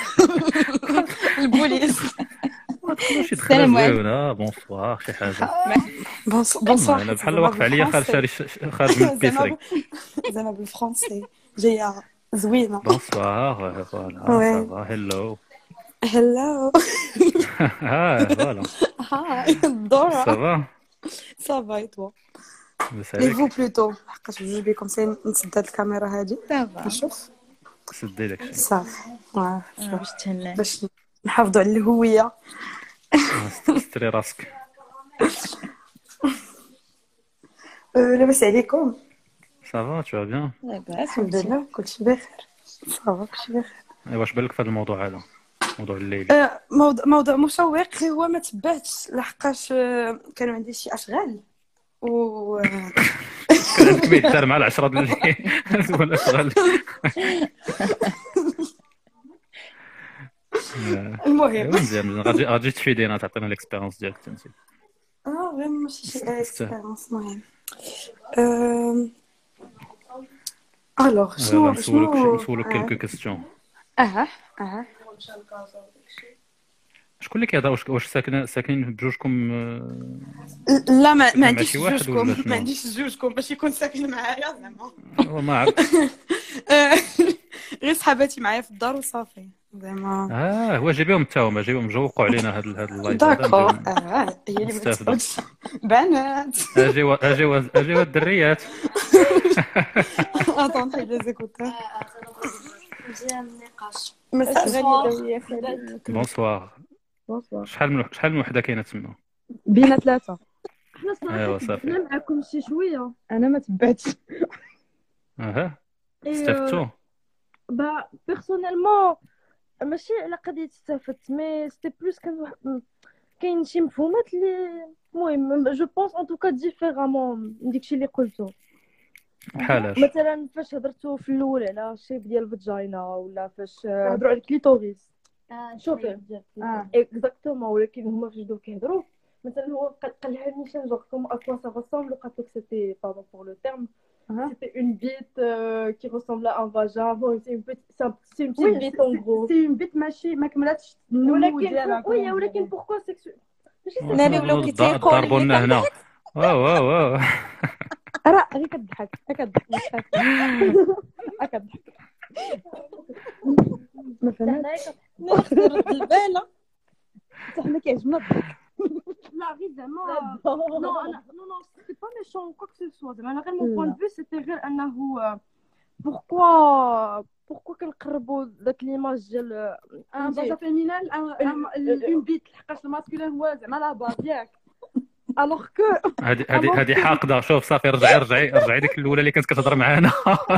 البوليس. ما تدخلوش شي دخلات السلام عليكم. زوينه بونسوار شي حاجه. بونسوار. انا بحال واقف عليا خارج شاري خارج من البيسري. زعما بالفرنسي جايه زوينه. بونسوار فوالا Ouais. صافا هيلو. هلو. ها فوالا هاي دورا. صافا صافا اي توا. بس لي فو عليك بلوتو حقاش بجوج بكم سي نسد هاد الكاميرا هادي Ça va. نشوف سدي داكشي. صافي. واه آه، باش تهنى. باش نحافظوا على الهويه. ستري راسك. أه، لاباس عليكم؟ صافا تو بيان. لاباس الحمد وانتي؟ لله كلشي بخير. صافا كلشي بخير. ايوا واش بالك في هذا الموضوع هذا موضوع الليل؟ أه، موضوع موضوع مشوق غير هو ما تبعتش لحقاش أه، كانوا عندي شي اشغال و أه، كان عندك ميت دار مع العشرة د الليل ولا شغل. المهم ايوا مزيان غادي غادي تفيدينا تعطينا الاكسبيريونس ديالك انت. اه غير ماشي شي تستاهل. اكسبيريونس مهم. أم، الوغ شنو يلا نسولك شنو نسولك آه. كيلكو كيستيون. اه اه شكون اللي كيهضر واش واش ساكنه ساكنين بجوجكم؟ لا ما, ساكنة ما مع عنديش شي واحد جوجكم ولا شنو؟ ما عنديش جوجكم باش يكون ساكن معايا زعما. آه، ما عرفت. آه، غير صحاباتي معايا في الدار وصافي زعما. اه هو جيبيهم حتى هما جيبهم جوقوا علينا هاد هاد اللايف داكور هذا. اه هي اللي ما نستافدوا. تفهمش. بنات اجيوا اجيوا اجيوا الدريات. اتون حيد لي زيكوتور. مزيان النقاش. مساء غالية بونسوار. بونسوار. شحال من شحال من وحده كاينه تما؟ بينا ثلاثة. حنا ايوا صراحة صافي. تبعنا معكم شي شوية. أنا ما تبعتش. اها إيه، استفدتوا. با بيرسونيلمون ماشي على قضية استفدت مي سيتي بلوس كان واحد كاين شي مفهومات اللي المهم جو بونس ان توكا ديفيرامون من داكشي اللي قلتو. بحالاش؟ مثلا فاش هضرتو في الاول على الشيب ديال الفاجينا ولا فاش هضروا على الكليتوريس. شوفي آه. اكزاكتومون ولكن هما فاش بداو كيهضروا مثلا هو قال قال لها نيشان جوغ كوم ا كوا سا ressemble قالت لك سيتي باردون بور لو تيرم c'était une bite euh, qui ressemble à un vagin bon c'est une petite c'est, un, c'est une petite Oui, bite c'est- en gros c'est une bite ماشي ما كملاتش النمو ولكن ديالها. وي ولكن pourquoi sexuel ماشي ناري ولاو كيتيقوا ضربونا هنا. واو واو واو. راه غير كتضحك كتضحك مش كتضحك. ما فهمتش. نرد البالة. حتى حنا كيعجبنا الضحك. لا غير زعما نو انا نو نو سيتي با ميشون كوا كو سو زعما انا غير مون بوين دو سيتي غير انه بوركوا بوركوا كنقربوا داك ليماج ديال ان بازا فيمينال اون بيت لحقاش الماسكولين هو زعما لا باز ياك. الوغ كو هادي هادي هادي حاقده. شوف صافي رجعي رجعي رجعي ديك الاولى اللي كانت كتهضر معانا.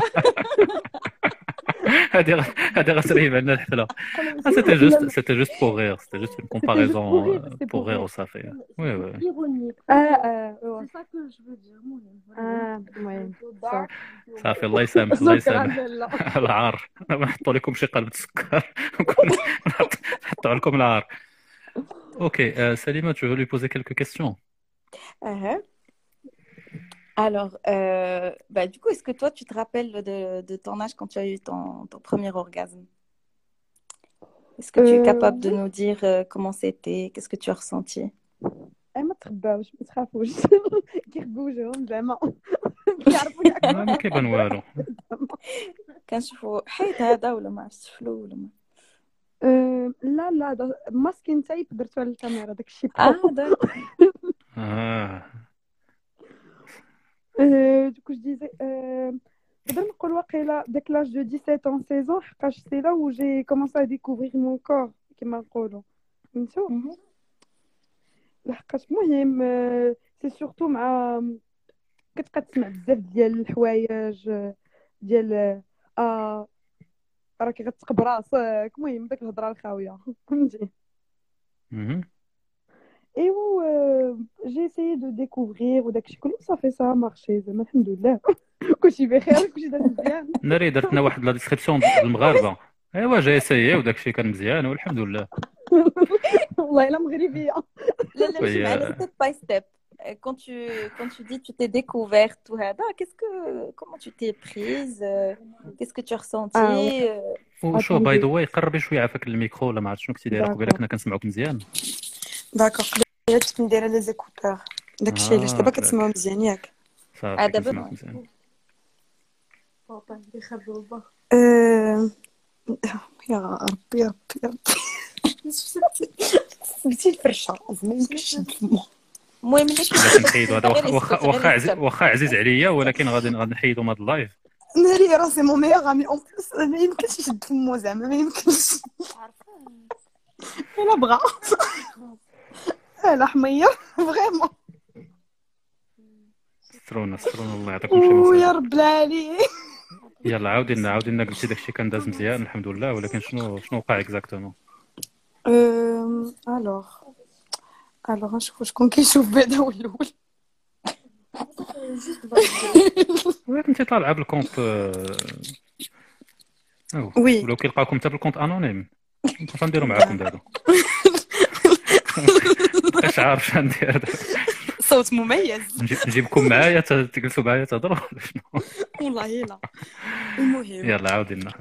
هادي غ- هادي غتريب عندنا الحفله. سيتي جوست سيتي جوست بور غير سيتي جوست اون كومباريزون بور غير وصافي. وي وي ايرونيك اه اه سي سا كو جو فو دير المهم اه المهم صافي الله يسامح الله شكرا يسامح. لاله. العار نحطوا لكم شي قلب السكر نحطوا لكم العار. اوكي euh, Salima, tu veux lui poser quelques questions? Uh-huh. Alors, euh, bah, du coup, est-ce que toi, tu te rappelles de, de ton âge quand tu as eu ton, ton premier orgasme? Est-ce que tu es Euh, capable de oui. nous dire euh, comment c'était? Qu'est-ce que tu as ressenti? انا ما تخباوش ما تخافوش كيخبوا وجههم زعما كيعرفوا ياكلوا ما كيبان والو. كنشوفوا حيت هذا ولا ما عرفتش فلو ولا ما أه لا لا دا ماسكين تايب درتو على الكاميرا داكشي اه داك اه أه دوك ديزي أه نقدر نقول واقيلا داك لاج دو سبعطاش ans seize ans حقاش سي لا و جي كومونسي ا ديكوفرير مون كور كيما نقولوا فهمتوا لحقاش مهم سي سورتو مع كتبقى تسمع بزاف ديال الحوايج ديال اه راكي غتقب راسك المهم داك الهضره الخاويه فهمتي ايوا جي اسيي دو ديكوفرير وداكشي كله صافي سا مارشي زعما الحمد لله كلشي بخير كلشي داز مزيان. ناري درتنا واحد لا ديسكريبسيون بالمغاربه ايوا جاي سيي وداكشي كان مزيان والحمد لله. والله الا مغربيه. لا لا ماشي معنا ستيب باي ستيب. Quand tu, quand tu dis tu t'es découverte tout هذا qu'est-ce que comment tu t'es prise euh, qu'est-ce que tu as ressenti ah, وشو باي ذا واي قربي شويه عافاك الميكرو ولا ما عرفت شنو كنتي دايره قبيله كنا كنسمعوك مزيان. داكوغ قبيله كنت ندير لي زيكوتور داكشي علاش دابا كتسمعوا مزيان ياك. صافي دابا مزيان. بابا اللي خرجوا با يا ربي يا ربي يا ربي سميتي الفرشه زعما يمكنش نفهمو. المهم باش نحيدو هذا واخا واخا عزيز واخا عزيز عليا ولكن غادي غادي نحيدو هذا اللايف. ناري راسي مون ميغ امي اون بليس ما يمكنش يشد فمو زعما ما يمكنش الا بغا لا حميه فريمون سترونا سترونا الله يعطيكم شي مصيبه يا رب العالي. يلا عاودي لنا عاودي لنا قلتي داكشي كان داز مزيان الحمد لله ولكن شنو شنو وقع اكزاكتومون؟ ام الوغ الوغ نشوف شكون كيشوف بعدا هو الاول. وياك انت طالعه بالكونت وي ولو كيلقاكم حتى بالكونت انونيم كيف نديرو معاكم دابا؟ اش عارف شنو ندير دابا؟ صوت مميز نجيبكم معايا تجلسوا معايا تهضروا شنو؟ والله لا المهم يلا عاودي لنا.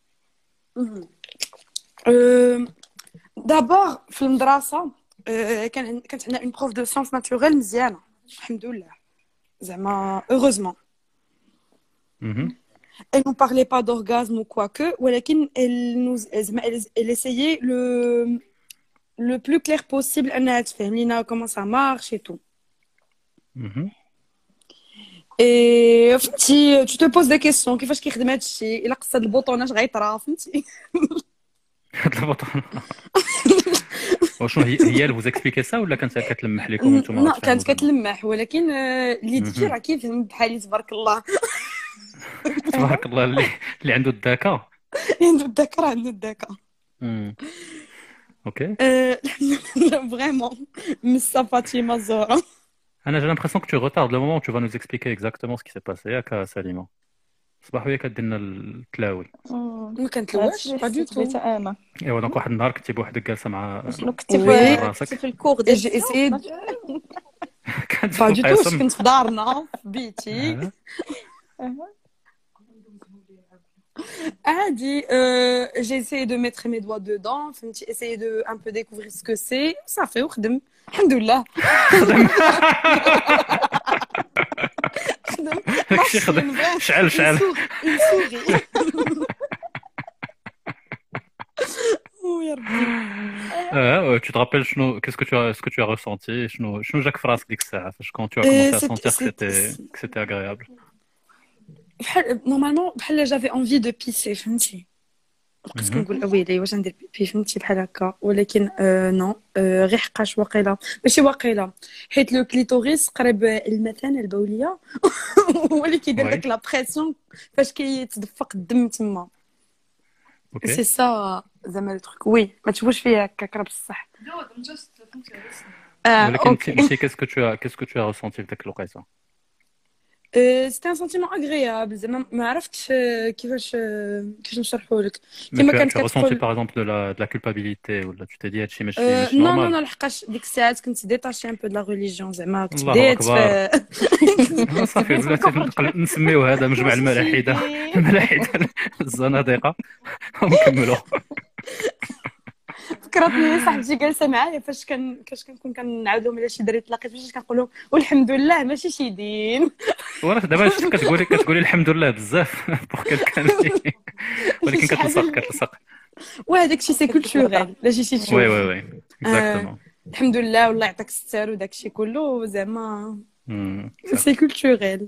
دابا في المدرسه كان كانت عندنا اون بروف دو سيونس ناتوريل مزيانه الحمد لله زعما heureusement. Elle nous parlait pas d'orgasme ou quoi que ولكن elle nous elle essayait le le plus clair possible انها تفهم لينا comment ça marche et tout. et فهمتي tu te poses des questions كيفاش كيخدم هذا الشيء الا قصد البوطونه غيطرا فهمتي. هاد البوطونه وشنو هي هي اللي vous expliquer ça ولا كانت كتلمح لكم نتوما؟ لا كانت كتلمح ولكن اللي تجي راه كيفهم بحالي تبارك الله. تبارك الله اللي اللي عنده الذكاء اللي عنده الذكاء عنده الذكاء. اوكي فريمون مسا فاطمه الزهراء. انا j'ai l'impression que tu retardes le moment où tu vas nous expliquer exactement ce qui s'est passé ياك سليمه. صباح ويا كدير لنا التلاوي. ما كنتلواش با دو تو. انا ايوا دونك واحد النهار كنتي بوحدك جالسه مع شنو كنتي في في الكور ديال جي اسيد با دو تو كنت في دارنا في بيتي عادي. j'ai essayé de mettre mes doigts dedans فهمتي essayer de un peu découvrir ce que c'est صافي وخدم الحمد لله. خدم خدم شعل شعل يا ربي. اه tu te rappelles شنو qu'est-ce que tu as ce que tu as ressenti شنو شنو جاك في راسك ديك الساعه فاش quand tu as commencé à sentir que c'était que c'était agréable؟ بحال نورمالمون بحال جافي انفي دو بيسي فهمتي بقيت كنقول ويلي واش ندير بيبي فهمتي بحال هكا ولكن نو غير حقاش واقيلا ماشي واقيلا حيت لو كليتوريس قريب المثانه البوليه هو اللي كيدير داك لا بريسيون فاش كيتدفق الدم تما. سي سا زعما لو تروك وي ما تشوفوش فيا هكا كرا بصح. ولكن انت كيسكو تو كيسكو تو ressenti في داك الوقيته؟ سيتي ان سنتيمون اغريابل زعما ما عرفتش كيفاش كيفاش نشرحوا لك كيما كانت كتقول باغ اكزومبل دو لا دو لا كولبابيليتي ولا tu t'es dit هادشي ماشي ماشي نو نورمال؟ نو نو لحقاش ديك الساعات كنت ديتاشي ان بو دو لا ريليجيون زعما كنت بديت صافي بلاتي نسميو هذا مجمع الملاحده الملاحده الزنادقه ونكملوا. فكرتني صاحبتي جالسه معايا فاش كان كاش كنكون كنعاود لهم على شي دري تلاقيت فاش كنقول لهم والحمد لله ماشي شي دين. وراه دابا شفت كتقولي كتقولي الحمد لله بزاف بوغ كان ولكن كتلصق كتلصق. وهذاك شي سي كولتوريل لا شي شي تشوف. وي وي وي اكزاكتومون. الحمد لله والله يعطيك الستر وداك الشيء كله زعما صح. سي كولتوريل.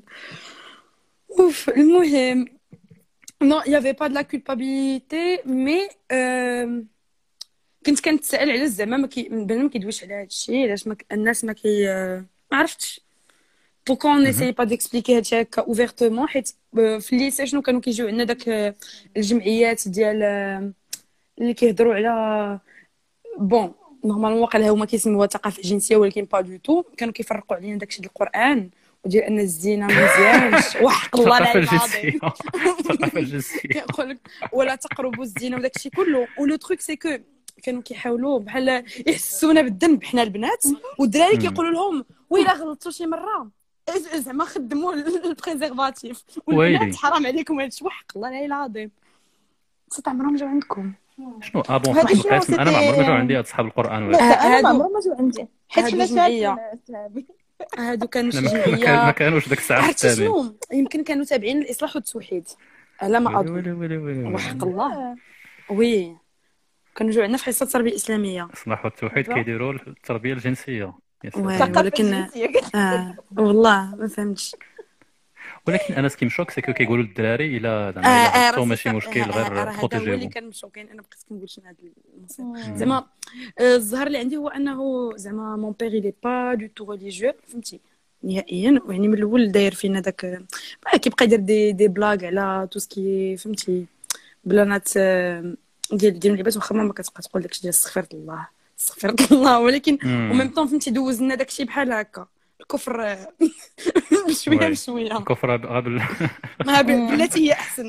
اوف المهم non il y avait pas de la culpabilité mais euh, كنت كنتسائل على زعما ما كي بنادم ما كيدويش على هذا الشيء علاش ما ك- الناس ما كي ما عرفتش بوكو اون ايساي با ديكسبليكي هادشي هكا اوفيرتومون حيت آه، في الليسي شنو كانوا كيجيو عندنا داك آه، الجمعيات ديال آه، اللي كيهضروا على بون نورمالمون واقيلا هما كيسموها الثقافه الجنسيه ولكن با دو تو كانوا كيفرقوا علينا داكشي ديال القران وديال ان الزينه مزيانش وحق الله الثقافه العظيم الجنسيه الثقافه الجنسيه. كيقول لك ولا تقربوا الزينه وداك الشيء كله ولو تروك سي كو كانوا كيحاولوا بحال يحسونا بالذنب حنا البنات والدراري كيقولوا لهم ويلا غلطتوا شي مره زعما خدموا البريزيرفاتيف والبنات ويلي. حرام عليكم هادشي وحق الله العلي العظيم. صوت عمرهم جاو عندكم شنو اه بون هادي صاحب شنو القسم انا ما عمري ما سيتي- جاو عندي هاد صحاب القران لا ولا انا ما هادو- عمرهم ما جاو عندي حيت هادو حنا جمعية. شاعرين صحابي. هادو كانوا شي ما كان- ما جمعيه كانوش داك الساعه عرفتي التابعين. شنو يمكن كانوا تابعين الاصلاح والتوحيد على ما ويلي اظن ويلي ويلي ويلي وحق الله وي كانوا جاو عندنا في حصه التربيه الاسلاميه اصلاح التوحيد كيديروا التربيه الجنسيه يا سلام. وي الثقافة ولكن الجنسية. اه والله ما فهمتش. ولكن انا سكيم شوك سكو كيقولوا للدراري الا اه زعما اه الا راه غلطوا سي ماشي سا- مشكل آه، آه، غير راه هذا هو اللي بروتيجيهم. كان مشوكين انا بقيت كنقول شنو هذا المصير مم. زعما آه، الظهر اللي عندي هو انه زعما مون بير لي با دو تو ريليجيو فهمتي نهائيا يعني من الاول داير فينا داك آه، كيبقى يدير دي دي بلاغ على تو سكي فهمتي بلانات آه، ديال ديال اللعبات واخا ما كتبقى تقول داكشي ديال استغفر الله استغفر الله ولكن مم. وميم طون فهمتي دوز لنا داكشي بحال هكا الكفر آه، بشويه وي. بشويه الكفر قبل ما ب- بلاتي هي احسن.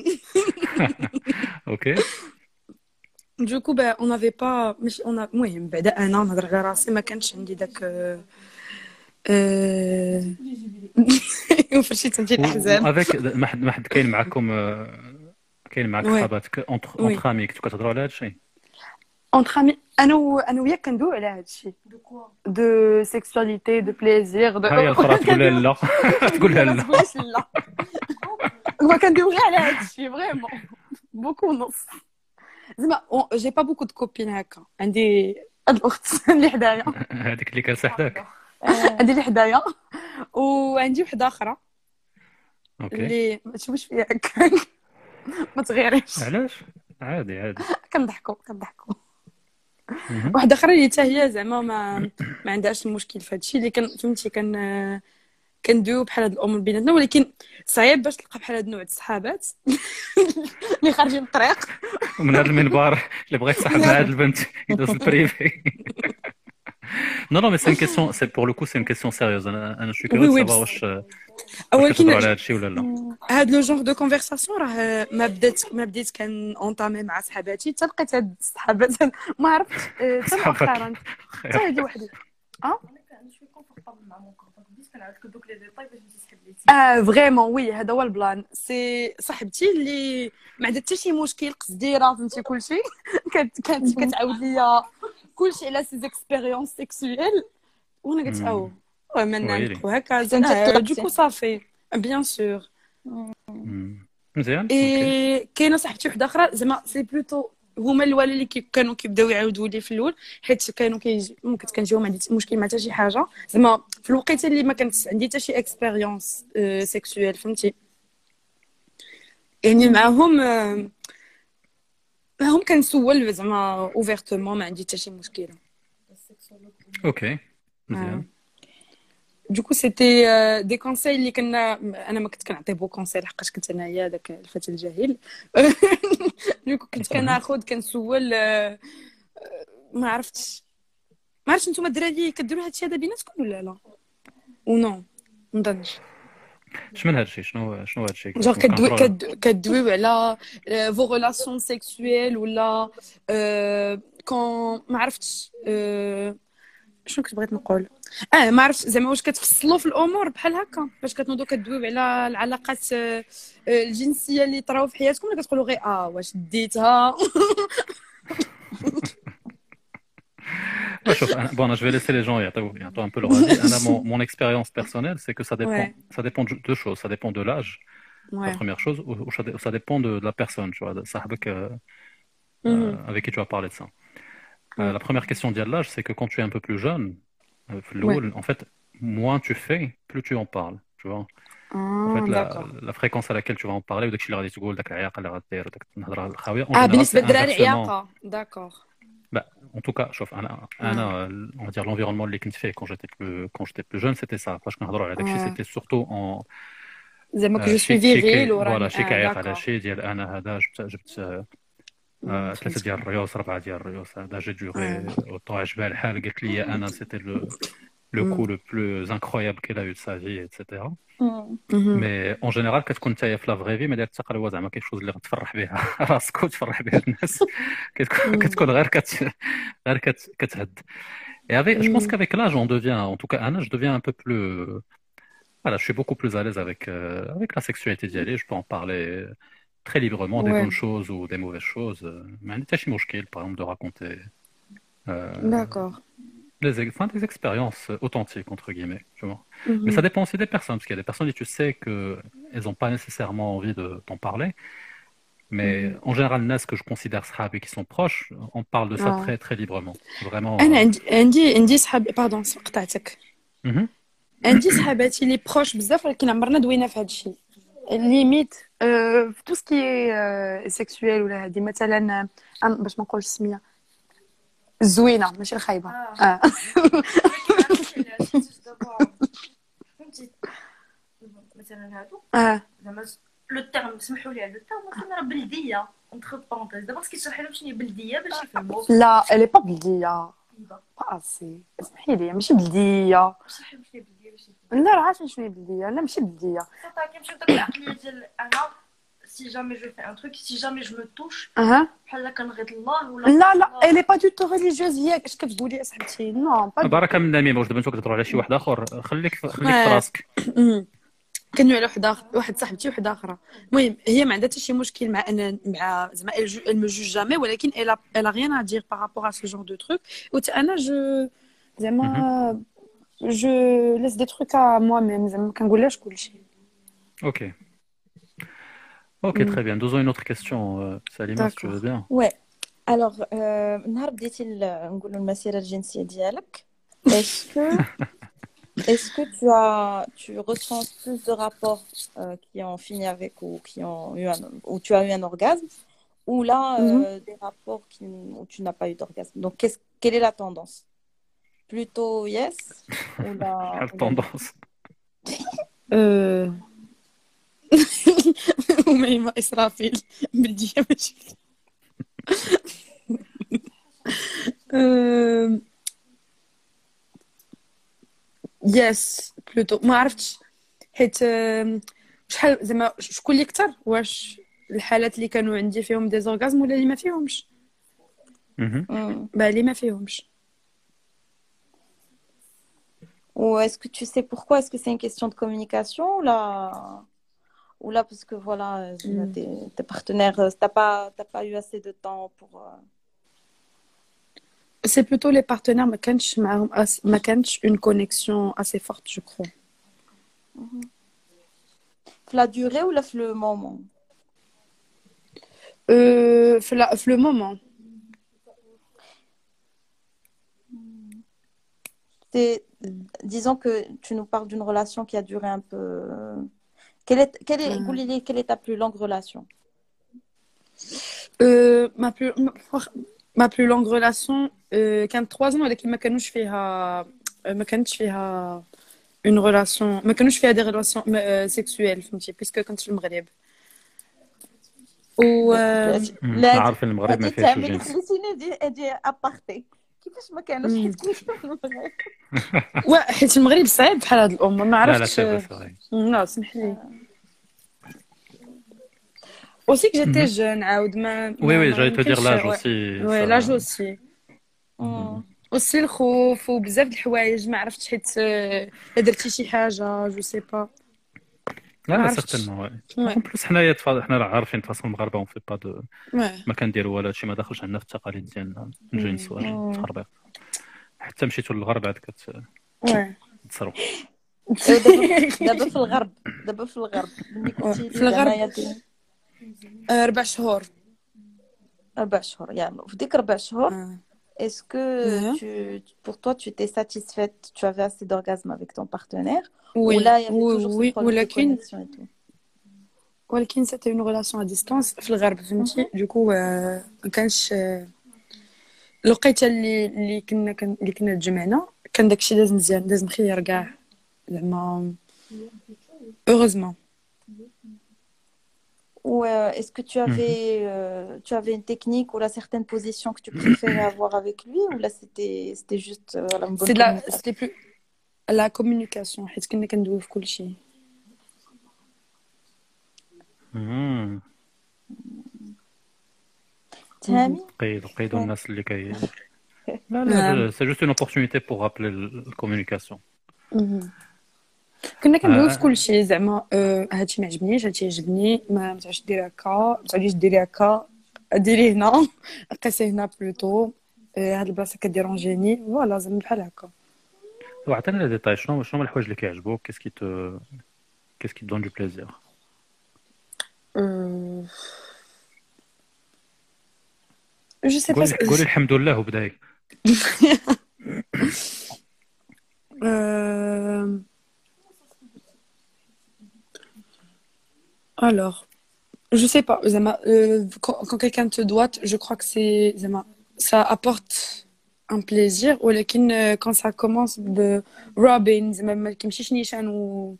اوكي. دوكو با اون افي با مش اون المهم بعدا انا نهضر على راسي ما كانش عندي داك اه وفرشيت ديال الاحزاب افيك ما حد ما حد كاين معاكم آه، كاين معاك وي. صحاباتك اونتر وي. اونتر امي كنتو كتهضروا على هذا الشيء. اونتر امي انا و... انا وياك كندوي على هذا الشيء دو سيكسواليتي دو بليزير دو ها هي الاخرى تقول لها لا تقول لها ما لا. تقولش لا ما كندوي غير على هذا الشيء فريمون بوكو نص زعما جي با بوكو دو كوبين هكا عندي هاد الاخت اللي حدايا هذيك اللي كانت حداك. عندي اللي حدايا وعندي وحده اخرى اوكي. اللي ما تشوفش فيها هكا ما تغيريش علاش عادي عادي. كنضحكوا كنضحكوا مهم. واحده اخرى اللي حتى هي زعما ما ما عندهاش مشكل في هادشي اللي كان فهمتي كان كندويو بحال هاد الامور بيناتنا ولكن صعيب باش تلقى بحال هاد النوع د الصحابات اللي خارجين من الطريق ومن هذا المنبر اللي بغيت تصاحب مع هذه البنت يدوز البريفي. نو نو مي سي ان كيسيون سي بور لو كو سي ان كيسيون سيريوز. انا انا شوي وي كيوريو وي سافا بس- واش واش ولكن كتهضروا على هذا الشيء ولا لا. هاد لو جونغ دو كونفرساسيون راه ما بدات ما بديت كان اونطامي مع صحاباتي حتى لقيت هاد الصحابات ما عرفتش آه، حتى صحابك. مؤخرا حتى هادي وحدي اه اه فريمون وي هذا هو البلان سي صاحبتي اللي ما عندها حتى شي مشكل قصدي راه فهمتي كلشي كانت كانت كتعاود ليا كلشي على سي زيكسبيريونس سيكسويل وانا قلت مم. او من ويلي. نعرفو هكا انت زعما طلعتي. دوكو صافي بيان سور مم. مزيان. اوكي. اي كاينه صاحبتي وحده اخرى زعما سي بلوتو هما الوالد اللي كي كانوا كيبداو يعاودوا لي في الاول حيت كانوا كيجي ممكن كنجيو ما عندي مشكل مع حتى شي حاجه زعما في الوقيته اللي ما كانت عندي حتى شي اكسبيريونس سيكسويل فهمتي يعني معاهم آه، معاهم كنسول زعما اوفيرتومون ما عندي حتى شي مشكله اوكي مزيان. دوكو سيتي آه، دي كونساي اللي كنا انا ما كنت كنعطي بو كونساي لحقاش كنت انايا داك الفتى الجاهل دوكو كنت كناخذ كنسول آه، آه، ما عرفتش ما عرفتش نتوما الدراري كديروا هادشي هذا بيناتكم ولا لا او نو ما نظنش شمن هذا الشيء شنو شنو هذا الشيء جونغ كدوي كد- كدويو على فو ريلاسيون سيكسويل ولا آه، كون ما عرفتش آه، شنو كنت بغيت نقول اه ما عرفتش زعما واش كتفصلوا في الامور بحال هكا باش كتنوضوا كدويو على العلاقات آه، آه، الجنسيه اللي طراو في حياتكم ولا كتقولوا غير اه واش ديتها Bon, je vais laisser les gens يعطوا un peu leur avis. Mon, mon expérience personnelle, c'est que ça dépend, Ouais. ça dépend de deux choses. Ça dépend de l'âge, la Ouais. première chose, ou, ou ça, dé- ça dépend de, de la personne, tu vois, de صاحبك, euh, Mhm. euh, avec qui tu vas parler de ça. Euh, Ouais. la première question de l'âge, c'est que quand tu es un peu plus jeune, euh, في Ouais. الأول, en fait, moins tu fais, plus tu en parles, tu vois. En fait, Ah, la, d'accord. la fréquence à laquelle tu vas en parler, وداكشي اللي غادي تقول، داك العياقة اللي غدير، وداك النهضرة الخاوية، en Ah, général, بالنسبة c'est للدراري inversement. عياقة. D'accord. Bah, en tout cas, شوف أنا أنا on va dire l'environnement اللي كنت فيه quand j'étais plus quand j'étais plus jeune, c'était ça. فاش كنهضروا على داكشي, Ouais. c'était surtout en زعما que آه، je suis شي شي viril كي وراني فوالا شي ah, كيعيق على d'accord. شي ديال انا هذا جبت جبت آه، آه، Mm, ثلاثة فهمتك. ديال الريوس أربعة ديال الريوس هذا جا دوري Ouais. اوطون عجبها الحال قالت لي انا c'était le le Mm. coup le plus incroyable qu'elle a eu de sa vie et cetera. Mhm. مي اون جينيرال كتكون نتايا في لا فري في ما داير حتى قلوه زعما كاين شوز اللي غتفرح بها راسك وتفرح بها الناس كتكون Mm. كتكون غير كت غير كت كتهد. Et avec, je pense Mm. qu'avec l'âge, on devient, en tout cas, Anna, je deviens un peu plus, voilà, je suis beaucoup plus à l'aise avec euh, avec la sexualité d'y aller. Je peux en parler très librement, des Ouais. bonnes choses ou des mauvaises choses. Mais un état chimoshkil, par exemple, de raconter euh, D'accord. des, ex- enfin, des expériences authentiques entre guillemets, tu vois. Mhm. Mais ça dépend aussi des personnes, parce qu'il y a des personnes et tu sais que elles n'ont pas nécessairement envie de t'en parler. Mais Mhm. en général, les que je considère sahabi qui sont proches, on parle de ça Ah. très très librement, vraiment. أنا euh, عندي عندي عندي صحاب باردون قطعتك. mhm. عندي صحاباتي اللي بروش بزاف ولكن عمرنا دوينا في هذا الشيء. ليميت في تو سكي سيكسويل ولا هذه مثلا أم- باش ما نقولش السميه الزوينه ماشي الخايبه. اه فهمتي مثلا هادو اه زعما لو تيرم سمحوا لي لو تيرم مثلا راه بلديه اونتر بارونتيز دابا خصك تشرحي لهم شنو هي بلديه باش يفهموا لا الي با بلديه با اسي اسمحي لي ماشي بلديه. شرحي لهم شنو هي بلديه باش يفهموا لا راه عارفه شنو هي بلديه. لا ماشي بلديه. صافا كيمشيو داك العقليه ديال انا سي جامي جو في ان تروك سي جامي جو مو توش اها بحال كنغيط الله ولا لا لا الي با دو تو ريليجيوز هي اش كتقولي اصاحبتي نو با بركه من النميمه. واش دابا نتوما كتهضروا على شي واحد اخر؟ خليك خليك في آه. راسك. كانوا على واحد اخر واحد صاحبتي وحده اخرى. المهم هي ما عندها حتى شي مشكل مع ان مع زعما elle me juge jamais ولكن elle a elle a rien à dire par rapport à ce genre de truc. وت انا جو زعما je laisse des trucs à moi-même زعما ما كنقولهاش كلشي. Ok. Ok, Mm. très bien. Nous avons une autre question, euh, Salima, si tu veux bien. Ouais. Alors, euh, نهار بديتي ال- نقولوا المسيرة الجنسية ديالك est-ce que est-ce que tu as tu ressens plus de rapports euh, qui ont fini avec ou qui ont eu un où tu as eu un orgasme ou là euh, Mhm. des rapports qui, où tu n'as pas eu d'orgasme. Donc qu'est-ce quelle est la tendance? Plutôt yes ou la La ou la- tendance. Euh... وميمة إسرافيل بلدية ماشي. Euh, يس بلوتو ما عرفتش حيت آم، شحال زعما شكون اللي كثر واش الحالات اللي كانوا عندي فيهم دي زورغازم ولا اللي ما فيهمش. Mhm. Hmm. با اللي ما فيهمش. Ou est-ce que tu sais pourquoi? Est-ce que c'est une question de communication ou là ou là parce que voilà Mm. tes, tes partenaires euh, t'as pas t'as pas eu assez de temps pour euh, سي بلوتو لي بارتنير ما كانش معاهم أس... ما كانتش اون كونيكسيون اسي فورت جو كرو. في la durée ou là في le moment? Euh, في لا- في لو مومون. C'est- disons que tu nous parles d'une relation qui a duré un peu. Quelle est, quelle est, Mm. قولي لي, quelle est ta plus longue relation? Euh, ma plus ma plus longue relation euh, كانت trois ans ولكن ما كانوش فيها ما كانتش فيها une relation ما كانوش فيها des relations euh, sexuelles فهمتي بيسكو كنت في المغرب. و آه، لا عارف إن المغرب ما هادي فيهاش تعملي الجنس. خليتيني ادي ادي ابارتي كيفاش ما كانوش مم. حيت كنت في المغرب. وا حيت المغرب صعيب بحال هاد الامور ما لا لا عرفتش. سي فري. لا سمح لي. aussi que j'étais jeune عاود ما Oui, oui, j'allais te dire يمكنش- l'âge ouais. aussi. Ouais, ça- l'âge aussi. مم. aussi الخوف وبزاف د الحوايج ما عرفتش حيت آه، درتي شي حاجه جو سي با. لا ما لا عرفتش. certainement, ouais. Ouais. En plus حنايا تفا- حنا راه عارفين تفاصيل المغاربه on fait pas de Ouais. ما كنديروا والو هادشي ما داخلش عندنا في التقاليد ديالنا الجنس ولا مم. التخربيق. حتى مشيتوا للغرب عاد كت وي تصروا. دابا دابا في الغرب دابا في الغرب ملي كنتي في الغرب. زعما يا آه، ربع شهور. أربع شهور يعني في ديك ربع شهور آه. est-ce que Mhm. tu pour toi tu étais satisfaite, tu avais assez d'orgasme avec ton partenaire Oui, ou là il y avait oui, toujours oui, ce problème de ولكن connexion et tout ولكن c'était une relation à distance في الغرب فهمتي du coup آه، ما كانش آه، الوقيته اللي اللي كنا كن- اللي كنا تجمعنا كان داكشي داز مزيان داز مخير كاع زعما heureusement. ou euh, est-ce que tu avais euh, tu avais une technique ou là certaines positions que tu préférais avoir avec lui ou là c'était c'était juste euh, voilà, une bonne C'est de la communication c'était plus la communication حيت كنا كندويو في كلشي. مم. تهامي قيدوا قيدوا الناس اللي كي لا نعم. لا سي جوست اون اوبورتونيتي بور رابلي الكومونيكاسيون. مهم. كنا كندويو في آه. كلشي زعما آه، هادشي ما عجبنيش هادشي عجبني ما ما تعرفش ديري هكا ما تعرفيش ديري هكا ديري هنا قيسي هنا بلوتو آه، هاد البلاصه كديرونجيني فوالا زعما بحال هكا. وعطينا لي ديتاي شنو شنو هما الحوايج اللي كيعجبوك كيس كي تو كيس كي دون دو بليزير. Euh, je sais pas. قولي قولي الحمد لله وبداي. Euh, alors, je sais pas. Zama, euh, quand, quand quelqu'un te doite, je crois que c'est Zama, ça apporte un plaisir. Ou euh, quand ça commence de Robin, Zama, ما كيمشيش نيشان و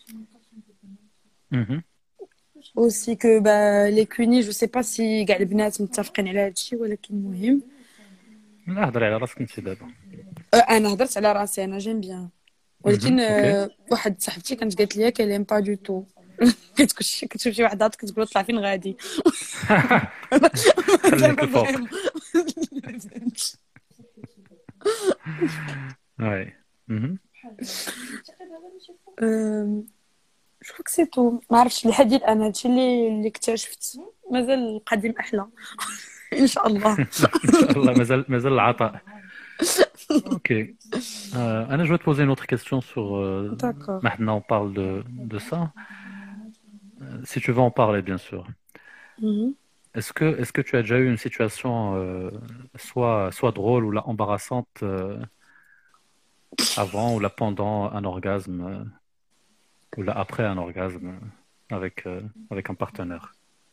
مهم. aussi que bah, les cunis, je sais pas si كاع البنات متفقين على هادشي ولكن مهم. لا هضري على راسك انت دابا. أه، انا هضرت على راسي انا جيم بيان ولكن أه، واحد صاحبتي كانت قالت لي كلام با دو تو كتكون كتشوف شي وحده كتقول طلع فين غادي خليك الفوق. واي. مهم. جو كروك سي تو ما عرفتش لحد الان هادشي اللي اللي اكتشفت مازال القديم احلى ان شاء الله. ان شاء الله مازال مازال العطاء. اوكي. Euh, Anna, je vais te poser une autre question sur. Euh, D'accord. maintenant, on parle de, de ça. Euh, si tu veux en parler, bien sûr. Mhm. Est-ce que, est-ce que tu as déjà eu une situation euh, soit, soit drôle ou là, embarrassante euh, avant ou là pendant un orgasme euh, ou là après un orgasme avec, euh, avec un partenaire?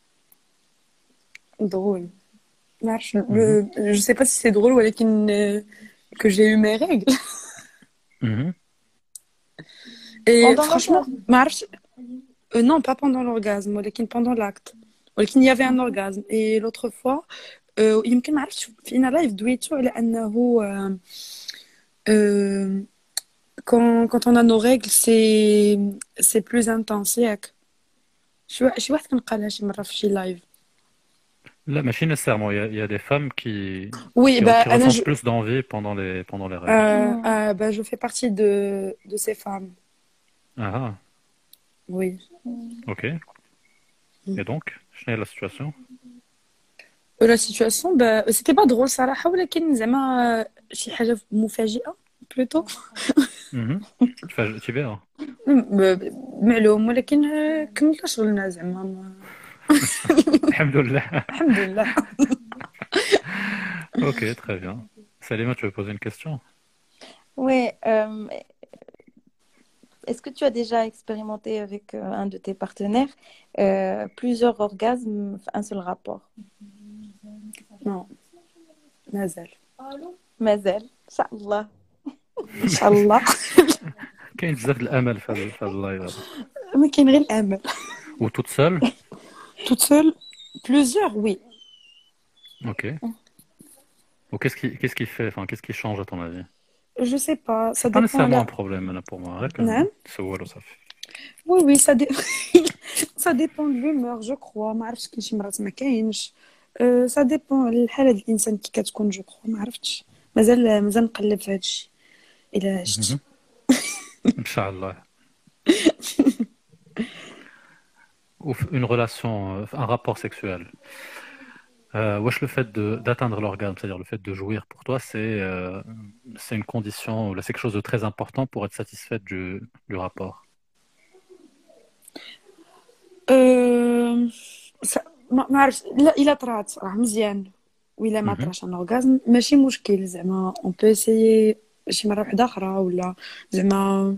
drôle ما عرفتش le- je sais pas si c'est drôle ولكن euh, que j'ai eu mes règles Mhm. et Pendant franchement ما عرفتش euh, non pas pendant l'orgasme ولكن pendant l'acte ولكن il y avait un orgasme et l'autre fois euh, يمكن ما عرفتش فينا لايف دويتو على انه euh, euh, quand quand on a nos règles c'est c'est plus intense ياك شي وا- شي واحد كان قالها شي مره في شي لايف. Là, machine nécessairement, il y a, il y a des femmes qui, Oui, qui, bah, qui Anna, ressentent je- plus d'envie pendant les, pendant les règles. Euh, euh, bah, je fais partie de, de ces femmes. Ah, ah, Oui. ok. Et donc, quelle est la situation? Euh, La situation, bah, c'était pas drôle صراحة ولكن زعما شي حاجة مفاجئة plutôt. Mhm. تفاجئ- تبيع. م- معلوم ولكن آه، كملنا شغلنا زعما ما- الحمد لله. الحمد لله. Ok, très bien. Salima, tu veux poser une question? Oui, euh, est-ce que tu as déjà expérimenté avec euh, un de tes partenaires euh, plusieurs orgasmes, un seul rapport? Non. مازال. مازال إن شاء الله. إن شاء الله. كاين بزاف د الامل في هذا في هذا اللايف هذا. ما كاين غير الأمل. Ou toute seule? Toute seule, plusieurs, oui. Ok. Ou qu'est-ce qui qu'est-ce qui fait, enfin qu'est-ce qui change à ton avis? Je sais pas, ça Pas dépend. nécessairement là. un problème là pour moi. Rek, Non. تسول وصافي. Oui, oui, ça, dé... ça dépend de l'humeur, je crois. ما عرفتش كاين شي مرات ما كاينش. أه، ça dépend الحالة ديال الإنسان كي كتكون جو crois ما عرفتش. مازال مازال نقلب في هادشي. إلا عشت. ان شاء الله. Ou f- une relation, euh, un rapport sexuel. Euh, wesh, le fait de- d'atteindre l'orgasme, c'est-à-dire le fait de jouir pour toi, c'est euh, c'est une condition, là, c'est quelque chose de très important pour être satisfaite du, du rapport. أه... س... ما ما عرفتش لا الا طرات راه مزيان وإلا ما Mhm. طراش ان اورغازم ماشي مشكل زعما اون بو اسيي شي مره واحده اخرى ولا زعما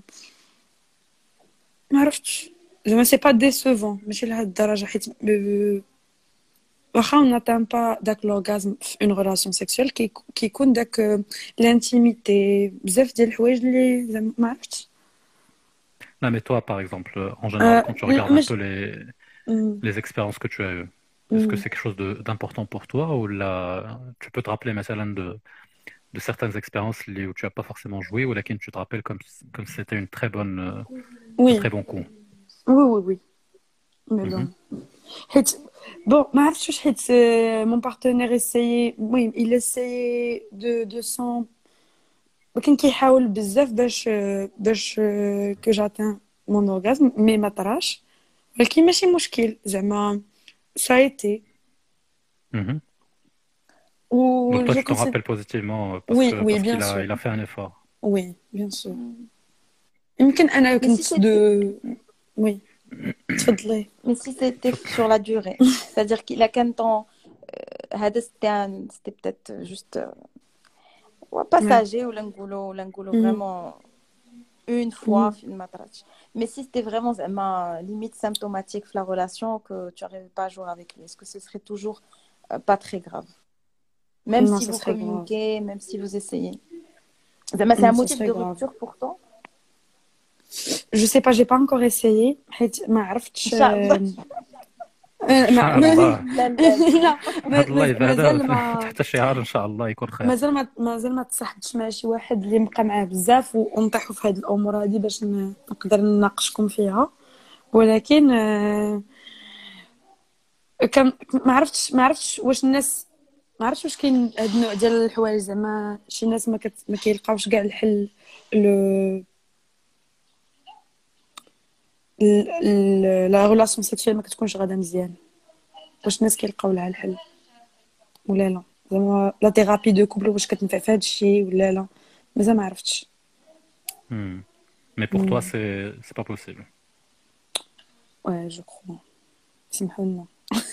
ما عرفتش زعما سي با ديسوفون ماشي لهاد الدرجه حيت ب- واخا on n'atteint pas داك لورغازم في اون ريلاسيون سيكسويل كي كيكون داك لانتيميتي بزاف ديال الحوايج اللي زعما ما عرفتش Non, mais toi, par exemple, euh, en général, أه... quand tu regardes un مش peu les, م- les expériences que tu as eues, est-ce que م- c'est quelque chose de- d'important pour toi ou là, tu peux te rappeler, مثلا, de, de certaines expériences les- où tu n'as pas forcément joué ou laquelle tu te rappelles comme, comme si c'était une très bonne, euh, un oui très bon coup. oui oui oui mais Mhm. bon حيت bon ما عرفتش واش حيت مون بارتنير اسيي المهم il essayait de de son وكان كيحاول بزاف باش باش كو جاتان مون اورغازم مي ما طراش ولكن ماشي مشكل زعما ça a été Mhm. و Donc toi, je tu t'en considère rappelles positivement euh, parce oui que oui parce bien qu'il a, sûr il a fait un effort. oui bien sûr يمكن انا Mais si كنت c'était دو oui تفضلي mais si c'était sur la durée, c'est-à-dire qu'il a qu'un temps, euh, هذا c'était un- c'était peut-être juste euh, ouais, ouais. passager ou l'angulo, l'angulo Mhm. vraiment une fois, Mhm. film matrach. Mais si c'était vraiment زعما limite symptomatique la relation que tu n'arrives pas à jouer avec lui, est-ce que ce serait toujours euh, pas très grave? Même Non, si ça vous serait grave. communiquez, même si vous essayez. زعما c'est Non, un ça motif serait de grave. rupture pour toi? Je sais pas, j'ai pas encore essayé حيت ما عرفتش إن شاء الله. آه، إن ما شاء ما الله. لا لا لا هذا ما- اللايف ما- هذا مازال ما تحت شعار إن شاء الله يكون خير. مازال ما مازال ما تصاحبتش مع شي واحد اللي نبقى معاه بزاف ونطيحوا في هاد الامور هادي باش ن- نقدر نناقشكم فيها ولكن آه، كان ما عرفتش ما عرفتش واش الناس ما عرفتش واش كاين هاد النوع ديال الحوايج زعما شي ناس ما كت... ما كيلقاوش كاع الحل لو لا ريلاسيون سيكسويل ما كتكونش غادا مزيان واش الناس كيلقاو لها الحل ولا لا زعما لا ثيرابي دو كوبل واش كتنفع في هذا الشيء ولا لا مازال ما عرفتش Hmm. Mais pour toi, c'est c'est pas possible. ouais je crois سمحوا لنا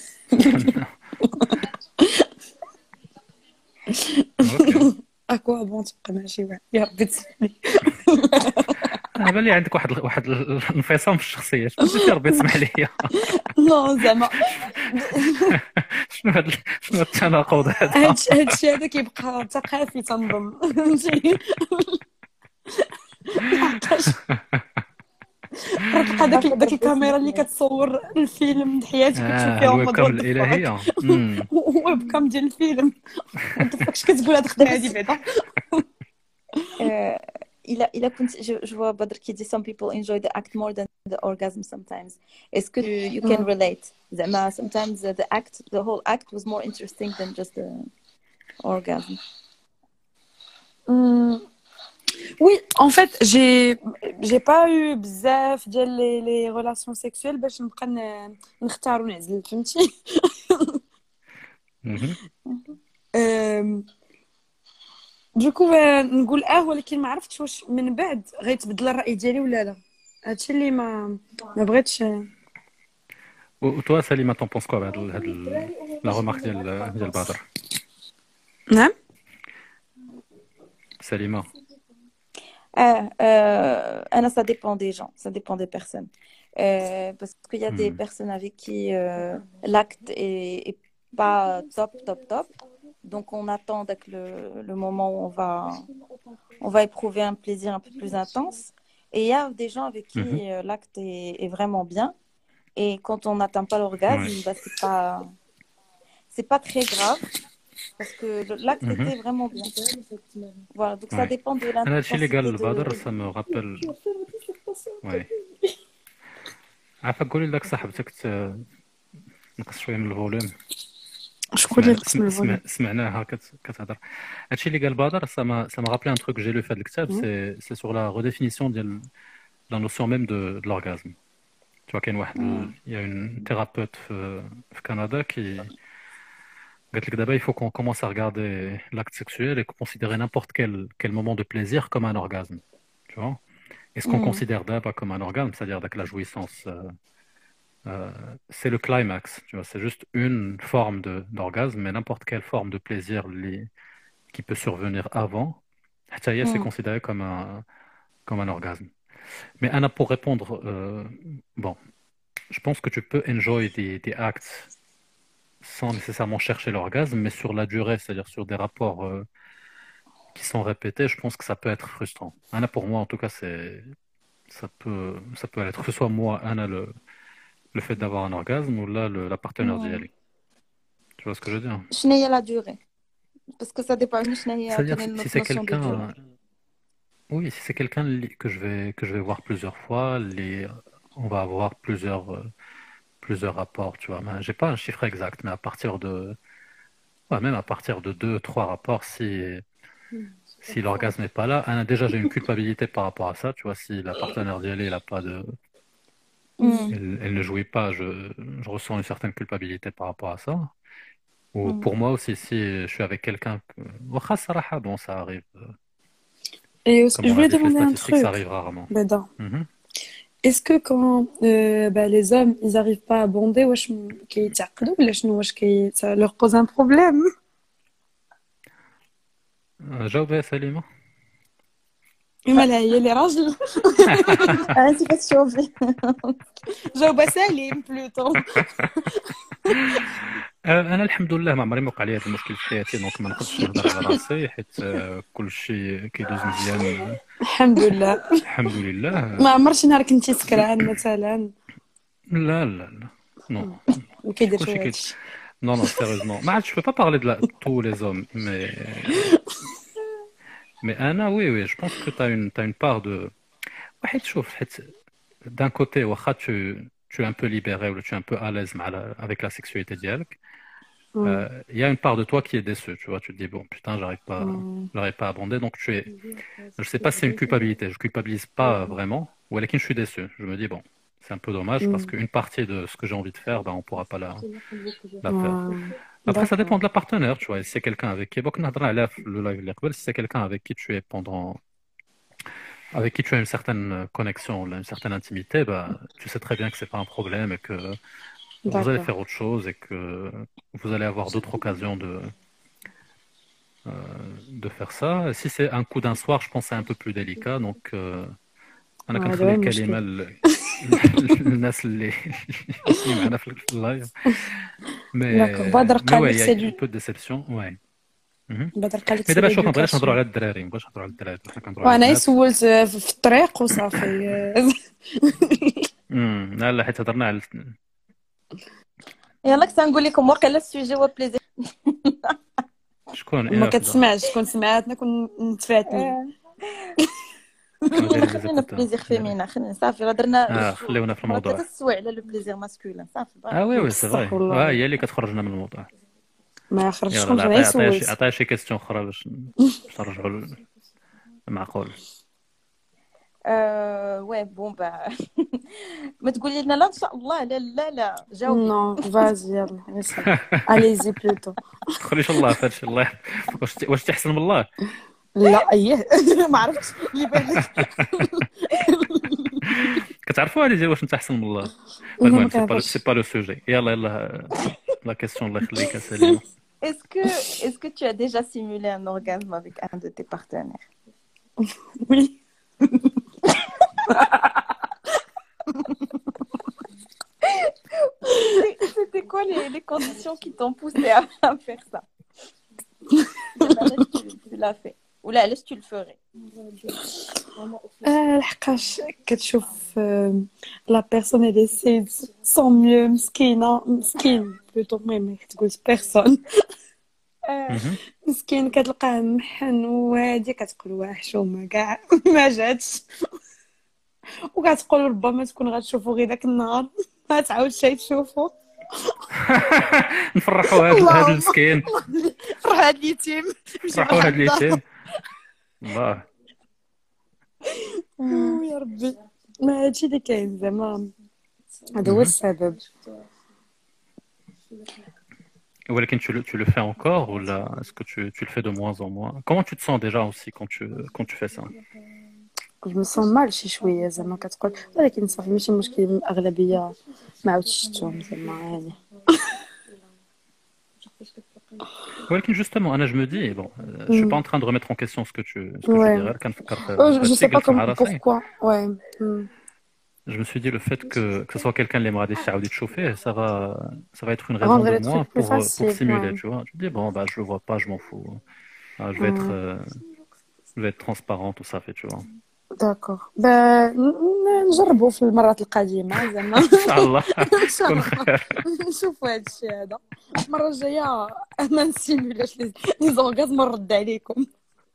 اوكي. اكوا بون تبقى مع شي واحد يا ربي تسمحلي انا بان لي عندك واحد واحد الانفصام في الشخصيه. شنو سي ربي تسمح لي؟ نو زعما شنو هاد شنو هاد التناقض هذا؟ هادشي هادشي هذا كيبقى ثقافي تنظن فهمتي لحقاش راه داك داك الكاميرا اللي كتصور الفيلم د حياتك كتشوف اه فيها الويب هما كام دوت الالهيه. امم ويب كام ديال الفيلم وات فاكش كتقول هاد الخدمه هادي بعدا Euh, il a, il a, conti- je, je vois Badr qui dit some people enjoy the act more than the orgasm sometimes. Est-ce que you, you can relate? زعما sometimes uh, the act, the whole act was more interesting than just the orgasm. Hmm. Oui, en fait, j'ai j'ai pas eu بزاف ديال les, les relations sexuelles باش نبقى ن- نختار ونعزل فهمتي مهم. أم، دوكو آه، نقول اه ولكن ما عرفتش واش من بعد غيتبدل الرأي ديالي ولا لا هادشي اللي ما ما بغيتش وتوا سليمة t'en penses quoi بهاد ال- هاد ال- لا remarque ديال ديال بدر؟ نعم سليمة. Ah, euh, Anna, ça dépend des gens, ça dépend des personnes. Euh, parce qu'il y a des Hmm. personnes avec qui euh, l'acte est, est pas top, top, top. Donc, on attend avec le, le moment où on va, on va éprouver un plaisir un peu plus intense. Et il y a des gens avec qui Mhm. euh, l'acte est, est vraiment bien. Et quand on n'atteint pas l'orgasme, Ouais. bah, c'est pas, c'est pas très grave. Parce que le- l'acte Mhm. était vraiment bien. Voilà, donc ça Ouais. dépend de انا هادشي اللي قال l'intensité بدر de... ça me rappelle. وي عافاك قولي لك صاحبتك ت- نقص شويه من الفوليوم. شكون اللي سمع... نقسم سمع... الفوليوم سمع... سمعناها كت... كتهضر. هادشي اللي قال بدر ça m'a ça m'a rappelé un truc que j'ai lu في هذا الكتاب. c'est c'est sur la redéfinition ديال la notion même de, de l'orgasme. Tu vois, qu'il y a une, il y a une thérapeute في, في كندا qui قلت لك d'abord, il faut qu'on commence à regarder l'acte sexuel et considérer n'importe quel, quel moment de plaisir comme un orgasme. Tu vois? Et ce qu'on مم. considère d'abord comme un orgasme, c'est-à-dire que la jouissance, euh, euh, c'est le climax. Tu vois? C'est juste une forme de, d'orgasme, mais n'importe quelle forme de plaisir li- qui peut survenir avant, حتى هي, c'est مم. considéré comme un, comme un orgasme. Mais Anna, pour répondre, euh, bon, je pense que tu peux enjoy des, des actes sans nécessairement chercher l'orgasme, mais sur la durée, c'est-à-dire sur des rapports euh, qui sont répétés, je pense que ça peut être frustrant. Anna, pour moi, en tout cas, c'est ça peut ça peut être que ce soit moi, Anna, le, le fait d'avoir un orgasme, ou là, le, la partenaire d'y مم. aller. Tu vois ce que je veux dire? شنو هي لا دوري باسكو ça dépend شنو هي C'est-à-dire, quelle est si, si notre c'est notion de durée. quelqu'un, oui, si c'est quelqu'un li- que je vais que je vais voir plusieurs fois, les, on va avoir plusieurs euh, plusieurs rapports, tu vois. Mais j'ai pas un chiffre exact, mais à partir de, ouais, même à partir de deux, trois rapports, si si l'orgasme n'est pas là, hein, déjà j'ai une culpabilité par rapport à ça, tu vois. Si la partenaire d'y aller, elle a pas de, مم. elle, elle ne jouit pas, je, je ressens une certaine culpabilité par rapport à ça. Ou مم. pour moi aussi, si je suis avec quelqu'un que, واخا الصراحة, bon, ça arrive, euh, Et aussi- comme je on l'a voulais dit, les demander un statistiques, ça truc, arrive rarement. Beda. Mhm. Est-ce que quand euh, bah, les hommes ils arrivent pas à bonder, واش م- كيتعقدوا ولا شنو واش كي ça leur pose un problème? Euh, جاوب يا سليمة. مالها هي اللي راجل انت كتشوفي جاوبة سليم بلوتو. آه، انا الحمد لله ما عمري ما وقع لي هذا المشكل في حياتي، دونك ما نقدرش نهضر على راسي، حيت آه، كل شيء كيدوز مزيان، آه، الحمد لله. الحمد لله. ما عمر شي نهار كنتي سكران مثلا؟ لا لا لا نو ما كيديرش كلشي كي هادشي. non non sérieusement ما عادش je peux pas parler de la... tous les hommes, mais mais Anna, oui oui, je pense que tu as une tu as une part de واحد شوف، حيت d'un côté واخا tu tu es un peu libéré ou tu es un peu à l'aise مع la... avec la sexualité ديالك. مم. Euh, il y a une part de toi qui est déçue, tu vois, tu te dis bon putain, j'arrive pas مم. j'arrive pas à abonder, donc tu es, je sais pas si c'est une culpabilité, je culpabilise pas vraiment, ou alors je suis déçu, je me dis bon, c'est un peu dommage parce مم. qu'une partie de ce que j'ai envie de faire, ben on pourra pas la, la faire. Ah, Après ça dépend d'accord. de la partenaire, tu vois, si c'est quelqu'un avec qui bon, نهضر على le live اللي قبل, si c'est quelqu'un avec qui tu es pendant, avec qui tu as une certaine connexion, là, une certaine intimité, bah tu sais très bien que c'est pas un problème et que vous allez D'accord. faire autre chose et que vous allez avoir d'autres occasions de euh, de faire ça. Si c'est un coup d'un soir, je pense que c'est un peu plus délicat. Donc, euh, أنا آه، هذا كنخلي هو الكلمة المشكل. ل- للناس اللي اللي معنا في اللايف. داكوغ. Mais بدر mais قال ouais, لك il y a سي un دو peu de déception, ouais. Mhm. بدر قال لك Mais سي دابا شوف، ما بغيناش نهضروا ليدوكاسيون. على الدراري، ما بغيناش نهضروا على الدراري، حنا كنهضروا على وانا البنات. سولت في في الطريق وصافي. امم لا لا، حيت هضرنا على يلا كنت نقول لكم واقيلا السوجي هو بليزير. شكون ما انا في كتسمعش، كون سمعتنا كون نتفاتني. كانوا دايرين لي خلينا في زيكوتور. بليزير فيمينا، خلينا صافي هضرنا اه خليونا في مرات الموضوع. كتسوي على لو بليزير ماسكولين صافي اه بقى. وي وي سي بصح فري، والله اه هي اللي كتخرجنا من الموضوع. ما خرجتش يلا كنت لا، غير عطيها عطيها شي سولت. عطيها شي كيستيون اخرى باش باش نرجعوا للمعقول. آه وي بون با ما تقولي لنا لا ان شاء الله. لا لا لا جاوبي. نو فازي يلا اسال. اليزي بلوتو. تدخليش الله في هادشي. الله واش واش تحسن من الله؟ لا ايه ما عرفتش اللي بان لك. كتعرفوا هذه ديال واش انت احسن من الله؟ لا ما المهم سي با كنعرفش. سي با لو سوجي. يلا يلا لا كيسيون الله يخليك يا سليمه. Est-ce que est-ce que tu as déjà simulé un orgasme avec un de tes partenaires? Oui. C'était quoi les, les conditions qui t'ont poussé à, à faire ça? tu, tu l'as fait. Ou là, laisse tu le ferais. آه، لحقاش كتشوف لا بيرسون اللي سي سون ميو مسكينه مسكين بلوتو. المهم تقول بيرسون مسكين كتلقاه محن وهادي كتقول واه حشومه كاع ما جاتش، وكتقول ربما تكون غتشوفو غير داك النهار ما تعاودش تشوفو. نفرحوا هذا هذا المسكين، فرح هاد اليتيم نفرحوا هذا اليتيم. الله يا ربي. ما هادشي اللي كاين زعما، هذا هو السبب. ولكن tu le tu le fais encore ou là est-ce que tu tu le fais de moins en moins? Comment tu te sens déjà aussi quand tu quand tu fais ça? جو me sens mal شي شويه زعما كتقول ولكن صافي ماشي مشكل الاغلبيه ما عاودش شفتهم زعما يعني ولكن justement انا je me dis bon euh, je suis pas en train de remettre en question ce que tu ce que tu ouais dis غير كنفكر في oh, je sais pas قلت مع comme راسي. pourquoi ouais mm. Je me suis dit le fait que, que ce soit quelqu'un qui aimera décider de chauffer, ça va, ça va être une raison rendre de les moins trucs plus pour, pour faciles simuler, ouais. tu vois. Je me dis bon bah je le vois pas, je m'en fous. Ah, je vais mm. être, euh, je vais être transparent, tout ça fait, tu vois. داكوغ با نجربوا في المرات القادمه زعما ان شاء الله ان شاء كون الله خير. نشوفوا هذا الشيء هذا المره الجايه ما نسيمولاش لي لي زونغازم نرد عليكم.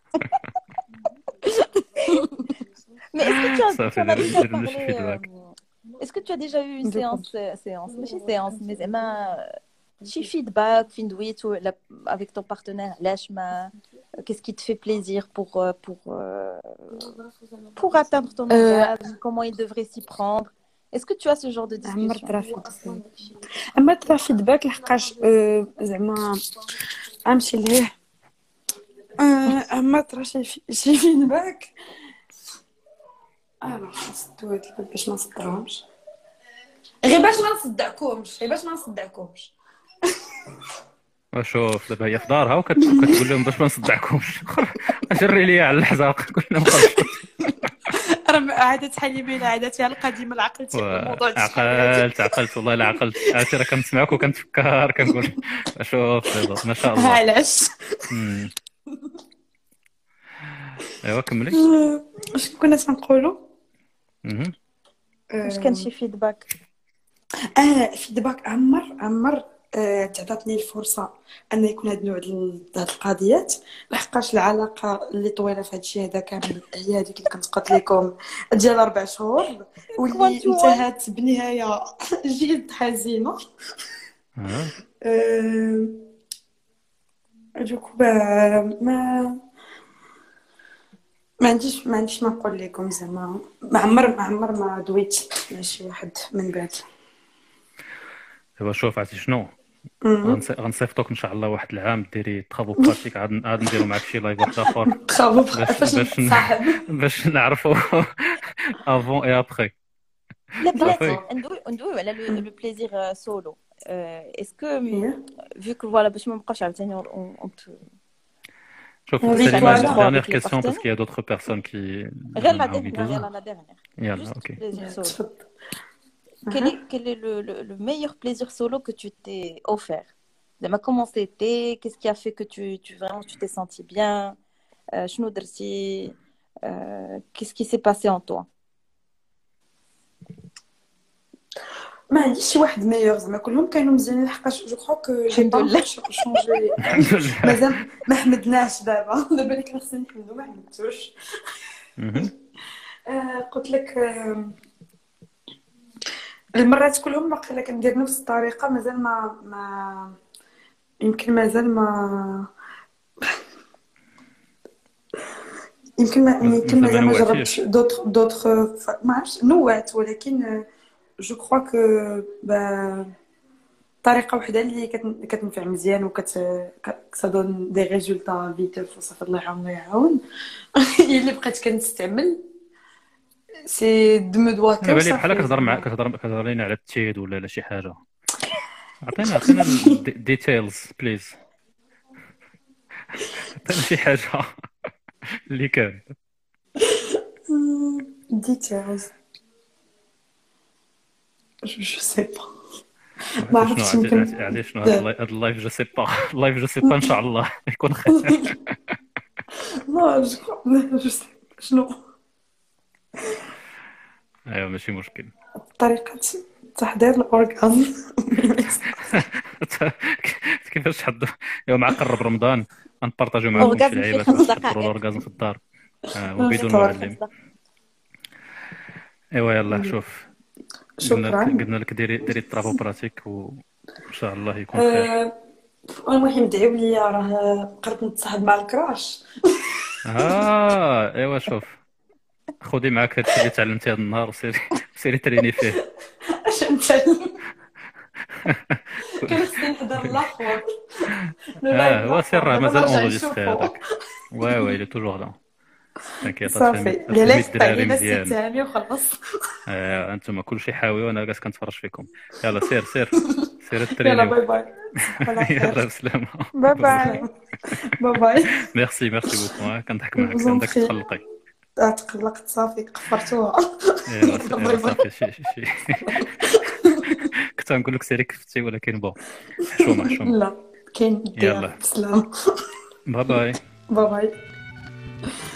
Mais est-ce que tu as, Ça tu fait en as déjà des parlé feedback. euh, Est-ce que tu as déjà eu une De quoi? séance, euh, séance, mais c'est séance, mais زعما شي feedback فين دويتو avec ton partenaire علاش ما qu'est-ce qui te fait plaisir pour euh, pour euh, pour atteindre ton orgasme, comment il devrait s'y prendre? Est-ce que tu as ce genre de عمرت discussion? راه فيدباك عمرت راه فيدباك لحقاش زعما غنمشي ليه عمرت راه شي شي فيدباك انا نسدو هاد الباب باش ما نصدرهمش غير باش ما نصدعكمش غير باش ما نصدعكمش شوف دابا هي في دارها وكتقول لهم باش ما نصدعكمش. جري ليا على الحزاق كلنا مخرجين. راه عادت حليمه عادتها القديمه العقلتي الموضوع عقلت عقلت والله لا عقلت. عرفتي راه كنسمعك وكنتفكر كنقول شوف دابا ما شاء الله. علاش ايوا كملي. اش كنا تنقولوا واش كان شي فيدباك؟ اه فيدباك عمر عمر آه، تعطاتني الفرصه ان يكون هذا النوع ديال هاد القضيات لحقاش العلاقه اللي طويله في هذا الشيء هذا كامل هي هذيك اللي كنت قلت لكم ديال اربع شهور واللي انتهت بنهايه جد حزينه. أه... دوك ما ما عنديش ما عنديش ما نقول لكم زعما ما عمر ما عمر ما دويت مع شي واحد من بعد. دابا شوف عرفتي شنو غنصيفطوك ان شاء الله واحد العام ديري طرافو براتيك عاد عاد نديرو معاك شي لايف واحد اخر طرافو فاش نصاحب باش نعرفوا افون اي ابري. لا بلاتي ندوي ندوي على لو بليزير سولو. اسكو vu que voilà باش ما نبقاوش عاوتاني شوف c'est la dernière question parce qu'il y a d'autres personnes qui غير لا dernière la dernière. يلا اوكي. Quel est, quel est le, le, le meilleur plaisir solo que tu t'es offert? Comment c'était? Qu'est-ce qui a fait que tu, tu, vraiment, tu t'es senti bien? Euh, euh, qu'est-ce qui s'est passé en toi? ما عنديش شي واحد ميور زعما كلهم كانوا مزيانين لحقاش جو كرو كو جي با شونجي مازال ما حمدناش دابا دابا اللي كان خصني نحمدو ما حمدتوش. قلت لك المرات كلهم باقي كندير نفس الطريقه مازال ما ما يمكن مازال ما يمكن ما يمكن مازال ما جربتش دوطخ دوطخ ما عرفتش نوعت ولكن جو كرو كو با طريقه وحده اللي كتنفع مزيان وكت كتدون دي ريزولطا فيتوف وصافي الله يعاون ويعاون هي اللي بقيت كنستعمل سي دو مو دوا كو بالي بحال كتهضر معاك كتهضر كتهضر لينا على التيد ولا على شي حاجه. عطينا عطينا الديتيلز بليز. عطينا شي حاجه اللي كان ديتيلز جو سي با ما عرفتش يمكن عادي شنو هذا اللايف جو سي با اللايف جو سي با ان شاء الله يكون خير. لا جو سي شنو ايوا ماشي مشكل. طريقه تحضير الاورغازم كيفاش حد يوم مع قرب رمضان غنبارطاجيو معكم شي لعيبات باش تحضروا الاورغازم في الدار وبدون معلم. ايوا يلا شوف شكرا قلنا لك ديري ديري الطرافو براتيك وان شاء الله يكون خير. المهم دعيو لي راه قربت نتصاحب مع الكراش. اه ايوا شوف خذي معاك هادشي اللي تعلمتي هذا النهار وسيري سيري تريني فيه. اش نتعلم كان خصني نحضر الاخر لو اه لايف هو سير راه الاخر مازال نرجع اونجستري نشوفو هذاك. وي وي لي توجور لا. تنكيط صافي فهمي اللي فهمي علاش الدراري علينا السي مزيان. تامي وخلاص. آه انتم كلشي حاوي وانا جالس كنتفرج فيكم. يلا سير سير سير يلا الترينيو. باي باي على يلا خير بسلامة. باي باي. باي باي. ميرسي ميرسي بوكو كنضحك معاك Vous en عندك prie. تخلقي. تقلقت صافي قفرتوها. يلا باي يلا باي. صافي شي شي شي. كنت غنقول لك سيري كفتي ولكن بون حشومه حشومه. لا كاين يلا. بسلام. باي باي. باي باي.